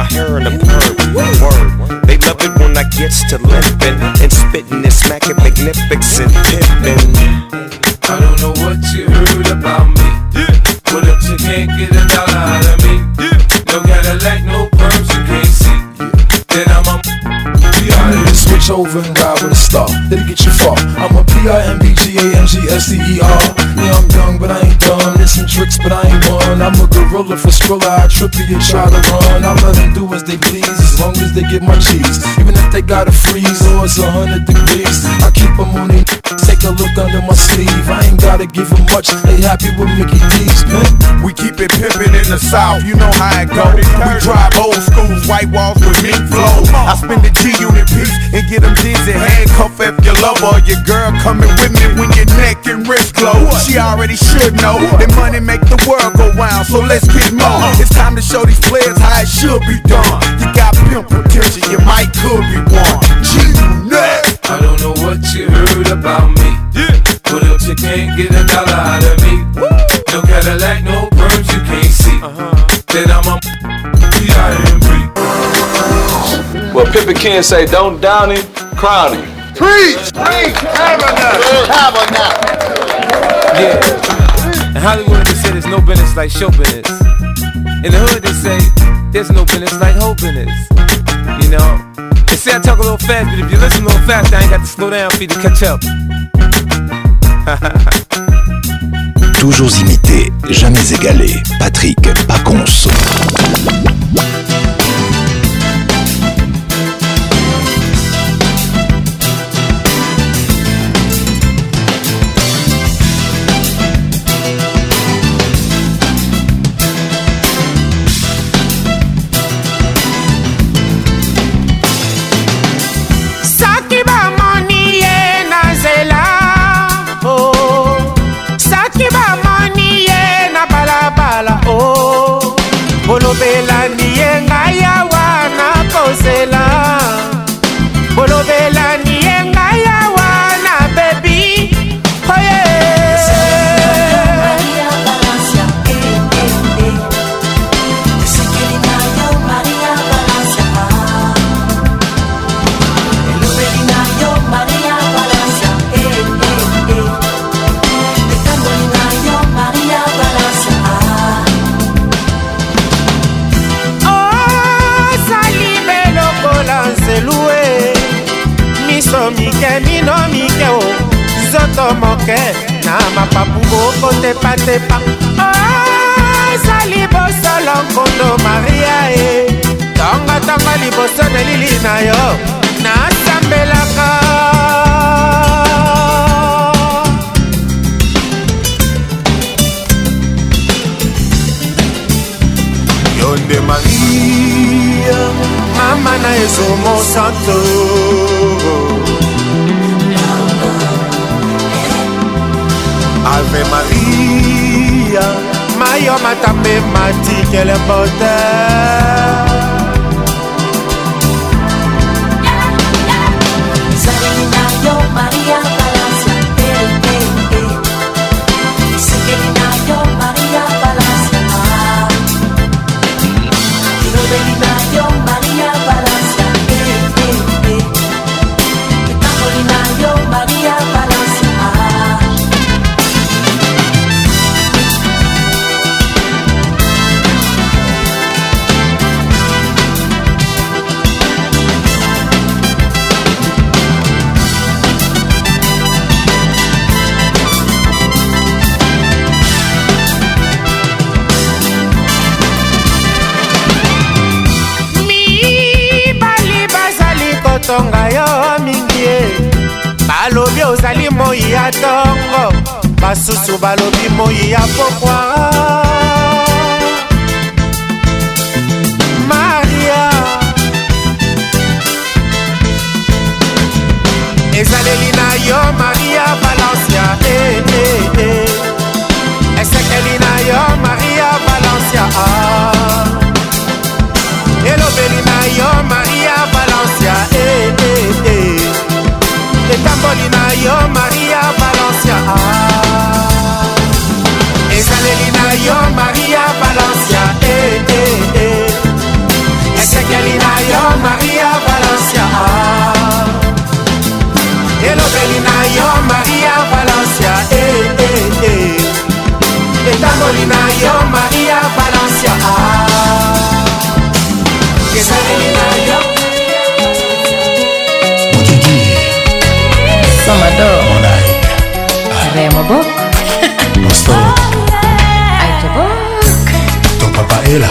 hair in a perm. Word. They love it when I gets to limping and spitting and smacking magnificent pimping. I don't know what you heard about me. What up, you can't get a dollar out of me. No Cadillac, no perms, you can't see. Then I'm a switch over and ride with a star. It'll get you far. I'm a P I M B G A M G S T E R. Yeah, I'm young, but I ain't dumb. There's some tricks, but I ain't one. I'm a gorilla for Skrilla. I trip you and try to run. I let them do as they please, as long as they get my cheese. Even if they gotta freeze or it's a hundred degrees, I keep them on their take a look under my sleeve. I ain't gotta give them much. They happy with Mickey D's, man. We keep it pimpin' in the South. You know how it go. We drive old schools, white walls with mink flow. I spend the G unit piece and get them dizzy. Handcuff if your lover or your girl coming with me when your neck and wrist glow. She already should know that money make the world go round, so let's get more. It's time to show these players how it should be done. You got pimp potential, you might could be one. G-Unit. I don't know what you heard about me. What up, you can't get a dollar out of me. No Cadillac, no perms, you can't see. Then I'm a P I M B. Well, Pimpin' Ken say, don't down him, crown him. Preach! Preach! Have enough! Have enough! Yeah. In Hollywood, they say there's no business like show business. In the hood, they say there's no business like hoe business. You know? They say I talk a little fast, but if you listen a little fast, I ain't got to slow down for you to catch up. Toujours imité, jamais égalé. Patrick Pacons. Bolobela niye ngaya wana kosela. Bolobela niye ngaya wana baby. Oh yeah. Maria Valencia, eh eh eh. Sekelina yo Maria Valencia. Bolobela yo Maria Valencia, eh eh eh. Sekelina yo Maria Valencia. Miso mike mino mike o zoto moke na mapapu boko tepa tepa. Oh sali bosolo nkondo Maria e tonga tonga liboso na lili na yo na sambelaka. Yonde Maria Mama na ezomo santo. Ave Maria Mayo matame mati quelle beauté. Salina yo Maria Valencia, eh eh eh. Sekelina yo Maria Valencia. Rodelina yo Maria Valencia, eh eh eh. Tambolina yo Maria Valencia. Tonga yo mingi balobi ozali moi ya tongo, basusu balobi moi ya pokwa. Maria ezaleli na yo Maria Valencia, eh eh eh. Esekeli na yo Maria Valencia, ah. Elobeli na yo Maria Valencia, eh eh eh. Etamboli na yo Maria Valencia, ah. Ezaleli na yo Maria Valencia, eh eh eh. Papaela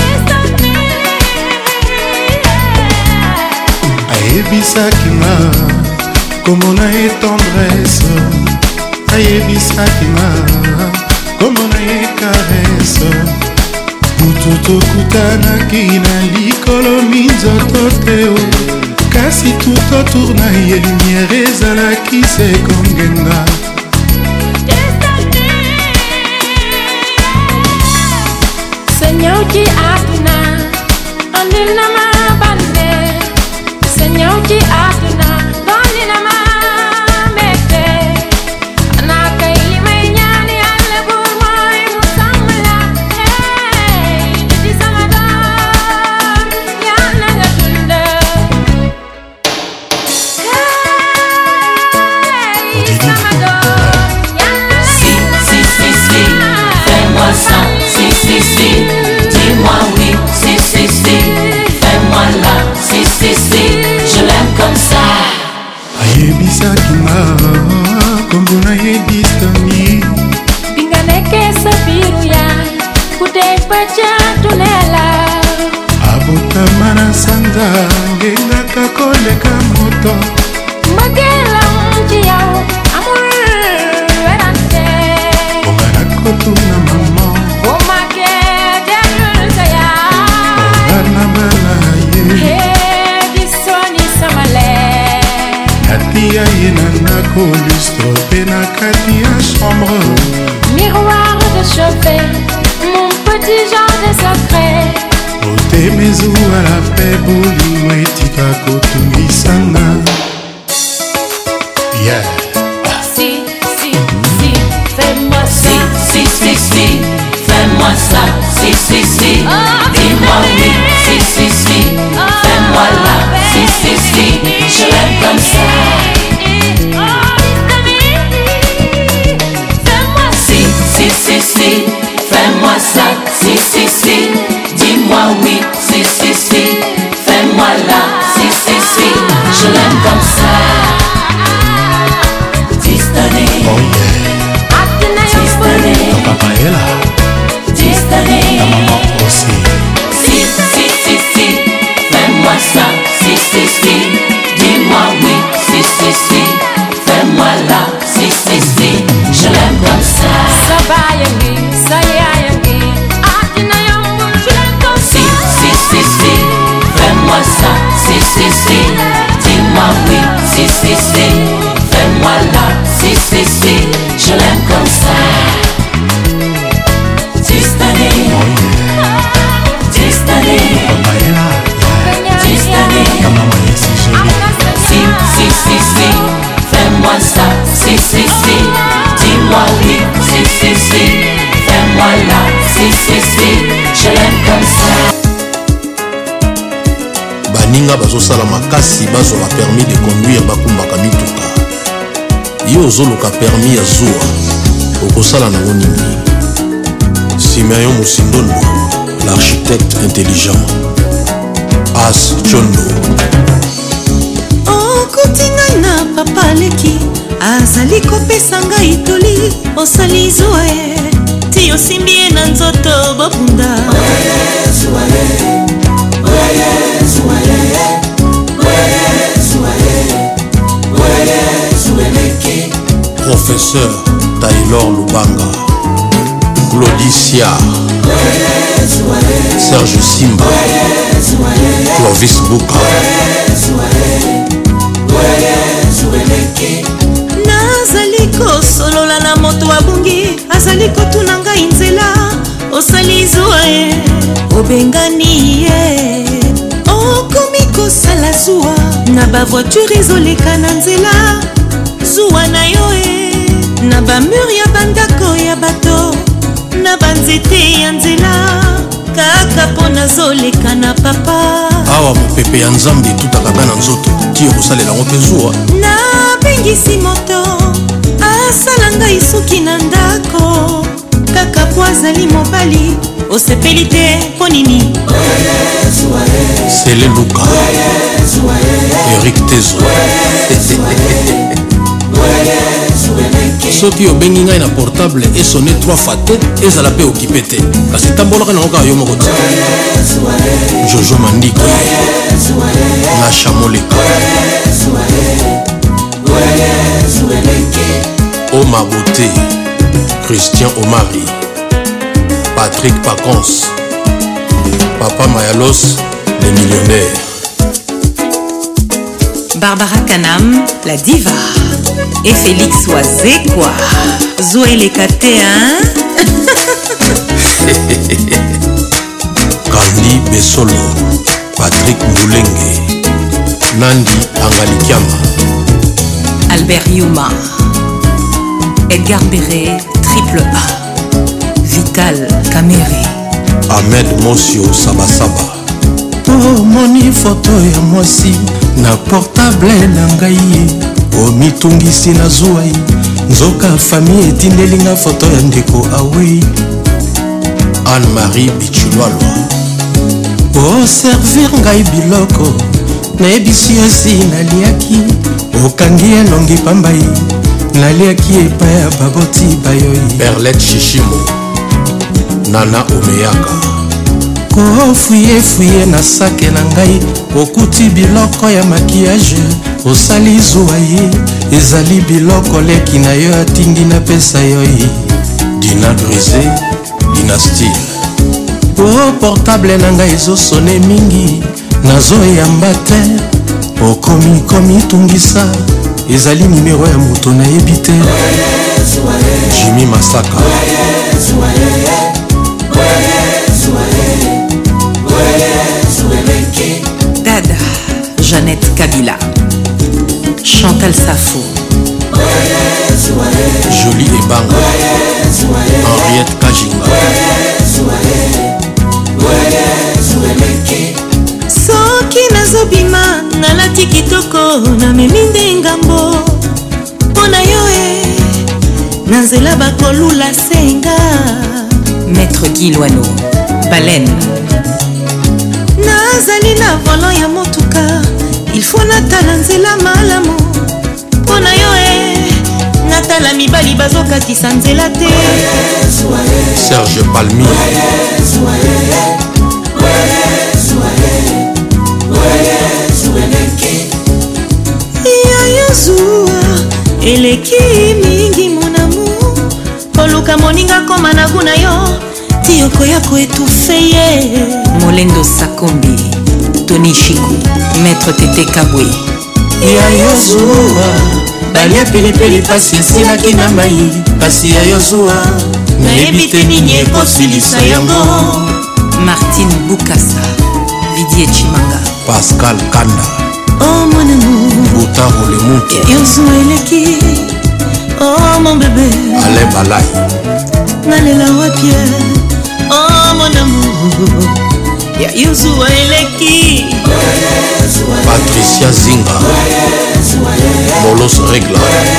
ayebisaki nga komona ye tendresse ayebisaki nga komona ye caresse mutu tokutanaki na likolo minzoto teo kasi tout autour na ye lumière ezalaki se kongenga Senyauki atuna andina mabande Senyauki atuna andina mamete Anaka ili menyani ale burmai musamla Hey, didi samadam yana gatunda Hey, samadam yana Si, si, si, si, fais-moi ça Si, si, si, dis-moi oui Si, si, si, fais-moi là Si, si, si, je l'aime comme ça ayebisaki nga kombona ye distami Binganeke sabiruya kutepacha tunela abotama na sanza ngengaka koleka moto Magela mji yao amur werante ongana kotuna mama Omake derusa ya ongana bala ye Hey, disoni samale natia ye na ndako lustro mpe na kati ya chambre Miroir de chevet, mon petit genre de secret otemezu ala mpe bolingo etika kotungisanga yeah. Si, si, si, fais-moi Si, si, si, si, fais-moi ça Si, si, si, dis-moi oui Si, si, si, fais-moi là Si, si, si, je l'aime comme ça Si, si, si, si, fais-moi ça Si, si, si, dis-moi oui Si, si, si, fais-moi là Si, si, si, je l'aime comme ça Distane Oh yeah Distane Papaela Distane ta maman aussi Si, si, si, si, fais-moi ça Si, si, si, dis-moi oui Si, si, si, fais-moi là Si, si, si, je l'aime comme ça Sabayangi, sayayangi Atina yambu, je l'aime comme ça Si, si, si, si, fais-moi ça Si, si, si, dis-moi oui Si, si, si, fais-moi là Si, si, si, je l'aime comme ça Distane Distane Papaela Distane ta maman ye si jolie Si, si, si, si, fais-moi ça Si, si, si, dis-moi oui Si, si, si, fais-moi là Si, si, si, je l'aime comme ça baninga bazosala makasi bazwa permis de conduire bakumbaka mituka yo ozoluka permis ya zuwa okosala nango nini Simeon Musindondo l'architecte intelligent As Chondo okuti ngai na papa leki azali kopesa ngai toli osali zuwa ye ti osimbi ye na nzoto bobunda Professeur Taylor Lubanga Claudicia Serge Simba Clovis Buka nazali kosolola na moto abungi azali kotuna ngai nzela osali zuwa ye obengani ye okomi kosala zuwa na bavoiture ezoleka na nzela zuwa na yo e na bamur ya bandako ya bato na banzete ya nzela kaka mpo nazoleka na papa awa mopepe ya nzambe etutaka bana nzoto ti okosalela yango mpe zuwa nabengisi moto asala ngai suki na ndako kaka po azali mobali osepeli te mpo nini Sele Luka Eric Tezo soki obengi ngai na portable esone trois fois te ezala mpe okipe te kasi tambolaka nango kaka yo moko te. Jojo Mandiki na Chamoleka Oma Beauté, Christian Omari, Patrick Pacons, Papa Mayalos, les millionnaires. Barbara Kanam, la diva. Et Félix Oazekwa. Zoé Lekate, hein? Candy Bessolo, Patrick Moulenge, Nandi Angalikiama, Albert Yuma, Edgar Béré, Triple A, Vital Kamere, Ahmed Mosio Sabasaba. Oh, moni photo ya mwasi na portable na ngai omitungisi na zuai nzoka famille etindelinga foto ya ndeko awei Anne-Marie Bichulwalwa. Oh, servir ngai biloko nayebisi esi naliaki okangi elongi pambai naliaki epai ya baboti bayoi Perlette Shishimo, Nana Omeyaka. kofuye-fuye na sake na ngai okuti biloko ya makiyage osali zuwa ye ezali biloko leki na yo atingi napesa yo ye Dina Grisé, Dynastile. o portable na ngai ezosone mingi nazoyamba te okomikomi tungisa ezali nimero ya moto nayebi te. Jimmy Masaka, Dada, Jeannette Kabila, Chantal Safo, Jolie Ebanga, Henriette Kajinga. soki nazobima nalati kitoko namemi nde ngambo mpo na yo e na nzela bakolula senga. Maître Gilwano, Baleine. nazali na volant ya motuka ilfo natala nzela malamu mpo na yo e natala mibali bazokatisa nzela te. Serge Palmi, yayo zuwa eleki mingi monamu koluka moninga koma na kuna yo ti okoya koetufe ye. Molendo Sakombi, Tony Shiku, Maître Tete Kabwe. yayo zuwa balia pilipili pasi esilaki na mai pasi yayo zuwa nayebi te nini ekosilisa yango. Martine Bukasa, Didier Chimanga, Pascal Kanda, oh mon amour, Boutaro Lemuto, yayo zuwa eleki, oh mon bébé, Alain Balai, nalela wapie, oh mon amour, yayo zuwa eleki. Patricia Zinga, Molos Regla,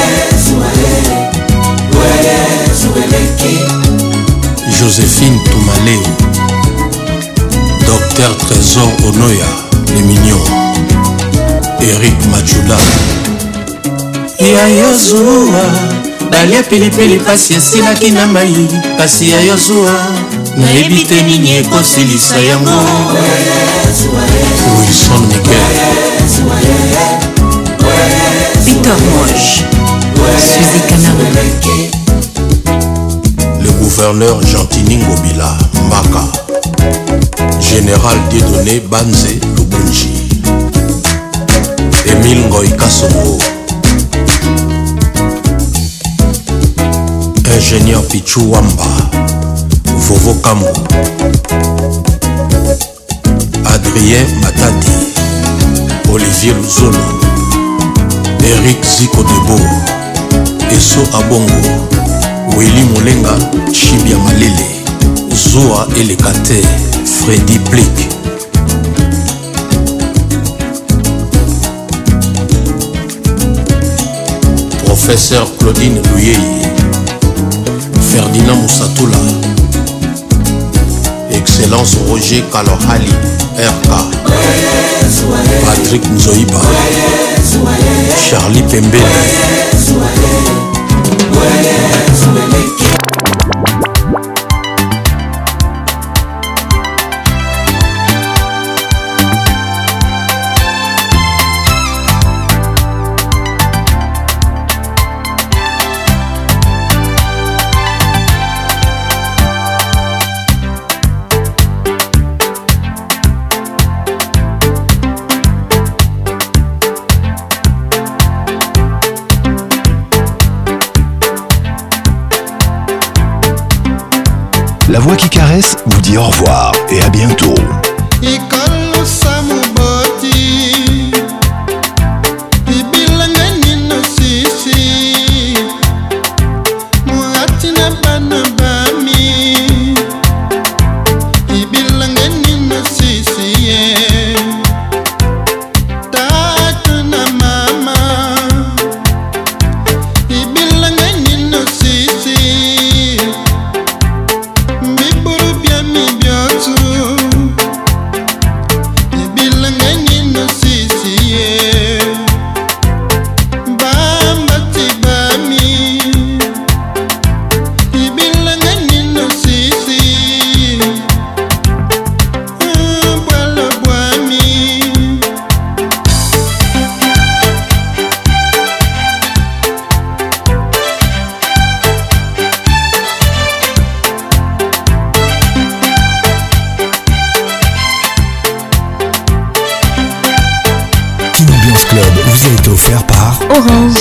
Joséphine Toumaleo, Docteur Trésor Onoya, les mignons, Eric Machoula. yayo zuwa balia pilipili pasi esilaki na mai pasi yayo zuwa nayebi te nini ekosilisa yango. Wilson Miguel, Victor Moche, Suzy Kanam, le gouverneur Gentini Ngobila Mbaka, Général Dieudonné Banze Lubunji, Émile Ngoy Kasongo, Ingénieur Pichou Wamba, Vovo Kambo, Adrien Matadi, Olivier Luzolo, Eric Ziko Debo, Eso Abongo, Willy Molenga, Chibia Malele, Zoa Elekate, Freddy Blick. Professeur Claudine Louyeye, Ferdinand Moussatoula, Excellence Roger Kalohali, R K, Patrick Nzoïba, Charlie Pembele, La voix qui caresse vous dit au revoir et à bientôt. Orange.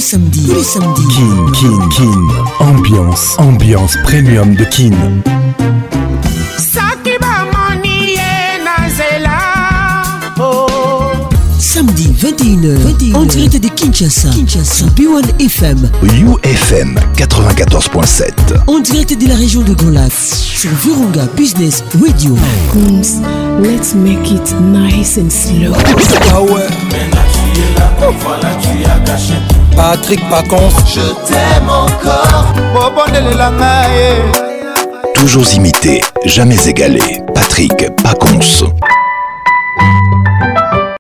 samedis, tous les samedis. Kin, Kin, Kin. Ambiance, ambiance premium de Kin. Samedi vingt et une heures, en direct de Kinshasa, Kinshasa, B un F M, U F M quatre-vingt-quatorze point sept. En direct de la région de Grand Lac, sur Virunga Business Radio. Coons, let's make it nice and slow. Ah ouais. Patrick Pacons, je t'aime encore. Toujours imité, jamais égalé. Patrick Pacons.